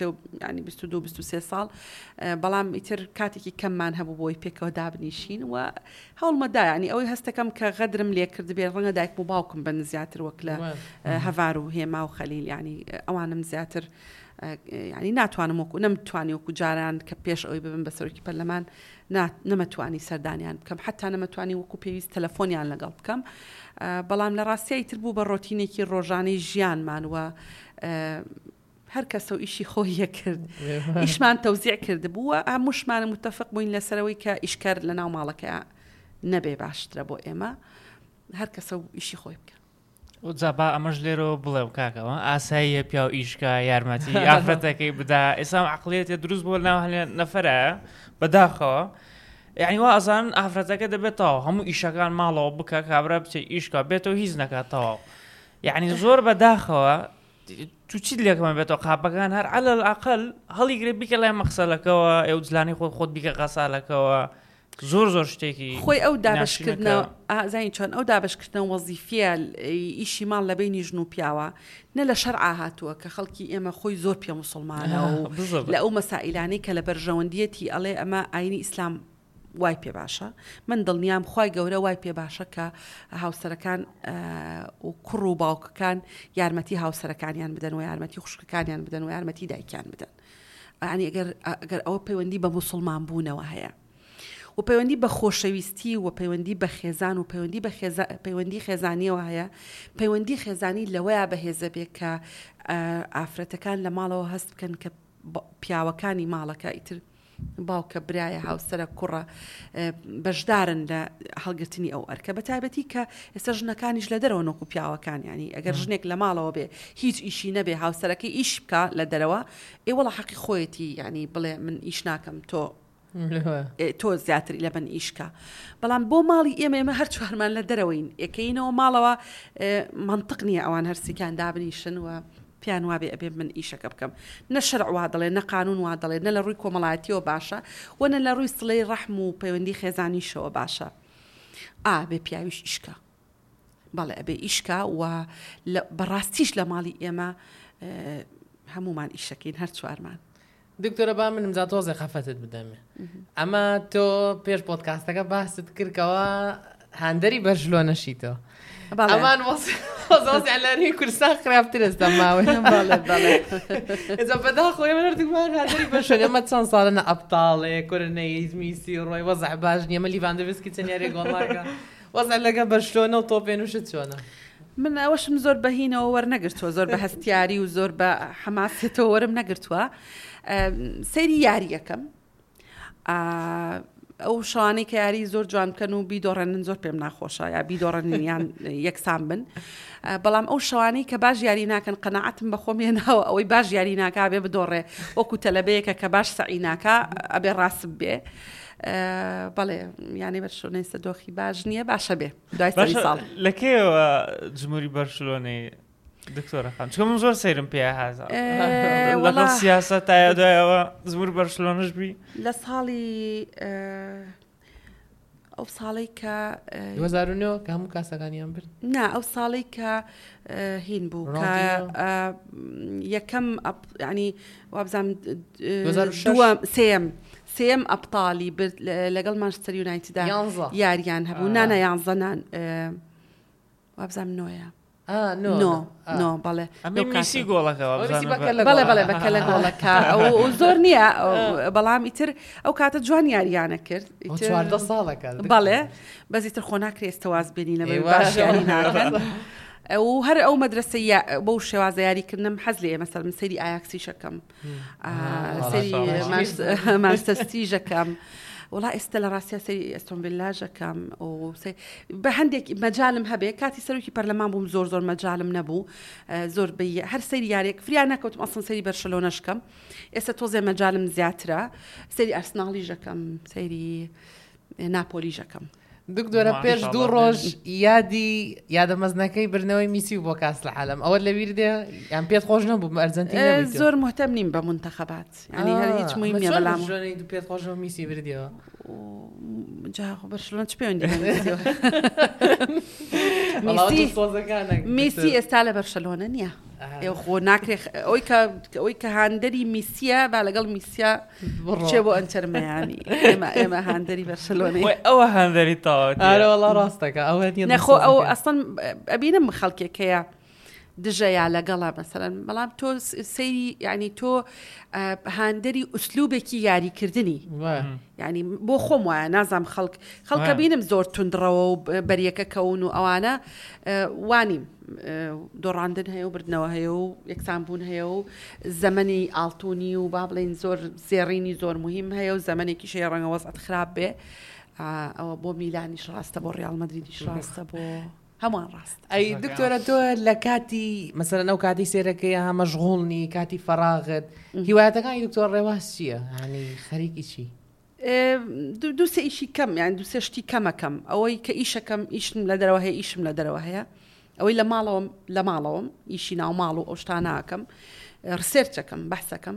22-23 ساڵ بەڵام ئیتر کاتێکی کەممان هەبوو بۆی پێکەوە دابنیشین و هەوڵمەدا ینی ئەوەی هەستەکەم کە غەدرم لێ کرد بێ ڕەنگە دایک و باوکم بن زیاتر وەک لە هەڤار و هێما و خەلیل ینی ئەوانم زیاتر ینی ناتوانم وەکو نەمتوانی وەکو جاران کە پێش ئەوی ببن بە سەرۆکی پەرلەمان نەمەتوانی سەردانیان بکەم حتا نەمەتوانی وەکو پێویست تەلەفۆنیان لەگەڵ بکەم بەڵام لە ڕاستیایی تر بوو بە ڕۆتینێکی ڕۆژانەی ژیانمان و هەر کەسە و ئیشی خۆیە کرد ئیشمان تەوزیع کرد بووە هەمووشمانە متفق بووین لەسەرەوەی کە ئیشکار لە ناو ماڵەکە نەبێ باشترە بۆ ئێمە هەر کەسە و ئیشی خۆی بکە جابا ئەمەش لێرەوە بڵێ کاکەوە ئاساییە پیا و ئیشکە یارمەتی ئافرەتەکەی بدا ئێسام عقلێتە دروست بۆ ناو نەفرە بەداخەوە یعنی وا ئەزان ئافرەتەکە دەبێتەوە هەموو ئیشەکان ماڵەوە بکە کابرا بچێ ئیشکە بێتەوە هیچ نەکاتەوە یعنی زۆر بەداخەوە تو چیت لێکمان بێتەوە قاپەکان هەر عەلە العەقل هەڵیگرێ بیکە لای مەخسەلەکەوە ئێو جلانی خۆت بیکە قەسالەکەەوە زۆر شتێکی خۆی ئەو دابشکردنەوە ئازانی چۆن ئەو دابشکردنەوە وەزیفە ئیشی ماڵ لە بینی ژن و پیاوە نە لە شەرعا هاتووە کە خەڵکی ئێمە خۆی زۆر پێ موسڵمانە و لە ئەو مەسائلانەی کە لە بەرژەوەندیەتی ئەڵێ ئەمە ئاینی ئیسلام وای پێ باشە من دڵنیام خوای گەورە وای پێ باشە کە هاوسەرەکان و کوڕ و باوکەکان یارمەتی هاوسەرەکانیان بدەن و یارمەتی خوشکەکانیان بدەن و یارمەتی دایکیان بدەن ینی ئەگەر ئەوە پەیوەندی بە موسڵمان بوونەوە هەیە و پەیوەندی بە خۆشەویستی و پەیوەندی بە خێزان و پەیوەندی خێزانیەوە هەیە پەیوەندی خێزانی لەوەیە بەهێزە بێ کە ئافرەتەکان لە ماڵەوە هەست بکەن کە پیاوەکانی ماڵەکە ئیتر باوکە برایە هاوسەرە کوڕە بەشدارن لە هەڵگرتنی ئەو ئەرکە بە تایبەتی کە ئێستا ژنەکانیش لە دەرەوە نۆکو پیاوەکان ینی ئەگەر ژنێک لە ماڵەوە بێ هیچ ئیشی نەبێ هاوسەرەکەی ئیش بکە لە دەرەوە ئێوەڵە حەقی خۆیەتی ینی بڵێ من ئیش ناکەم تۆ زیاتری لە بن ئیشکە بەڵام بۆ ماڵی ئێمە هەر چوارمان لە دەرەوەین ئەکەینەوە ماڵەوە منطق نییە ئەوان هەرسیکان دابنیشن و پیان وابێ ئەبێ من ئیشەکە بکەم نە شەرع وا دەڵێ نە قانون وا دەڵێ نە لە ڕووی کۆمەڵایەتیەوە باشە و نە لە ڕووی سڵەی ڕەحم و پەیوەندی خێزانیشەوە باشە بێ پیاویش ئیشکە بەڵێ ئەبێ ئیشکە و بەڕاستیش لە ماڵی ئێمە هەمومان ئیشەکەین هەر چوارمان دکتۆرە با منم جا تۆزێ خەفەتت بدەمێ ئەمە تۆ پێش پۆدکاستەکە باست کردکەوە هاندەری بەرژلۆنەشیتەوە ئەمان وەزۆزیان لەری کوردستان خراپتر ئێستا ماوەی ئێجا بەدا خۆی منردمان هاندەری بەرژلۆن ئەمە چەند ساڵە ئەبتاڵێ کورنەی میسی ڕۆی وەزع باش نیە ئەمە لیڤاندۆڤسکی چەندیارێ گۆڵاکە وەزع لەگە بەرژلۆنە و تۆ پێنووشت چۆنە من ئەوەشم زۆر بەهینەوە وەرنەگرتووە زۆر بە هەستیاری و زۆر بە حەماسێتەوە وەرم نەگرتووە سەیری یاریەکەم ئەو شوانەی کە یاری زۆر جوان بکەن و بیدۆڕێنن زۆر پێم ناخۆشە یا بیدۆڕێنیان یەکسان بن بەڵام ئەو شوانەی کە باش یاری ناکەن قەناعەتم بە خۆم هێناوە ئەوەی باش یاری ناکا بێ بدۆڕێ وەکو تەلەبەیەکە کە باش سەعی ناکا ئەبێ ڕاست بێ بەڵێ یانی بەرشلۆنەی سەدۆخی باش نییە باشە بێ دوای سەری ساڵ لەکێوە جمهوری بەرشلۆنەی دکتۆرەکان چکە من زۆر سەیرم پێ هازا لەگەڵ سیاسەت تایە دوایەوە زمور بەرشلۆنەش بی لە ساڵی ئەو ساڵی کە 2009 کە هەموو کاسەکانیان برد نا ئەو ساڵی کە هین بوو کە یەکەم ینی وابزانم سێم ئەبتاڵی برد لەگەڵ مانچستەر یونایتیدا یاریان هەبوو نانە یانزەنان وابزانم نۆیە نۆ بەڵێ میسی گۆڵەکەەوە بەڵێ بەکە لە گۆڵەکە ئەو زۆر نییە بەڵام ئیتر ئەو کاتە جوان یاریانە کرد 14 ساڵەکە بەڵێ بەزیتر خۆ ناکرێ ئێستەواز بێنی لە باش یاری ناکەن و هەر ئەو مەدرسە بەو شێوازە یاریکردنم حەز لێ مەسەر من سەری ئایاکسی شەکەم سەری مانچستەر ژەکەم وڵا ئێستا لە ڕاستیا سەری ئەستۆن ڤیلاژەکەم بە هەندێک مەجالم هەبێ کاتی سەرۆکی پەرلەمان بووم زۆر مەجالم نەبوو زۆر هەر سەری یارێک فریان نەکەوتم ئەسڵ سەری بەرشلۆنەشکەم ئێستا تۆزێ مەجالم زیاترە سەری ئەرسناڵی ژەکەم سەری ناپۆلی ژەکەم دکتۆرە پێش 2 ڕۆژ یادەمەزنەکەی برنەوەی میسی بۆ کاس لە عالم ئەوە لەبیر دێ یان پێت خۆش نەبوو ئەرجەنتین زۆر مهتەم نیم بە منتەخەبات ینی هەر هیچ مهم نییە بەڵام پێت خۆشەوە میسی بردیەوە جا بەرشلۆن چ پەیوەندی میسی ئێستا لە بەرشلۆنە نییە خۆ ناکرێ ئەوی کە هاندەری میسیە با لەگەڵ میسیە چێ بۆ ئەنچەرمەیانی ئێمە هاندەری بەرشلۆنەی ئەوە هاندەری تاوەڵا ڕاستەکە ئەوە نەخۆ ئەو ئەسڵەن ئەبینم خەڵکێکەیە دژەیە لەگەڵا مەسەرەن بەڵام تۆ سەیری ینی تۆ هاندەری ئوسلوبێکی یاریکردنی ینی بۆ خۆم وایە نازام خەڵکە بینم زۆر توندڕەوە و بەریەکە کەون و ئەوانە وانیم دۆڕاندن هەیە و بردنەوە هەیە و یەکسانبوون هەیە و زەمەنی ئاڵتونی و با بڵێن زۆر زێڕینی زۆر مهم هەیە و زەمەنێکی شەیە ڕەنگە وەزعەت خراپ بێ ئەوە بۆ میلانیش ڕاستە بۆ ڕیاڵ مەدریدیش ڕاستە بۆ هەمووان ڕاست ئەی دکتۆرە تۆ لە کاتی مەسەرەن ئەو کاتی سێرەکەی هەمەشغوڵنی کاتی فەراغت هیوایەتەکانی دکتۆر ڕێواز چییە ینی خەریکی چی دوو سێ ئیشی کەم یان دوو سێ شتی کەمەکەم ئەوەی کە ئیشەکەم ئیشم لە دەرەوە هەیە ئیشم لە دەرەوە هەیە ئەوەی لە ماڵەوەم ئیشی ناو ماڵ و ئەو شتاناکەم ڕسێرچەکەم بەحسەکەم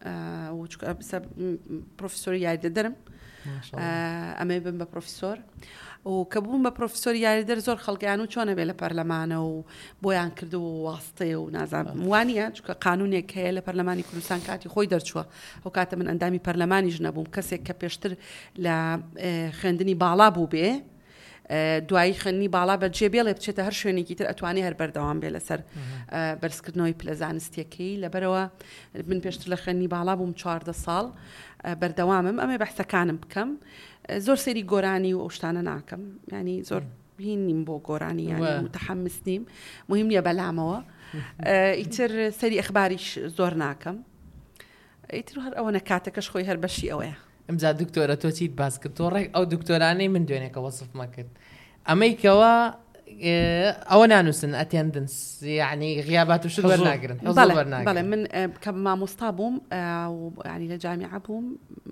پرۆفیسۆری یاریدە دەرم ئەمە بم بە پرۆفیسۆر و کە بووم بە پرۆفیسۆری یاریدەر زۆر خەڵکیان و چۆنە بێ لە پەرلەمانە و بۆیان کردو و واستەیە و نازانم وانە چکە قانونێک هەیە لە پەرلەمانی کوردستان کاتی خۆی دەرچووە ئەو کاتە من ئەندامی پەرلەمانیش نەبووم کەسێک کە پێشتر لە خوێندنی باڵا بوو بێ دوایی خوێندنی باڵا بەجێ بێڵێ بچێتە هەر شوێنێکی تر ئەتوانی هەر بەردەوام بێ لەسەر بەرزکردنەوەی پلە زانستیەکەی لەبەرەوە من پێشتر لە خوێندنی باڵا بووم 14 ساڵ بەردەوامم ئەمێ بەحسەکانم بکەم زۆر سەری گۆرانی و ئەو شتانە ناکەم ینی زۆر هین نیم بۆ گۆرانی یانی متحمس نیم مهم نییە بەلامەوە ئیتر سەری ئەخباریش زۆر ناکەم ئیتر هەر ئەوە نەکاتەکەش خۆی هەر بەشی ئەوەیە. ئەمجا دکتۆرە تۆ چیت باس کرد تۆ ڕێک ئەو دکتۆرانەی من دوێنێکە وەسفمە کرد ئەمەیکەوە ئەوە نانووسن ئەتێندنس یعنی غیابات و شت وەرناگرن. بەڵێ من کە مامۆستا بووم ینی لە جامیعە بووم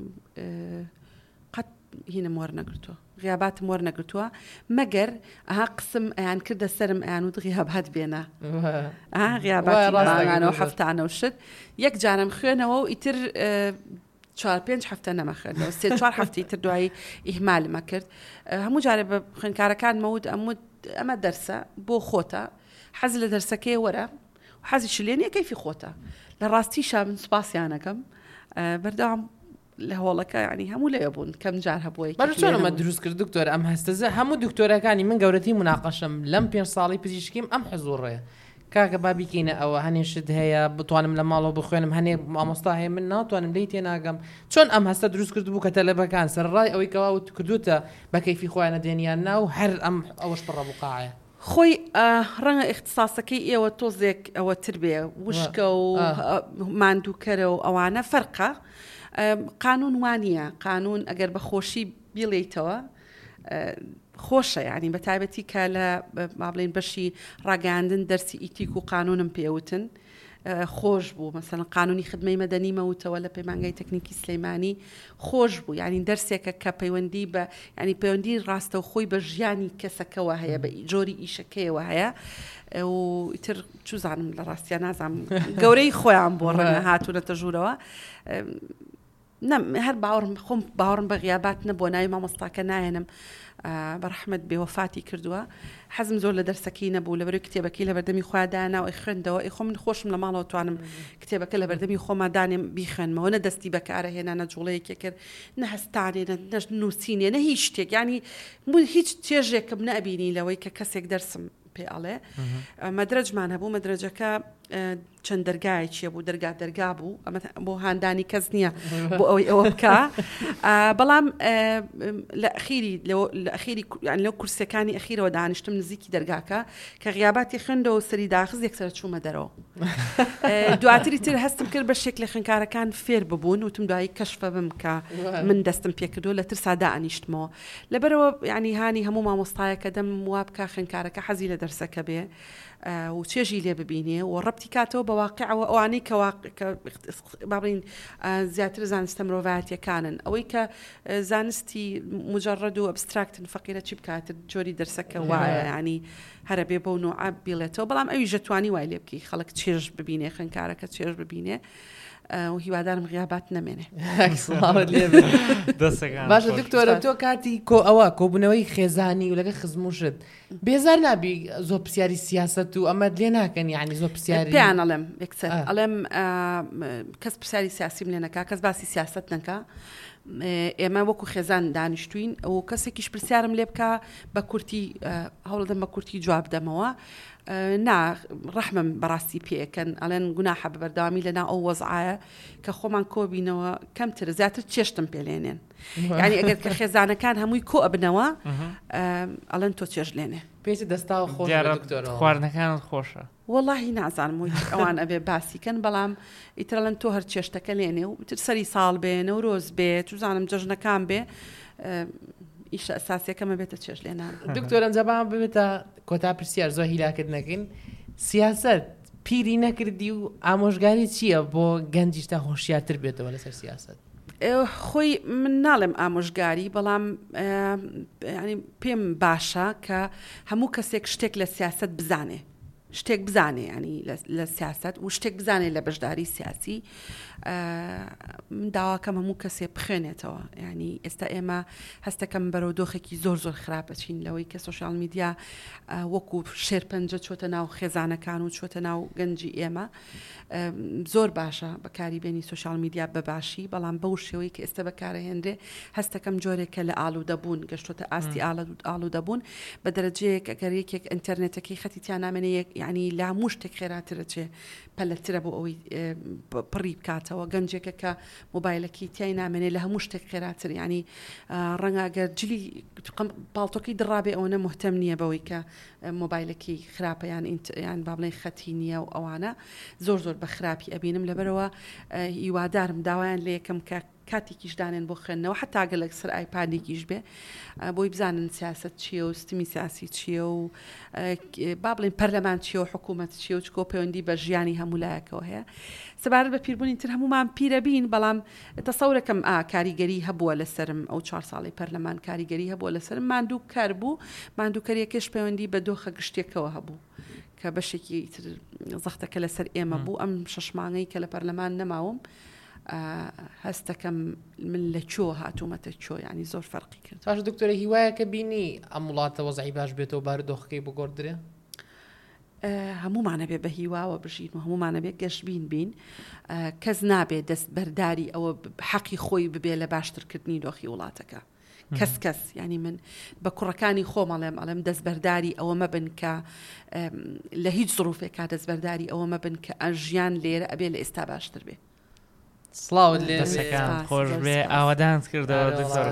قەت هینم وەرنەگرتووە غیاباتم وەرنەگرتووە مەگەر ئەها قسم ئەیان کردە سرم ئەیان و غیابات بێنە غیاباتانەوە هەفتانە و شت یەک جارم خوێنەوە و ئیتر 4-5 هەفتە نەمەخێنەوە 3-4 هەفتی تر دوایی ئیهمالمە کرد هەموو جارێ بە خوێنکارەکان مەود ئەمە دەرسە بۆ خۆتە حەز لە دەرسەکەی وەرە و حەزی شلێنە کەیفی خۆتە لە ڕاستیشا من سوپاسیانەکەم بەردەوام لە هۆڵەکە ینی هەموو لێ بوون کەم جار هەبووی بەچۆنمە دروست کرد دکتۆر ئەم هەستەزە هەموو دکتۆرەکانی من گەورەتی مناقەشم لەم 5 ساڵی پزیشکیم ئەم حزوڕێ کاکە بابیکەینە ئەوە هەنێشت هەیە بتوانم لە ماڵەوە بخوێنم هەنێ مامۆستا هەیە من ناتوانم لی تێناگەم چۆن ئەم هەستە دروست کرد بوو کە تەلەبەکان سەرڕای ئەوەی کەوا کردوتە بە کەیفی خۆیانە دێنیان ناو هەر ئەم ئەوەش پڕەبقاعە خۆی ڕەنگە اختصاسەکەی ئێوە تۆزێک ئەوە تر بێ وشکە و ماندووکەرە و ئەوانە فەرقە قانون وانە قانون ئەگەر بە خۆشی بیڵێیتەوە خۆشە ینی بە تایبەتی کە لە بابلین بەشی ڕاگەاندن دەرسی ئیتیک و قانونم پێوتن خۆش بوو مەسەڵەن قانونی خدمەی مەدەنی مەوتەوە لە پەیمانگای تەکنیکی سلەیمانی خۆش بوو ینی دەرسێکە کە پەیوەندی بە ینی پەیوەندی ڕاستە و خۆی بە ژیانی کەسەکەەوە هەیە بە جۆری ئیشەکەیەوە هەیە و ئیتر چوزانم لە ڕاستیان نازانم گەورەی خۆیان بۆ ڕەنە هاتوونەتە ژوورەوە هەر باوەڕم خۆم باوەڕم بە غیابات نەبووە ناوی مامۆستاکە نایەنم بەڕەحمەت بێوەفاتی کردووە حەزم زۆر لە دەرسەکەی نەبوو لەبەرەوەی کتێبەکەی لە بەردەمی خۆیادا و خوێندەوە خۆ من خۆشم لە ماڵەوە توانم کتێبەکە لە بەردەمی خۆمادانێم بیخێنمەوە نە دەستی بەکارە هێنا نە جوڵەیەکێ کرد نە هەستانێ نە نووسینێ نە هیچ شتێک ینی هیچ چێژێکم نەبینی لەوەی کە کەسێک دەرسم پێ ئەڵێ مەدرەجمان هەبوو مەدرەجەکە چەند دەرگایەکیە بوو دەرگا بوو ئەمە بۆ هاندانی کەس نییە بۆ ئەوەی ئەوە بکە بەڵام لە ئەخیری لەو کورسەکانی ئەخیرەوە دانیشتم نزیکی دەرگاکە کە غیاباتی خوێندەوە سەری داخز یەکسەر چوومە دەرەوە دواتری تر هەستم کرد بە شێک لە خوێنکارەکان فێر ببوون وتم دوایی کەشفە بم کە من دەستم پێکردو لە ترسادا ئەنیشتمەوە لەبەرەوە ینی هانی هەموو مامۆستایەکە دەم وا بکە خوێنکارەکە حەزی لە دەرسەکە بێ و چێژی لێ ببینێ و ڕەبتی کاتەوە بە واقعەوە ئەوانەی کە بابڵین زیاتر زانستە مرۆڤایەتیەکانن ئەوەی کە زانستی مجرد و ئەبستراکتن فەقیرە چی بکاتر جۆری دەرسەکە وایە ینی هەرە بێ بە و نوع بێڵێتەوە بەڵام ئەوی ژەتوانی وای لێ بکەی خەڵک چێژ ببینێ خوێنکارەکە چێژ ببینێ و هیوادارم غیابات نەمێنێ باشە دکتۆرە تۆ کاتی ئەوە کۆبوونەوەی خێزانی و لەگە خزموشت بێزار نابی زۆر پرسیاری سیاست و ئەمە لێ ناکەن یعنی زۆر پرسیاری پێیان ئەڵێم یەکسەر ئەڵێم کەس پرسیاری سیاسیم لێ نەکا کەس باسی سیاست نەکا ئێمە وەکو خێزان دانیشتوین و کەسێکیش پرسیارم لێ بکە بە کورتی هەوڵدەم بە کورتی جواب دەمەوە نا ڕەحمم بەڕاستی پێکەن ئەڵێن گوناحە بەردەوامی لەنا ئەو وەزعایە کە خۆمان کۆبینەوە کەمتر زیاتر چێشتم پێلێنێن یعنی ئەگەر کە خێزانەکان هەمووی کۆ ئەبنەوە ئەڵێن تۆ چێژ لێنێ پێی دەستاوە خۆش خواردنەکانت خۆشە وەڵاهی نازانم ئەوان ئەبێ باسیکەن بەڵام ئیترەڵەن تۆ هەر چێشتەکە لێنێ و تر سەری ساڵ بێنە و ڕۆز بێت و زانم جەژنەکان بێ ئیشە ئەساسیەکەمە بێتە چێژ لێنان دکتۆر ئەنجەبان ببێتە کۆتا پرسیار زۆر هیلاکردنەکەین سیاست پیری نەکردی و ئامۆژگاری چییە بۆ گەنجیش تا هۆشیارتر بێتەوە لەسەر سیاست خۆی من ناڵێم ئامۆژگاری بەڵام ینی پێم باشە کە هەموو کەسێک شتێک لە سیاست بزانێ شتێک بزانێ ینی لە سیاست و شتێک بزانێ لە بەشداری سیاسی من داواکەم هەموو کەسێ بخوێنێتەوە ینی ئێستا ئێمە هەستەکەم بەرەو دۆخێکی زۆر خراپەچین لەوەی کە سوشال میدیا وەکو شێرپەنجە چۆتە ناو خێزانەکان و چۆتە ناو گەنجی ئێمە زۆر باشە بەکاریبێنی سوشال میدیا بەباشی بەڵام بەو شێوەی کە ئێستا بەکارەهێنرێ هەستەکەم جۆرێکە لە ئالوودەبوون گەشتۆتە ئاستی ئالوودەبوون بە دەرەجەیەک ئەگەر یەکێک ئینتەرنێتەکەی خەتیتیان نامێنێ یعنی لا هەموو شتێک خێراترە چێ پەلەترە بۆ ئەوەی پڕی بکاتەوە گەنجێکە کە مۆبایلەکەی تیای نامێنێ لە هەموو شتێک خێراتر ینی ڕەنگەگەر جلی پاڵتۆکەی دڕابێ ئەوەنە مهتەم نییە بەوەی کە مۆبایلەکەی خراپە یان با بڵێن خەتی نییە و ئەوانە زۆر بە خراپی ئەبینم لەبەرەوە هیوادارم داوایان لە یەکەم کە کاتێکیش دانێن بۆ خوێندنەوە حتا گەلک سەر ئایپادێکیش بێ بۆی بزانن سیاست چییە و ستمی سیاسی چییە و با بڵێن پەرلەمان چییە و حکوومەت چییە و چکۆ پەیوەندی بە ژیانی هەمولایەکەوە هەیە سەبارەت بە پیربوونی تر هەمومان پیرە بین بەڵام تەسەورەکەم کاریگەری هەبووە لەسرم ئەو 4 ساڵی پەرلەمان کاریگەری هەبووە لەسرم ماندوو کار بوو ماندووکەریەکەش پەیوەندی بە دۆخە گشتێکەوە هەبوو کە بەشێکی زەختەکە لەسەر ئێمە بوو ئەم 6 مانگەی کە لە پەرلەمان نەماوم هەستەکەم من لە چۆ هاتوومەتە چۆ ینی زۆر فەرقی کرد باش دکتۆرە هیوایە کە بینی ئەم وڵاتە وەزعی باش بێتەوە بارودۆخەکەی بگۆڕدرێ هەمومانە بێ بە هیواوە بژین و هەمومانە بێ گەشتبین بین کەس نابێت دەست بەرداری ئەوە حەقی خۆی ببێ لە باشترکردنی دۆخی وڵاتەکە کەس ینی من بە کوڕەکانی خۆمەڵێم ئەڵێم دەستبەرداری ئەوە مەبن کە لە هیچ زڕوفێکا دەستبەرداری ئەوە مەبن کە ئەژیان لێرە ئەبێ لە ئێستا باشتر بێ سڵاوت لێ دەسەکان خۆش بێ ئاوادانت کردەوە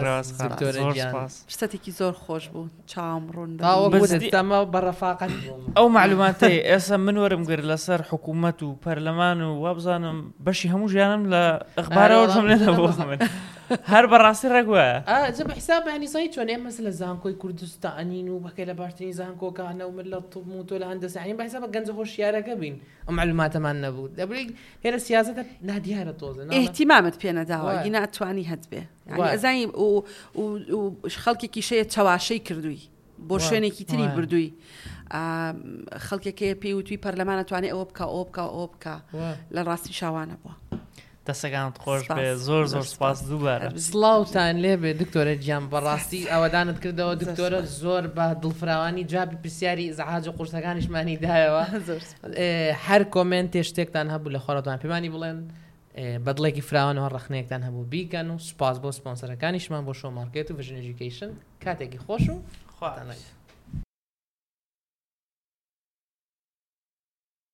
شتێکی زۆر خۆش بوو چاوم ڕوون دەمە بەڕەفاقەت ئەو معلوماتەی ئێستا من وەرم گرت لەسەر حکوومەت و پەرلەمان و وابزانم بەشی هەموو ژیانم لە ئەخبارەوەم لێنەبوو من هەر بەڕاستی ڕێگووە جە بە حساب هەنیسایی چۆن ئێمە لە زانکۆی کوردستانین و بەکەی لە باشترین زانکۆکانە و من لە توم تۆ لە هەندەسانی بە حساب گەنج خۆشیارەکە بین ئەم معلوماتەمان نەبوو دەبرێت هێرە سیاسەتە نادیارە تۆزن احتیمامت پێ نەداوە گینا ئەتوانی هەت بێ ئەزای و خەڵکێکی شەیە چاواشەی کردووی بۆ شوێنێکی تری بردووی خەڵکێکەیە پێی وتوی پەرلەمانە توانێت ئەوە بکە ئەوە بکە ئەوە بکە لە ڕاستی شاوانە بووە دەسەکانت خۆش بێ زۆر سپاس دووبارە سڵاوتان لێ بێ دکتۆرە گیان بەڕاستی ئەوەدانت کردەوە دکتۆرە زۆر بە دڵفراوانی جوابی پرسیاری زەحاج و قورسەکانیشمانی دایەوە هەر کۆمنتێ شتێکتان هەبوو لە خۆرەتان پێمانی بڵێن بەدڵێکی فراوانەوە ڕخنەیەکتان هەبوو بیکەن و سپاس بۆ سپۆنسەرەکانیشمان بۆ شۆ مارکێت و ڤژن ئێژوکیشن کاتێکی خۆش و خواتان